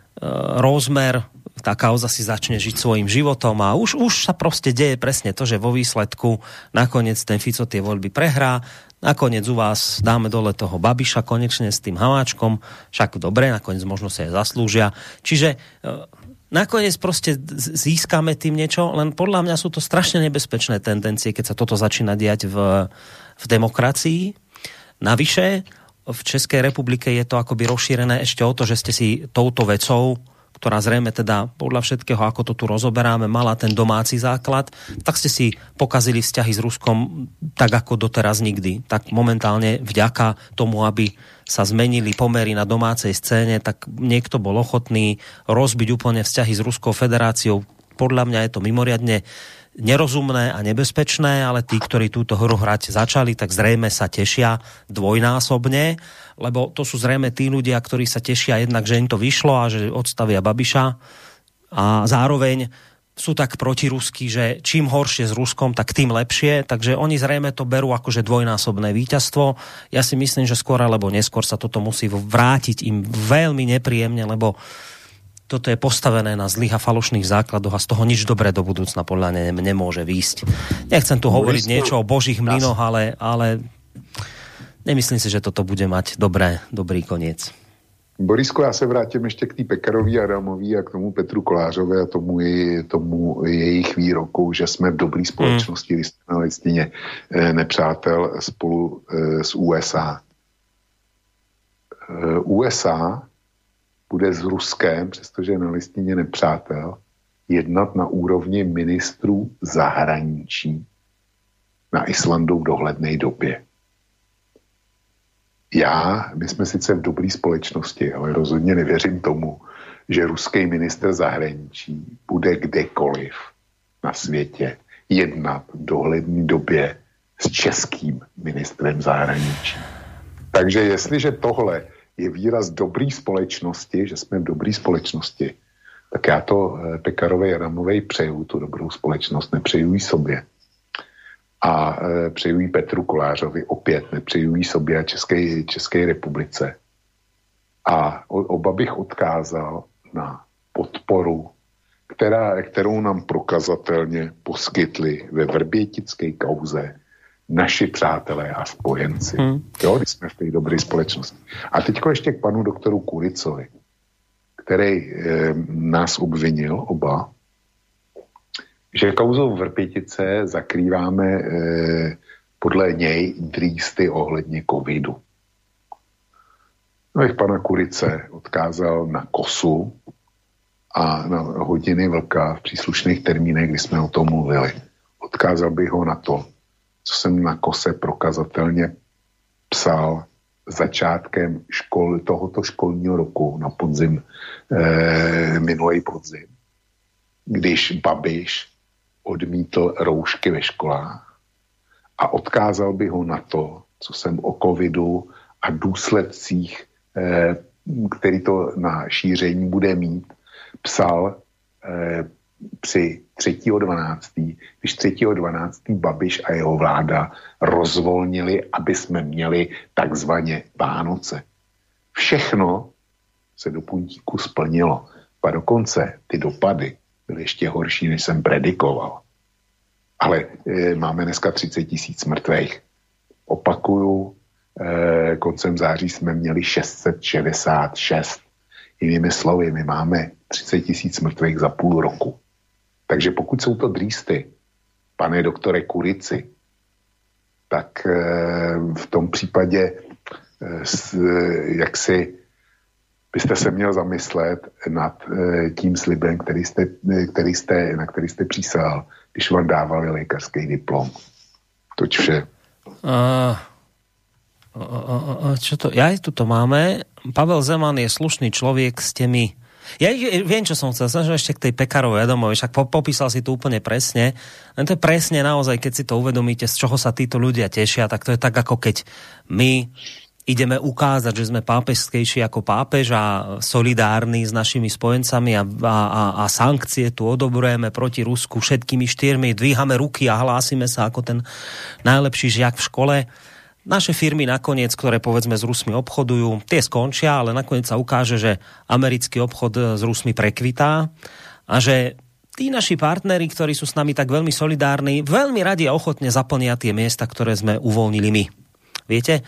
rozmer, tá kauza si začne žiť svojím životom a už sa proste deje presne to, že vo výsledku nakoniec ten Fico tie voľby prehrá, nakoniec u vás dáme dole toho Babiša konečne s tým Hamáčkom, však dobre, nakoniec možno sa aj zaslúžia. Čiže nakoniec proste získame tým niečo, len podľa mňa sú to strašne nebezpečné tendencie, keď sa toto začína diať v demokracii. Navyše, v Českej republike je to akoby rozšírené ešte o to, že ste si touto vecou, ktorá zrejme teda podľa všetkého, ako to tu rozoberáme, mala ten domáci základ, tak ste si pokazili vzťahy s Ruskom tak ako doteraz nikdy. Tak momentálne vďaka tomu, aby sa zmenili pomery na domácej scéne, tak niekto bol ochotný rozbiť úplne vzťahy s Ruskou federáciou. Podľa mňa je to mimoriadne nerozumné a nebezpečné, ale tí, ktorí túto hru hrať začali, tak zrejme sa tešia dvojnásobne, lebo to sú zrejme tí ľudia, ktorí sa tešia jednak, že im to vyšlo a že odstavia Babiša a zároveň sú tak protiruskí, že čím horšie s Ruskom, tak tým lepšie, takže oni zrejme to berú akože dvojnásobné víťazstvo. Ja si myslím, že skôr alebo neskôr sa toto musí vrátiť im veľmi nepríjemne, lebo toto je postavené na zlých a falošných základoch a z toho nič dobré do budúcna podľa mňa nemôže výjsť. Nechcem tu hovoriť niečo o božích mlynoch, ale nemyslím si, že toto bude mať dobrý koniec. Borisko, já se vrátím ještě k té Pekarový Adamový a k tomu Petru Kolářovi a tomu jejich výroku, že jsme v dobré společnosti, když jsme na listině nepřátel spolu s USA. USA bude s Ruskem, přestože je na listině nepřátel, jednat na úrovni ministrů zahraničí na Islandu v dohledné době. My jsme sice v dobré společnosti, ale rozhodně nevěřím tomu, že ruský ministr zahraničí bude kdekoliv na světě jednat v dohledné době s českým ministrem zahraničí. Takže jestliže tohle je výraz dobré společnosti, že jsme v dobré společnosti, tak já to Pekarovi Adamovi přeju, tu dobrou společnost, nepřeju ji sobě. A přeju ji Petru Kolářovi opět, nepřeju ji sobě a České republice. A oba bych odkázal na podporu, kterou nám prokazatelně poskytli ve vrbětické kauze naši přátelé a spojenci. Jo, když jsme v té dobré společnosti. A teďko ještě k panu doktoru Kuricovi, který nás obvinil oba, že kauzou Vrbětice zakrýváme podle něj dřísty ohledně covidu. No, bych pana Kurice odkázal na KOSu a na hodiny vlka v příslušných termínech, kdy jsme o tom mluvili. Odkázal bych ho na to, co jsem na KOSe prokazatelně psal začátkem tohoto školního roku na podzim, minulý podzim, když Babiš odmítl roušky ve školách, a odkázal bych ho na to, co jsem o covidu a důsledcích, který to na šíření bude mít, psal při 3.12., když 3.12. Babiš a jeho vláda rozvolnili, aby jsme měli takzvaně Vánoce. Všechno se do puntíku splnilo. A dokonce ty dopady byly ještě horší, než jsem predikoval. Ale máme dneska 30 000 mrtvých. Opakuju, koncem září jsme měli 666. Jinými slovy, my máme 30 000 mrtvých za půl roku. Takže pokud jsou to drýsty, pane doktore Kurici, tak v tom případě jak si byste se měl zamyslet nad tím slibem, na který jste přísahal, když vám dávali lékařský diplom. Toť vše. Čo to? Ja aj tu to máme. Pavel Zeman je slušný človek s tými... Ja viem, čo som chcel. Snažil ešte k tej Pekarovej Adamovi, však popísal si to úplne presne. Len to je presne naozaj, keď si to uvedomíte, z čoho sa títo ľudia tešia, tak to je tak, ako keď my ideme ukázať, že sme pápežskejší ako pápež a solidárni s našimi spojencami a sankcie tu odobrujeme proti Rusku všetkými 4, dvíhame ruky a hlásime sa ako ten najlepší žiak v škole. Naše firmy nakoniec, ktoré povedzme s Rusmi obchodujú, tie skončia, ale nakoniec sa ukáže, že americký obchod s Rusmi prekvitá a že tí naši partneri, ktorí sú s nami tak veľmi solidárni, veľmi radi a ochotne zaplnia tie miesta, ktoré sme uvoľnili my. Viete?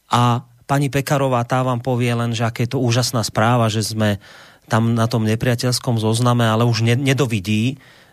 A pani Pekarová, tá vám povie len, že aké je to úžasná správa, že sme tam na tom nepriateľskom zozname, ale už nedovidí,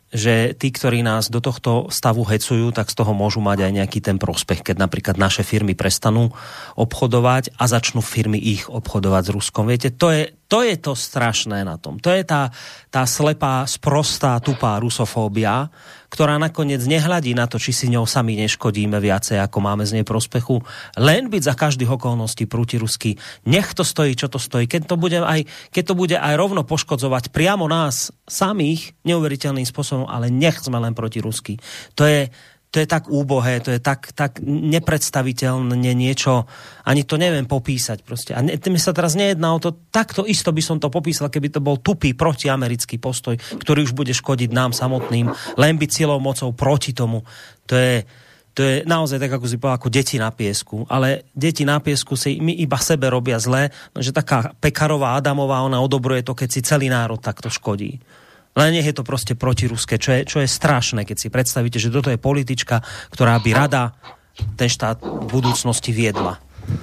že tí, ktorí nás do tohto stavu hecujú, tak z toho môžu mať aj nejaký ten prospech, keď napríklad naše firmy prestanú obchodovať a začnú firmy ich obchodovať s Ruskom. Viete, to je to strašné na tom. To je tá slepá, sprostá, tupá rusofóbia, ktorá nakoniec nehľadí na to, či si ňou sami neškodíme viacej, ako máme z nej prospechu. Len byť za každých okolností protiruský. Nech to stojí, čo to stojí. Keď to bude aj rovno poškodzovať priamo nás samých neuveriteľným spôsobom, ale nech sme len protiruský. To je tak úbohé, to je tak nepredstaviteľné niečo, ani to neviem popísať proste. A mi sa teraz nejedná o to, takto isto by som to popísal, keby to bol tupý protiamerický postoj, ktorý už bude škodiť nám samotným, len byť silou mocou proti tomu. To je naozaj tak, ako si povedal, ako deti na piesku. Ale deti na piesku si my iba sebe robia zle, že taká Pekarová Adamová, ona odobruje to, keď si celý národ takto škodí. Len nech je to proste protiruské, čo je strašné, keď si predstavíte, že toto je politička, ktorá by rada ten štát v budúcnosti viedla.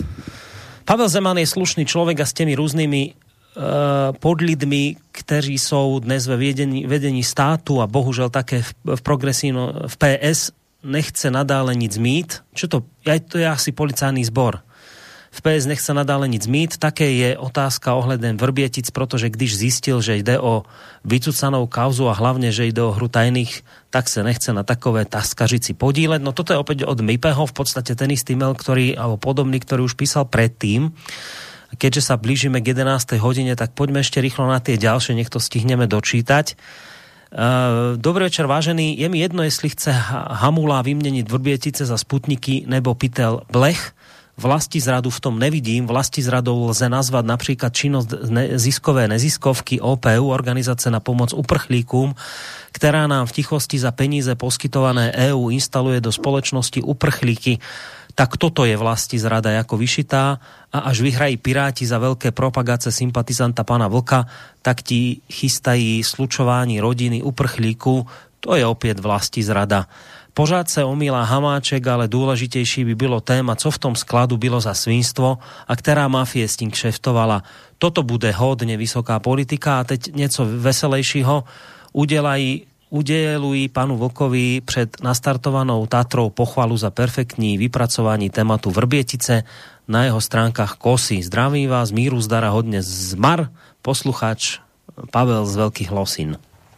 Pavel Zeman je slušný človek a s tými rôznymi podlidmi, kteří sú dnes ve vedení státu a bohužel také v progresívno, v PS, nechce nadále nic mít. Čo to? To je asi policajný zbor. V PS nechce nadále nic mít. Také je otázka ohľadom Vrbietic, protože když zistil, že jde o vycucanou kauzu a hlavne, že ide o hru tajných, tak sa nechce na takové taskažici podíleť. No toto je opäť od Mipeho, v podstate ten istý mail, alebo podobný, ktorý už písal predtým. Keďže sa blížime k 11. hodine, tak poďme ešte rýchlo na tie ďalšie, nech to stihneme dočítať. Dobrý večer, vážený. Je mi jedno, jestli chce Hamula vyměnit Vrbětice za Sputniky nebo pytel Blech. Vlastizradu v tom nevidím. Vlastizradou lze nazvat například činnost ziskové neziskovky OPU, Organizace na pomoc uprchlíkům, která nám v tichosti za peníze poskytované EU instaluje do společnosti uprchlíky. Tak toto je vlastizrada jako vyšitá a až vyhrají Piráti za veľké propagace sympatizanta pana Vlka, tak ti chystají slučování rodiny uprchlíků. To je opět vlastizrada. Pořád se omílá Hamáček, ale důležitější by bylo téma, co v tom skladu bylo za svinstvo a která mafie s tím kšeftovala. Toto bude hodně vysoká politika a teď něco veselejšího. Udelují panu Vlkovi před nastartovanou Tatrou pochvalu za perfektní vypracování tématu Vrbětice na jeho stránkách KOSY. Zdravím vás, míru, zdara, hodně zmar, posluchač Pavel z Veľkých Losin.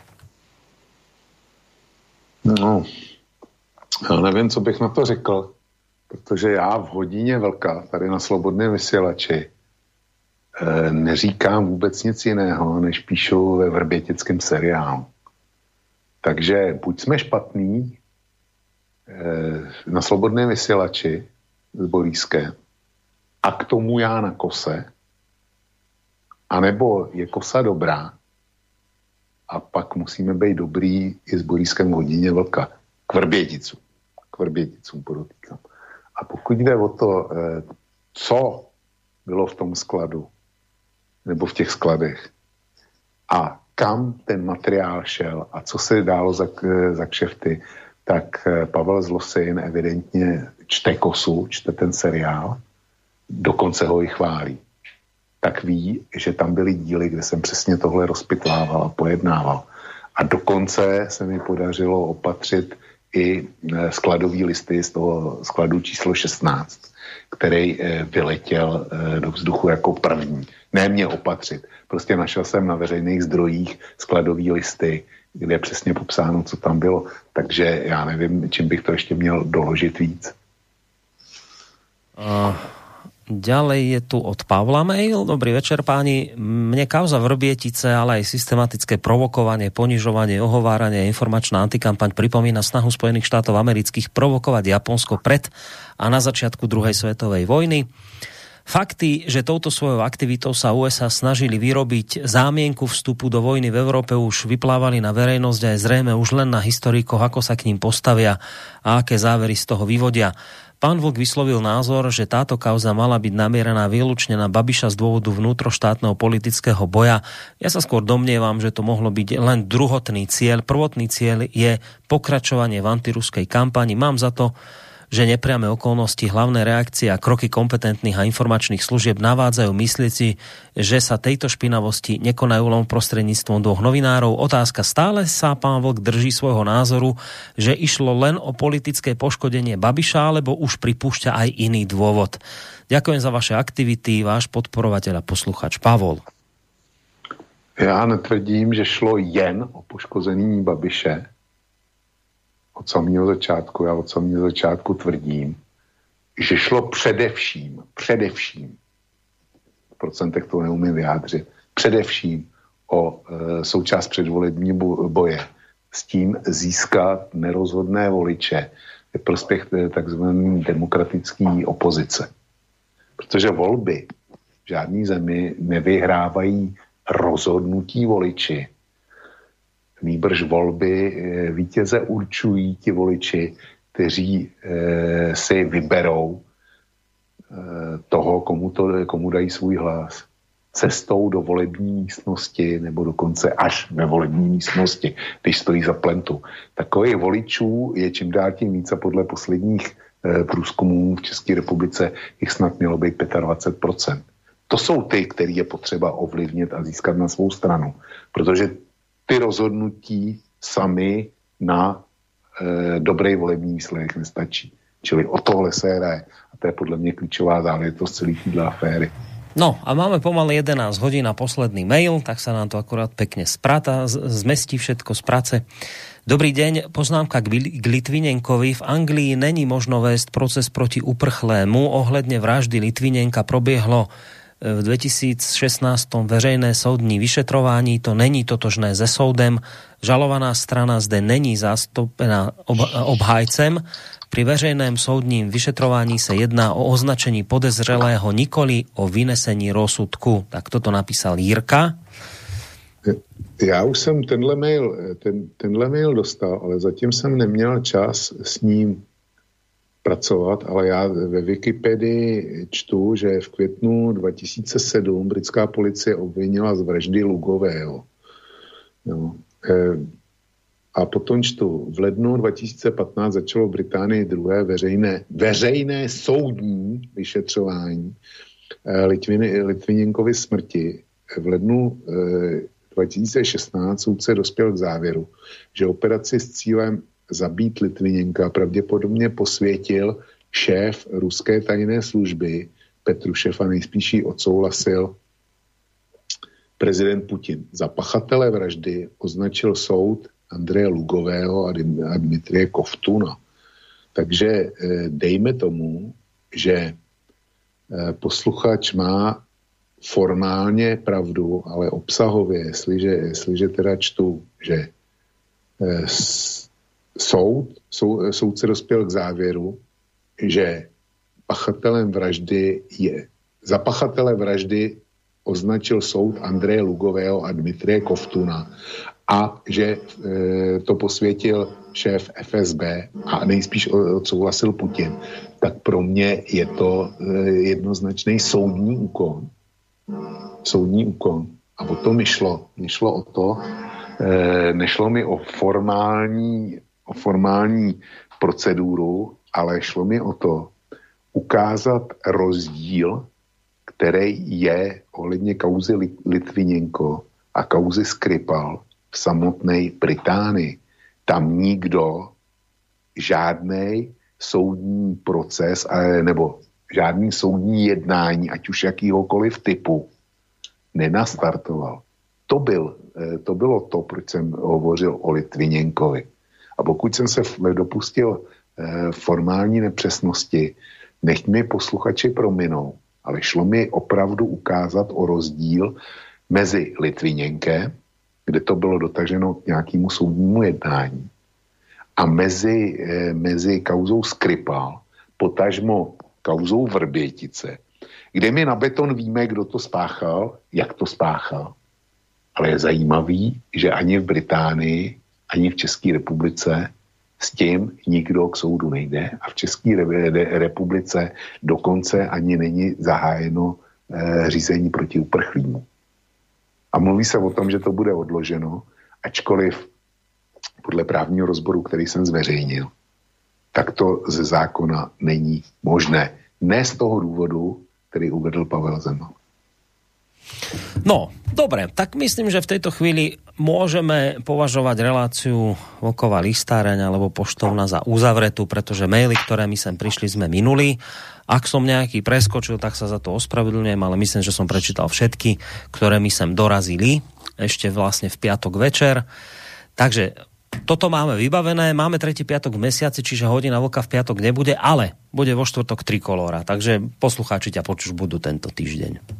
No, já nevím, co bych na to řekl, protože já v hodině Vlka, tady na Slobodném vysílači, neříkám vůbec nic jiného, než píšu ve vrbětickém seriálu. Takže buď jsme špatný na Slobodném vysílači s Borískem a k tomu já na kose, anebo je kosa dobrá a pak musíme být dobrý i s Borískem v hodině Vlka. K Vrběticům podotýkám. A pokud jde o to, co bylo v tom skladu, nebo v těch skladech a kam ten materiál šel a co se dálo za kšefty, tak Pavel z Losin evidentně čte kosu, čte ten seriál, dokonce ho i chválí. Tak ví, že tam byly díly, kde jsem přesně tohle rozpitvával a pojednával. A dokonce se mi podařilo opatřit i skladový listy z toho skladu číslo 16, který vyletěl do vzduchu jako první. Ne mě opatřit. Prostě našel jsem na veřejných zdrojích skladový listy, kde je přesně popsáno, co tam bylo. Takže já nevím, čím bych to ještě měl doložit víc. Ďalej je tu od Pavla mail. Dobrý večer, páni. Mne kauza Vrbietice, ale aj systematické provokovanie, ponižovanie, ohováranie, informačná antikampaň pripomína snahu Spojených štátov amerických provokovať Japonsko pred a na začiatku druhej svetovej vojny. Fakty, že touto svojou aktivitou sa USA snažili vyrobiť zámienku vstupu do vojny v Európe, už vyplávali na verejnosť a je zrejme už len na historikoch, ako sa k ním postavia a aké závery z toho vyvodia. Pán Vlk vyslovil názor, že táto kauza mala byť namierená výlučne na Babiša z dôvodu vnútroštátneho politického boja. Ja sa skôr domnievam, že to mohlo byť len druhotný cieľ. Prvotný cieľ je pokračovanie v antiruskej kampani. Mám za to, že nepriame okolnosti, hlavné reakcie a kroky kompetentných a informačných služieb navádzajú myslieť si, že sa tejto špinavosti nekonajú len prostredníctvom dvoch novinárov. Otázka, stále sa pán Vlk drží svojho názoru, že išlo len o politické poškodenie Babiša, alebo už pripúšťa aj iný dôvod. Ďakujem za vaše aktivity, váš podporovateľ a posluchač Pavol. Já netvrdím, že šlo jen o poškození Babiše. Od samého začátku, já od samého začátku tvrdím, že šlo především, v procentech to neumím vyjádřit, především o součást předvolební boje s tím získat nerozhodné voliče ve prospěch takzvané demokratické opozice. Protože volby v žádné zemi nevyhrávají rozhodnutí voliči. Nýbrž volby vítěze určují ti voliči, kteří si vyberou toho, komu dají svůj hlas. Cestou do volební místnosti nebo dokonce až ve volební místnosti, když stojí za plentu. Takových voličů je čím dál tím víc a podle posledních průzkumů v České republice jich snad mělo být 25%. To jsou ty, který je potřeba ovlivnit a získat na svou stranu. Protože ty rozhodnutí sami na dobrý volební výsledek nestačí. Čili o tohle se hraje. A to je podle mě klíčová záležitost celý týhle aféry. No a máme pomaly 11 hodín na posledný mail, tak sa nám to akurát pekne zmestí všetko z práce. Dobrý deň, poznámka k Litvinenkovi. V Anglii není možno vést proces proti uprchlému. Ohledne vraždy Litvinenka probiehlo v 2016 veřejné soudní vyšetrování, to není totožné se soudem, žalovaná strana zde není zastúpená obhájcem. Pri veřejném soudním vyšetrování se jedná o označení podezřelého, nikoli o vynesení rozsudku. Tak toto napísal Jirka. Já už jsem tenhle mail dostal, ale zatím jsem neměl čas s ním pracovat, ale já ve Wikipedii čtu, že v květnu 2007 britská policie obvinila z vraždy Lugového. No. A potom čtu, v lednu 2015 začalo v Británii druhé veřejné soudní vyšetřování Litvinenkovy smrti. V lednu 2016 soudce dospěl k závěru, že operaci s cílem zabít Litvinenka pravděpodobně posvětil šéf ruské tajné služby Petrušev a nejspíš ji odsouhlasil prezident Putin. Za pachatele vraždy označil soud Andreje Lugového a Dmitrie Kovtuna. Takže dejme tomu, že posluchač má formálně pravdu, ale obsahově, jestliže teda čtu, že soudce dospěl k závěru, že za pachatele vraždy označil soud Andreje Lugového a Dmitrie Kovtuna a že to posvětil šéf FSB a nejspíš odsouhlasil Putin, tak pro mě je to jednoznačný soudní úkon. A o to mi šlo. Nešlo mi o formální proceduru, ale šlo mi o to ukázat rozdíl, který je ohledně kauzy Litvinenko a kauzy Skripal v samotné Británii. Tam nikdo žádnej soudní proces nebo žádný soudní jednání, ať už jakýhokoliv typu, nenastartoval. To bylo to, proč jsem hovořil o Litvinenkovi. A pokud jsem se dopustil formální nepřesnosti, nech mi posluchači prominou, ale šlo mi opravdu ukázat o rozdíl mezi Litvinenkem, kde to bylo dotaženo k nějakému soudnímu jednání, a mezi kauzou Skripal, potažmo kauzou Vrbětice, kde my na beton víme, kdo to spáchal, jak to spáchal. Ale je zajímavý, že ani v Británii, ani v České republice s tím nikdo k soudu nejde a v České republice dokonce ani není zahájeno řízení proti uprchlímu. A mluví se o tom, že to bude odloženo, ačkoliv podle právního rozboru, který jsem zveřejnil, tak to ze zákona není možné. Ne z toho důvodu, který uvedl Pavel Zeman. No, dobre, tak myslím, že v tejto chvíli môžeme považovať reláciu Vlková listáreň alebo poštovna za uzavretú, pretože maily, ktoré mi sem prišli, sme minuli. Ak som nejaký preskočil, tak sa za to ospravedlňujem, ale myslím, že som prečítal všetky, ktoré mi sem dorazili ešte vlastne v piatok večer. Takže toto máme vybavené, máme tretí piatok v mesiaci, čiže hodina vlka v piatok nebude, ale bude vo štvrtok Trikolóra, takže poslucháči ťa počuť budú tento týždeň.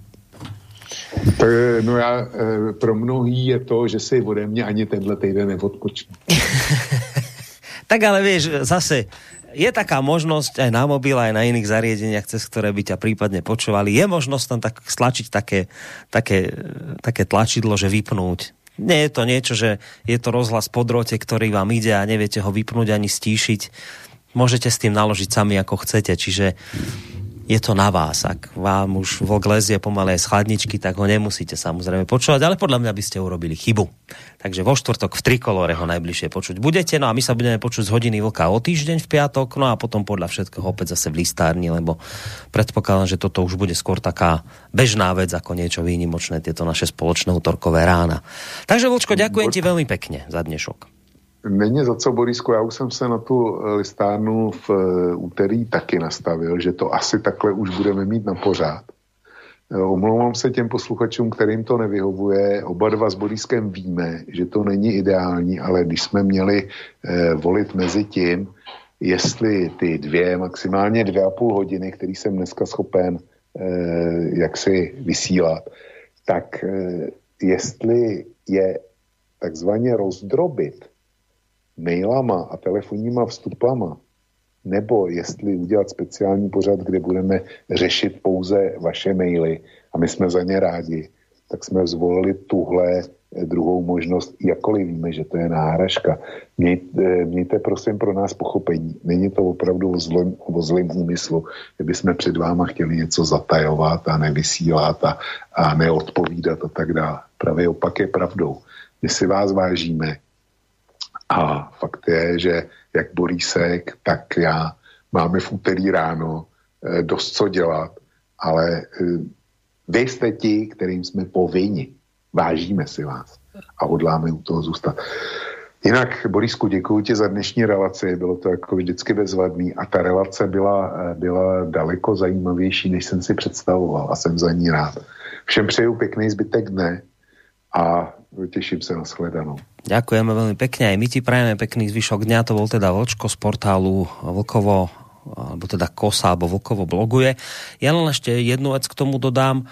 No já, pro mnohý je to, že si ode mě ani tenhle týden neodpočne. Tak ale vieš, zase je taká možnosť aj na mobil, aj na iných zariadeniach, cez ktoré by ťa prípadne počúvali. Je možnosť tam tak stlačiť také tlačidlo, že vypnúť. Nie je to niečo, že je to rozhlas po drôte, ktorý vám ide a neviete ho vypnúť ani stíšiť. Môžete s tým naložiť sami, ako chcete, čiže je to na vás. Ak vám už vlk lezie pomaly aj z chladničky, tak ho nemusíte samozrejme počúvať, ale podľa mňa by ste urobili chybu. Takže vo štvrtok v Trikolóre ho najbližšie počuť budete, no a my sa budeme počuť z hodiny vlka o týždeň v piatok, no a potom podľa všetkého opäť zase v listárni, lebo predpokladám, že toto už bude skôr taká bežná vec ako niečo výnimočné, tieto naše spoločné útorkové rána. Takže Vlčko, ďakujem ti veľmi pekne za dnešok. Není za co, Borisku, já už jsem se na tu listárnu v úterý taky nastavil, že to asi takhle už budeme mít na pořád. Omlouvám se těm posluchačům, kterým to nevyhovuje. Oba dva s Boriskem víme, že to není ideální, ale když jsme měli volit mezi tím, jestli ty maximálně 2,5 hodiny, který jsem dneska schopen jaksi vysílat, tak jestli je takzvaně rozdrobit mailama a telefonníma vstupama, nebo jestli udělat speciální pořad, kde budeme řešit pouze vaše maily a my jsme za ně rádi, tak jsme zvolili tuhle druhou možnost, jakkoliv víme, že to je náhražka. Mějte prosím pro nás pochopení. Není to opravdu o zlém úmyslu, kdyby jsme před váma chtěli něco zatajovat a nevysílat a neodpovídat a tak dále. Pravý opak je pravdou. My si vás vážíme a fakt je, že jak Borísek, tak já máme v úterý ráno dost co dělat, ale vy jste ti, kterým jsme povinni. Vážíme si vás a hodláme u toho zůstat. Jinak, Borisku, děkuji ti za dnešní relaci, bylo to jako vždycky bezvadný a ta relace byla daleko zajímavější, než jsem si představoval a jsem za ní rád. Všem přeju pěkný zbytek dne a teším sa na shledanou. Ďakujeme veľmi pekne, aj my ti prajeme pekný zvyšok dňa, to bol teda Vlčko z portálu Vlkovo, alebo teda Kosa, alebo Vlkovo bloguje. Ja len ešte jednu vec k tomu dodám,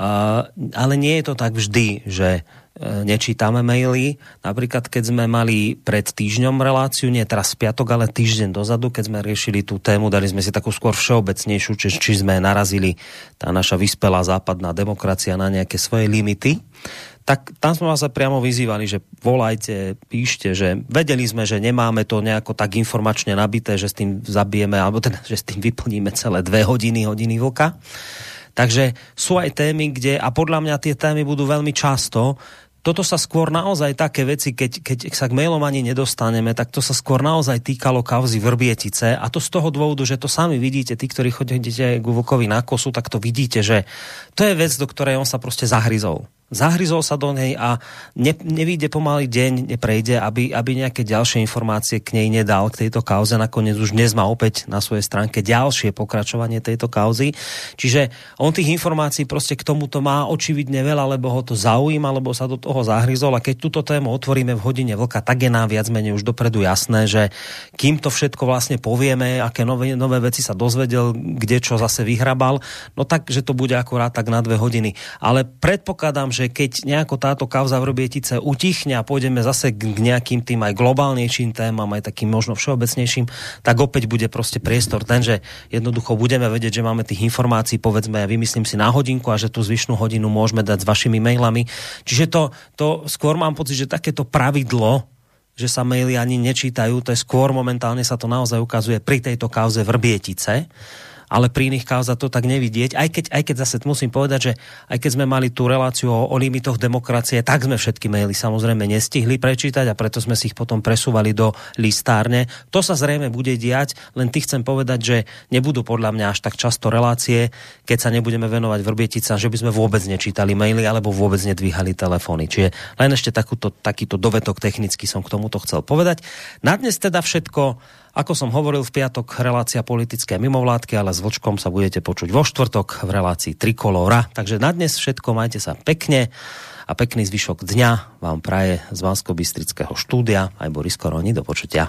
ale nie je to tak vždy, že nečítame maily. Napríklad, keď sme mali pred týždňom reláciu, nie teraz v piatok, ale týždeň dozadu, keď sme riešili tú tému, dali sme si takú skôr všeobecnejšiu, či sme narazili tá naša vyspelá západná demokracia na nejaké svoje limity, tak tam sme vás priamo vyzývali, že volajte, píšte, že vedeli sme, že nemáme to nejako tak informačne nabité, že s tým zabijeme, alebo teda, že s tým vyplníme celé 2 hodiny vlka. Takže sú aj témy, kde, a podľa mňa tie témy budú veľmi často, toto sa skôr naozaj také veci, keď sa k mailom ani nedostaneme, tak to sa skôr naozaj týkalo kauzy Vrbietice a to z toho dôvodu, že to sami vidíte, tí, ktorí chodíte k Vlkovi na Kosu, tak to vidíte, že to je vec, do ktorej on sa proste zahryzol. Zahryzol sa do nej a nevyjde pomaly deň, neprejde, aby nejaké ďalšie informácie k nej nedal, k tejto kauze. Nakoniec už dnes má opäť na svojej stránke ďalšie pokračovanie tejto kauzy. Čiže on tých informácií proste k tomuto má očividne veľa, lebo ho to zaujíma, lebo sa do toho zahryzol a keď túto tému otvoríme v hodine vlka, tak je nám viac menej už dopredu jasné, že kým to všetko vlastne povieme, aké nové veci sa dozvedel, kde čo zase vyhrabal, no tak, že to bude akurát tak na 2 hodiny. Ale predpokladám, že keď nejako táto kauza Vrbietice utichne a pôjdeme zase k nejakým tým aj globálnejším témam, aj takým možno všeobecnejším, tak opäť bude proste priestor ten, že jednoducho budeme vedieť, že máme tých informácií, povedzme, ja vymyslím si na hodinku a že tú zvyšnú hodinu môžeme dať s vašimi mailami. Čiže to skôr mám pocit, že takéto pravidlo, že sa maily ani nečítajú, to je skôr momentálne sa to naozaj ukazuje pri tejto kauze Vrbietice, ale pri iných kauzách to tak nevidieť. Aj keď zase musím povedať, že aj keď sme mali tú reláciu o limitoch demokracie, tak sme všetky maily samozrejme nestihli prečítať a preto sme si ich potom presúvali do listárne. To sa zrejme bude diať, len chcem povedať, že nebudú podľa mňa až tak často relácie, keď sa nebudeme venovať Vrbieticám, že by sme vôbec nečítali maily alebo vôbec nedvíhali telefóny. Čiže len ešte takýto dovetok technicky som k tomuto chcel povedať. Na dnes teda všetko. Ako som hovoril, v piatok relácia politické mimovládky, ale s Vlčkom sa budete počuť vo štvrtok v relácii Trikolóra. Takže na dnes všetko, majte sa pekne a pekný zvyšok dňa vám praje z Banskobystrického štúdia aj Boris Koroni. Do počutia.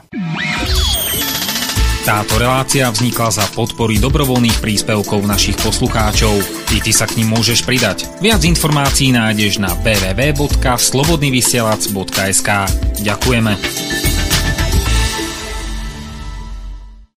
Táto relácia vznikla za podpory dobrovoľných príspevkov našich poslucháčov. Ty sa k nim môžeš pridať. Viac informácií nájdeš na www.slobodnyvysielac.sk. Ďakujeme.